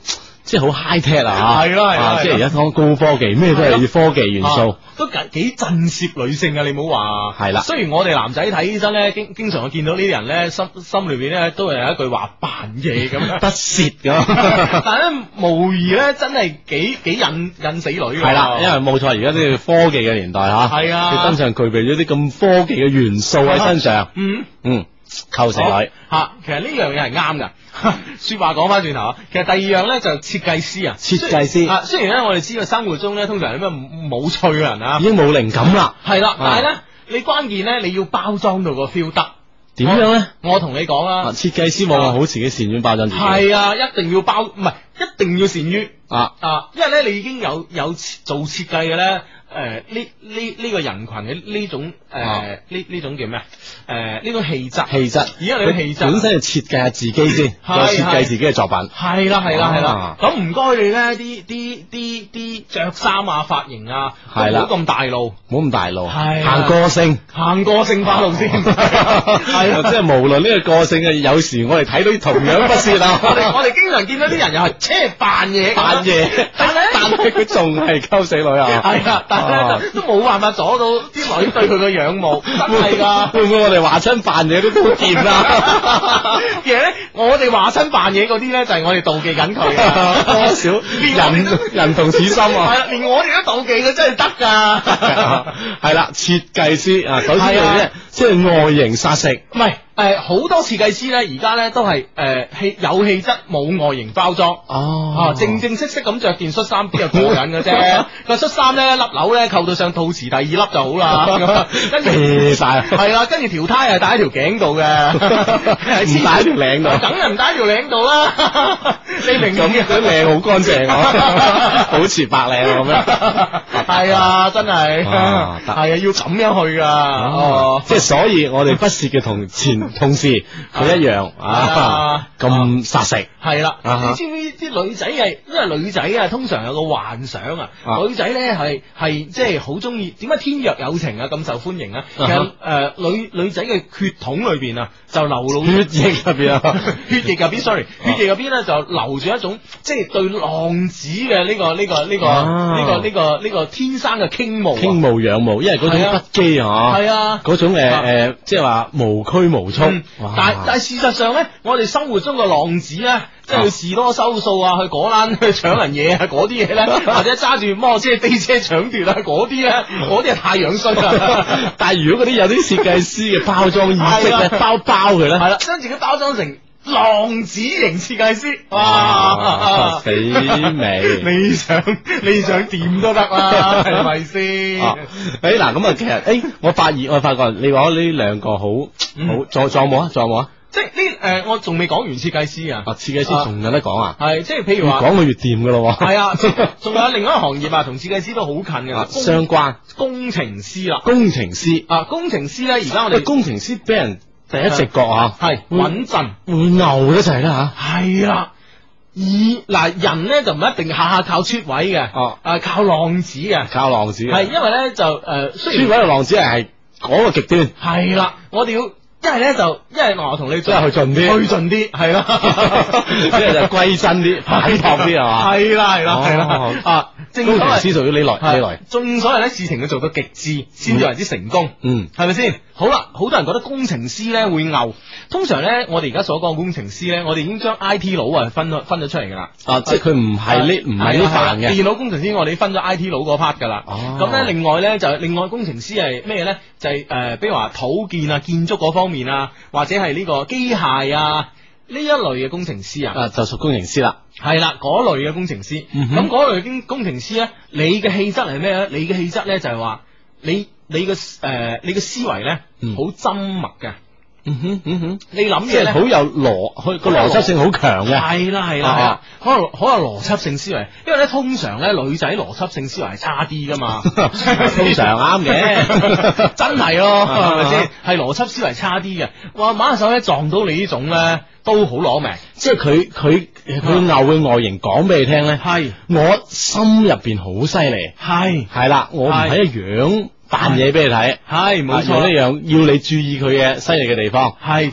即係好 high tech 啊， 係咯， 即係而家講高科技，咩都係要科技元素， 都幾震懾女性啊！你唔好話係啦。 雖然我哋男仔睇醫生咧，經常會見到呢啲人咧，心裏邊咧都係有一句話扮嘢咁樣， 不屑咁。 但係咧無疑咧真係幾引死女㗎。 係啦，因為冇錯，而家呢個科技嘅年代吓， 係啊， 佢身上具備咗啲咁科技嘅元素喺身上，構成女吓。其實呢樣嘢係啱噶。說話講翻轉頭啊，其實第二樣咧就設計師啊， 設計師啊，雖然咧我哋知道生活中咧通常有咩冇趣嘅人啊， 已經冇靈感啦， 係啦，但係咧你關鍵咧你要包裝到個 feel 得。 點樣咧？ 我同你講啦， 設計師往往好自己善於包裝自己。 係啊，一定要包，唔係一定要善於因為咧你已經有做設計嘅咧。呢個人群嘅呢種呢種叫咩呢種氣質，而家你嘅氣質本身係設計下自己先，再設計自己嘅作品。 係啦。咁唔該你咧，啲着衫啊、髮型啊，係啦，冇咁大路，行個性化路先。係即係無論呢個個性嘅，有時我哋睇到同樣不屑啊。 我哋經常見到啲人又係即係扮嘢，但係佢仲係溝死女啊！ 係啊，都冇辦法阻到啲女對佢嘅仰慕，真係噶。 會唔會我哋話親扮嘢都好掂啦？ 其實咧，我哋話親扮嘢嗰啲咧，就係我哋妒忌緊佢啊， 多少人同此心啊！ 係啦，連我哋都妒忌佢，真係得噶。 係啦，設計師啊，首先咧即係外形殺食， 唔係。好多設計師咧，而家咧都係有氣質冇外形包裝，正式咁着件恤衫邊係過癮嘅啫。個恤衫咧粒紐咧扣到上肚臍第二粒就好啦，跟住晒係啦，跟住條呔係戴喺條頸度嘅， 唔戴喺條領度， 梗係唔戴喺條領度啦。你明咁嘅靚好乾淨啊，保持白領咁樣。 係啊，真係係啊，要咁樣去噶。 即係所以我哋不屑嘅同事佢一樣咁殺食。 係啦，你知唔知啲女仔係，因為女仔啊通常有個幻想啊，女仔咧係即係好中意，點解天若有情啊咁受歡迎啊？其實女仔嘅血統裏邊啊就流露血液入邊啊， 血液入邊咧就流住一種即係對浪子嘅呢個天生嘅傾慕仰慕，因為嗰種不羈啊， 係啊， 嗰種即係話無拘無束。 但係事實上咧，我哋生活中嘅浪子咧，即係去士多收數啊，去果欄去搶人嘢啊，嗰啲嘢咧，或者揸住摩托車飛車搶奪啊，嗰啲咧，嗰啲係太樣衰啦。 但係如果嗰啲有啲設計師嘅包裝意識咧，包佢咧， 係啦，將自己包裝成浪子型設計師，哇， 死美！ 你想點都得啦，係咪先？ 嗱，咁啊，其實我發覺你話呢兩個好，仲有冇啊？ 即係呢我仲未講完設計師啊！ 設計師仲有得講啊？ 係即係譬如話， 越講佢越掂噶咯。 係啊，仲有另外一個行業啊，同設計師都好近嘅， 相關工程師啦。 工程師咧，而家我哋工程師俾人第一直覺啊， 係穩陣， 會牛得滯啦吓。係啦，人咧就唔一定下下靠出位嘅，靠浪子嘅，係因為咧就雖然出位嘅浪子係嗰個極端。 係啦，我哋要。一係我同你即係去盡啲， 係啦， 即係就歸真啲，擺脫啲係嘛？ 係啦， 工程師屬於呢類。 正所謂咧，事情要做到極致，先至為之成功，係咪先？好啦，好多人覺得工程師咧會牛，通常咧我哋而家所講工程師咧，我哋已經將 IT 佬分咗出嚟噶啦， 即係佢唔係呢範嘅電腦工程師，我哋分咗 IT 佬嗰 part 噶啦。咁咧另外工程師係咩咧？就係比如話土建啊、建築嗰方面啊，或者係呢個機械啊呢一類嘅工程師啊， 就屬工程師啦。 係啦，嗰類嘅工程師。咁嗰類工程師咧，你嘅氣質係咩咧？你嘅氣質咧就係話你嘅思維咧好縝密嘅。你諗嘢咧好有個邏輯性好強嘅。 係啦，好有邏輯性思維。因為咧通常咧女仔邏輯性思維係差啲噶嘛， 通常啱嘅， 真係咯，係咪先？係邏輯思維差啲嘅。哇，馬手咧撞到你呢種咧都好攞命。 即係佢牛嘅外形講俾你聽咧，係我心入邊好犀利，係啦，我唔係一樣。扮嘢俾你睇， 係冇錯， 呢樣要你注意佢嘅犀利嘅地方， 係注喺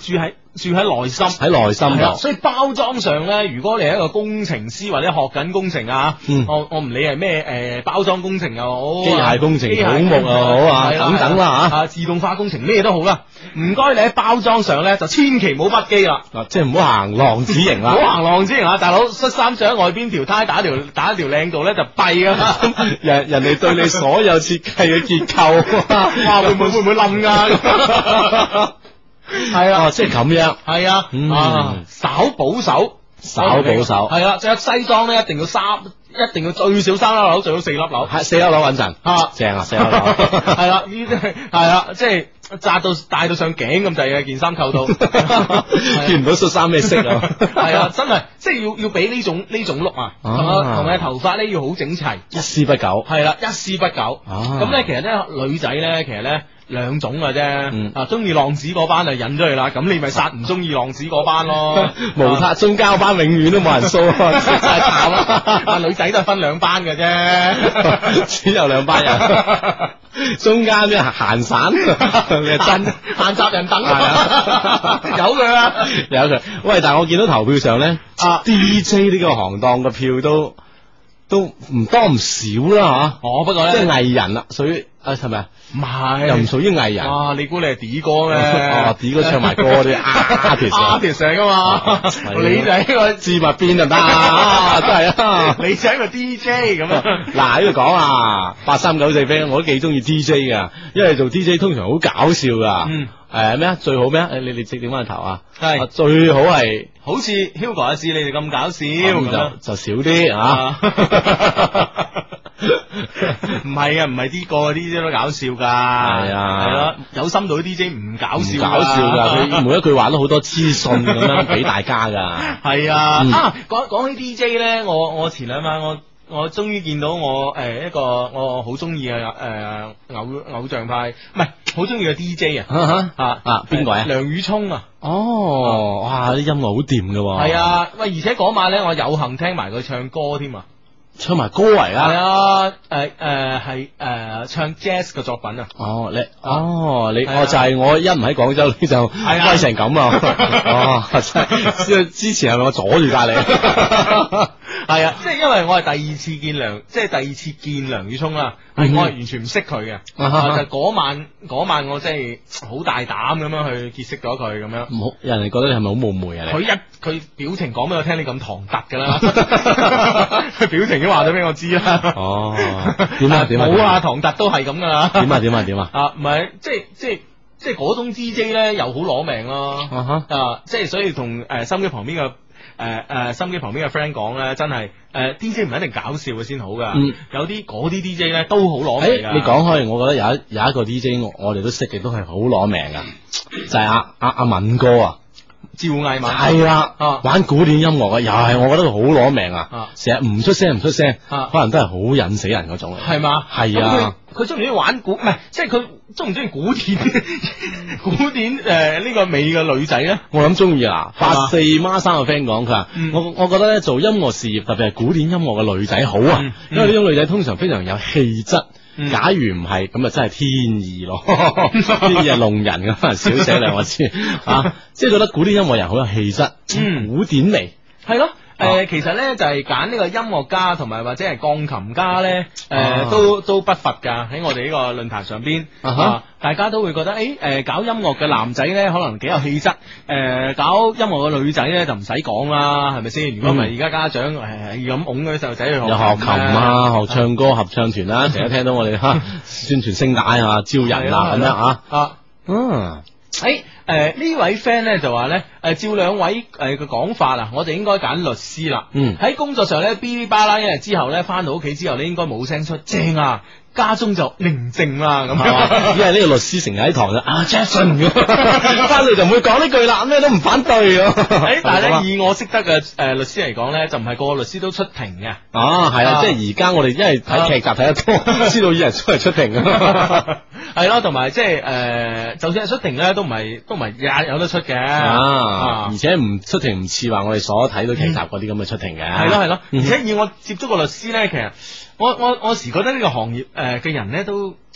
住喺內心， 喺內心度。 所以包裝上咧，如果你係一個工程師或者學緊工程啊，我唔理係咩包裝工程又好， 機械工程、土木又好啊，等等啦吓， 自動化工程咩都好啦。唔該你喺包裝上咧就千祈唔好不羈啦， 即係唔好行浪子型啦， 唔好行浪子型啊！大佬恤衫着喺外邊條呔打一條靚度咧就弊噶嘛， 人哋對你所有設計嘅結構， 哇會唔會冧噶？係啊， 即係咁樣， 係啊，稍保守，係啦，着西裝咧一定要最少3粒紐，最好4粒紐， 係4粒紐穩陣，正啊，4粒紐， 係啦，呢啲係啦，即係戴到上頸咁滯嘅件衫扣到， 見唔到恤衫咩色啊， 係啊，真係即係要俾呢種 look 啊，同埋頭髮咧要好整齊， 一絲不苟， 係啦，一絲不苟，咁咧其實咧女仔咧其實咧。兩種嘅啫，中意浪子嗰班就引咗去啦，咁你咪殺唔中意浪子嗰班咯。 無塔中交班永遠都冇人掃，真係慘啦！女仔都係分2班嘅啫， 只有2班人，中間啲閒散，你係真閒雜人等，有佢啦， 有佢。喂，但係我見到投票上咧，DJ 呢個行當嘅票都唔多唔少啦吓。 不過咧， 即係藝人啦，屬於係咪啊？ 唔係， 又唔屬於藝人。 哇！你估你係 D 哥咩 ？D 哥唱埋歌啲 artist 嚟噶嘛？你就係一個字幕邊就得啊，真係啊！ 你就係一個 DJ 咁啊！ 嗱喺度講啊，8394 friend，我都幾中意 DJ 噶，因為做 DJ 通常好搞笑噶。咩啊？最好咩啊？你直點翻頭啊？係最好係好似 Hugo 阿志你哋咁搞笑咁就少啲啊！ 唔係啊，唔係啲個 DJ 都搞笑噶，係咯，有深度啲 DJ 唔搞笑， 搞笑噶，佢每一句話都好多資訊咁樣俾大家噶。 係啊，講起 DJ 咧，我前2晚我終於見到我一個我好中意嘅偶像派，唔係好中意嘅 DJ 邊個啊？ 梁宇聰啊！ 哇！啲音樂好掂噶。 係啊，喂！而且嗰晚咧，我有幸聽埋佢唱歌添啊！ 唱埋歌嚟啦， 係啊，係唱 jazz 嘅作品啊。 你就係我一唔喺廣州，你就威成咁啊！真係，之前係咪我阻住晒你？ 係啊，即係因為我係第二次見梁宇聰啦，我係完全唔識佢嘅，就嗰晚我真係好大膽咁樣去結識咗佢咁樣。 唔好，人哋覺得你係咪好冒昧啊？ 佢表情講俾我聽，你咁唐突噶啦，佢表情都話咗俾我知啦。 點啊？ 冇啊，唐突都係咁噶啦。 點啊？ 唔係，即係嗰種 DJ 咧，又好攞命咯。即係所以同心機旁邊嘅 friend 講咧，真係DJ 唔一定搞笑嘅先好噶。有啲嗰啲 DJ 咧都好攞命噶。 你講開，我覺得有一個 DJ 我哋都識嘅，都係好攞命噶，就係阿敏哥啊。 趙藝敏係啦，玩古典音樂嘅，又係我覺得佢好攞命啊！成日唔出聲，可能都係好引死人嗰種。 係嘛？ 係啊！ 佢中唔中意玩唔係，即係佢中唔中意古典呢個美嘅女仔咧？ 我諗中意啊！84孖3個 friend 講，佢話我覺得咧做音樂事業，特別係古典音樂嘅女仔好啊，因為呢種女仔通常非常有氣質。假如唔係咁啊，真係天意咯，天意係弄人咁，可能少寫兩個字啊，即係覺得古典音樂人好有氣質，古典味係咯。其實咧就係揀呢個音樂家同埋或者係鋼琴家咧，都不乏噶喺我哋呢個論壇上邊，大家都會覺得搞音樂嘅男仔咧可能幾有氣質，搞音樂嘅女仔咧就唔使講啦，係咪先？如果唔係而家家長係咁拱嗰啲細路仔去學琴啊，學唱歌合唱團啦，成日聽到我哋宣傳聲帶啊，招人啊咁樣呢位 friend 咧就話咧，照兩位嘅講法啊，我哋應該揀律師啦。喺工作上咧，嗶哩吧啦一日之後咧，翻到屋企之後咧，應該冇聲出，正啊，家中就寧靜啦咁樣。 因為呢個律師成日喺堂就Jackson 咁，翻嚟就唔會講呢句啦，咩都唔反對。 但係咧，以我識得嘅律師嚟講咧，就唔係個個律師都出庭嘅。 係啦，即係而家我哋因為睇劇集睇得多，知道有人出庭係咯，同埋即係就算係出庭咧，都唔係日有得出嘅。 而且唔出庭唔似話我哋所睇到劇集嗰啲咁嘅出庭嘅。 係咯，而且以我接觸個律師咧，其實我時覺得呢個行業嘅人咧都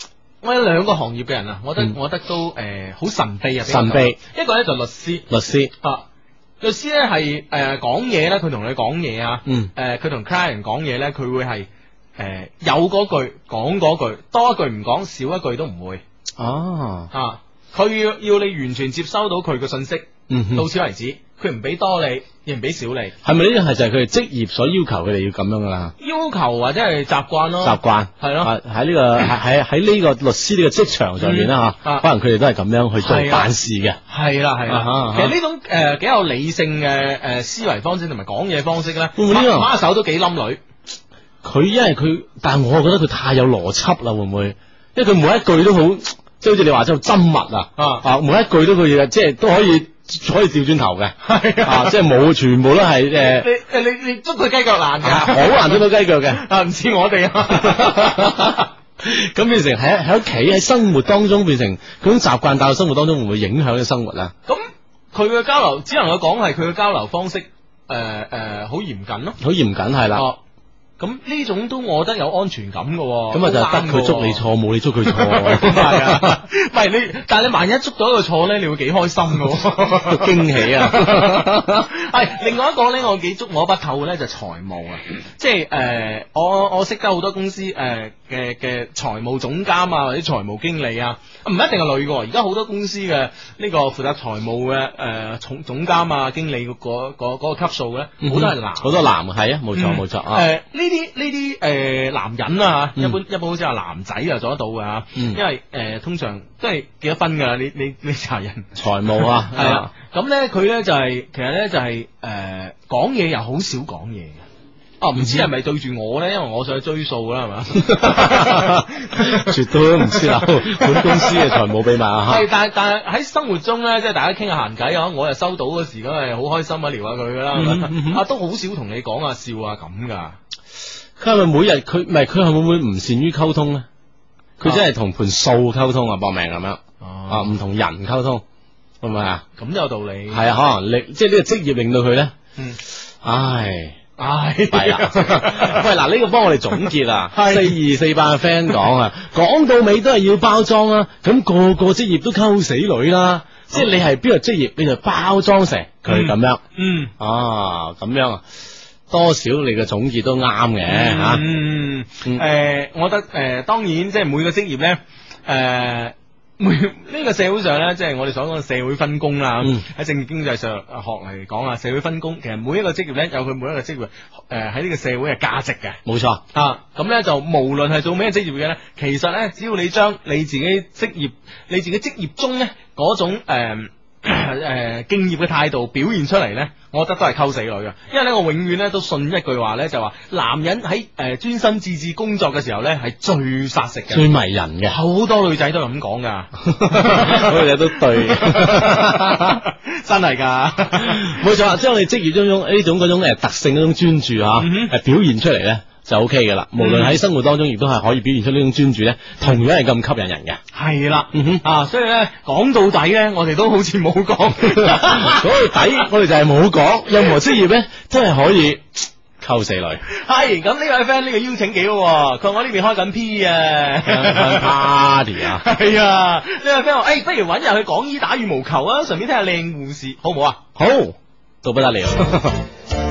我有兩個行業嘅人啊，我覺得都好神秘啊， 神秘。 一個咧就律師啊，律師咧係講嘢咧，佢同你講嘢啊，佢同 client 講嘢咧，佢會係有嗰句講嗰句，多一句唔講，少一句都唔會。佢要你完全接收到佢嘅信息，到此為止，佢唔俾多你，亦唔俾少你。係咪呢樣係就係佢哋職業所要求佢哋要咁樣噶啦？要求或者係習慣咯，習慣係咯。喺呢個喺呢個律師呢個職場上面啦吓，可能佢哋都係咁樣去做辦事嘅。係啦，其實呢種幾有理性嘅思維方式同埋講嘢方式咧，馬手都幾冧女。佢因為佢，但係我覺得佢太有邏輯啦，會唔會？因為佢每一句都好。即係好似你話真係針密每一句都佢嘢，即係都可以調轉頭嘅，即係冇全部都係你捉佢雞腳難嘅，好難捉到雞腳嘅，唔似我哋咁變成喺屋企喺生活當中變成嗰種習慣，但係生活當中會唔會影響嘅生活啊？咁佢嘅交流只能夠講係佢嘅交流方式好嚴謹咯，好嚴謹係啦。咁呢種都我覺得有安全感嘅，咁啊就得佢捉你錯，冇你捉佢錯，係啊，唔係你，但係你萬一捉到一個錯咧，你會幾開心嘅，驚喜啊！係另外一個咧，我幾捉摸不透嘅咧就財務啊，即係我識得好多公司嘅財務總監啊，或者財務經理啊，唔一定係女嘅，而家好多公司嘅呢個負責財務嘅總監啊、經理嗰個級數咧，好多係男，好多男係啊，冇錯啊，呢啲男人啊，一般好似話男仔就做得到噶，因為通常都係幾多分噶，你查人財務啊，係啊，咁咧佢咧就係其實咧就係講嘢又好少講嘢嘅。唔知係咪對住我咧？因為我想去追數啦，係嘛？絕對都唔知啦，本公司嘅財務秘密啊！係，但係喺生活中咧，即係大家傾下閒偈啊，我又收到嗰時，咁係好開心啊，聊下佢噶啦，都好少同你講下笑啊咁噶。佢係咪每日佢係會唔會唔善於溝通咧？佢真係同盤數溝通啊，搏命咁樣唔同人溝通，係咪啊？咁有道理。係啊，可能即係呢個職業令到佢咧，係啦，喂嗱，呢個幫我哋總結啊，4248嘅 friend 講啊，講到尾都係要包裝啦，咁個個職業都溝死女啦，即係你係邊個職業，你就包裝成佢咁樣，咁樣啊，多少你嘅總結都啱嘅吓，我覺得當然即係每個職業咧，呢個社會上咧，即係我哋所講嘅社會分工啦。喺政治經濟上學嚟講啊，社會分工其實每一個職業咧有佢每一個職業喺呢個社會嘅價值嘅。冇錯啊，咁咧就無論係做咩職業嘅咧，其實咧只要你將你自己職業中咧嗰種敬業嘅態度表現出嚟咧，我覺得都係溝死女嘅。因為咧，我永遠咧都信一句話咧，就話男人喺專心致志工作嘅時候咧，係最殺食嘅，最迷人嘅。好多女仔都係咁講噶，好多女仔都對，真係噶，冇錯。將你職業中呢種嗰種特性嗰種專注表現出嚟咧，就 OK 嘅啦。無論喺生活當中，亦都係可以表現出呢種專注咧，同樣係咁吸引人嘅。係啦，所以咧講到底咧，我哋都好似冇講。講到底，我哋就係冇講。任何職業咧，真係可以溝死女。係咁，呢位 friend 呢個邀請幾好，佢話我呢邊開緊 P 啊 party 啊。係啊，呢位 friend 話不如搵日去廣醫打羽毛球啊，順便聽下靚護士，好唔好啊？好，到不得了。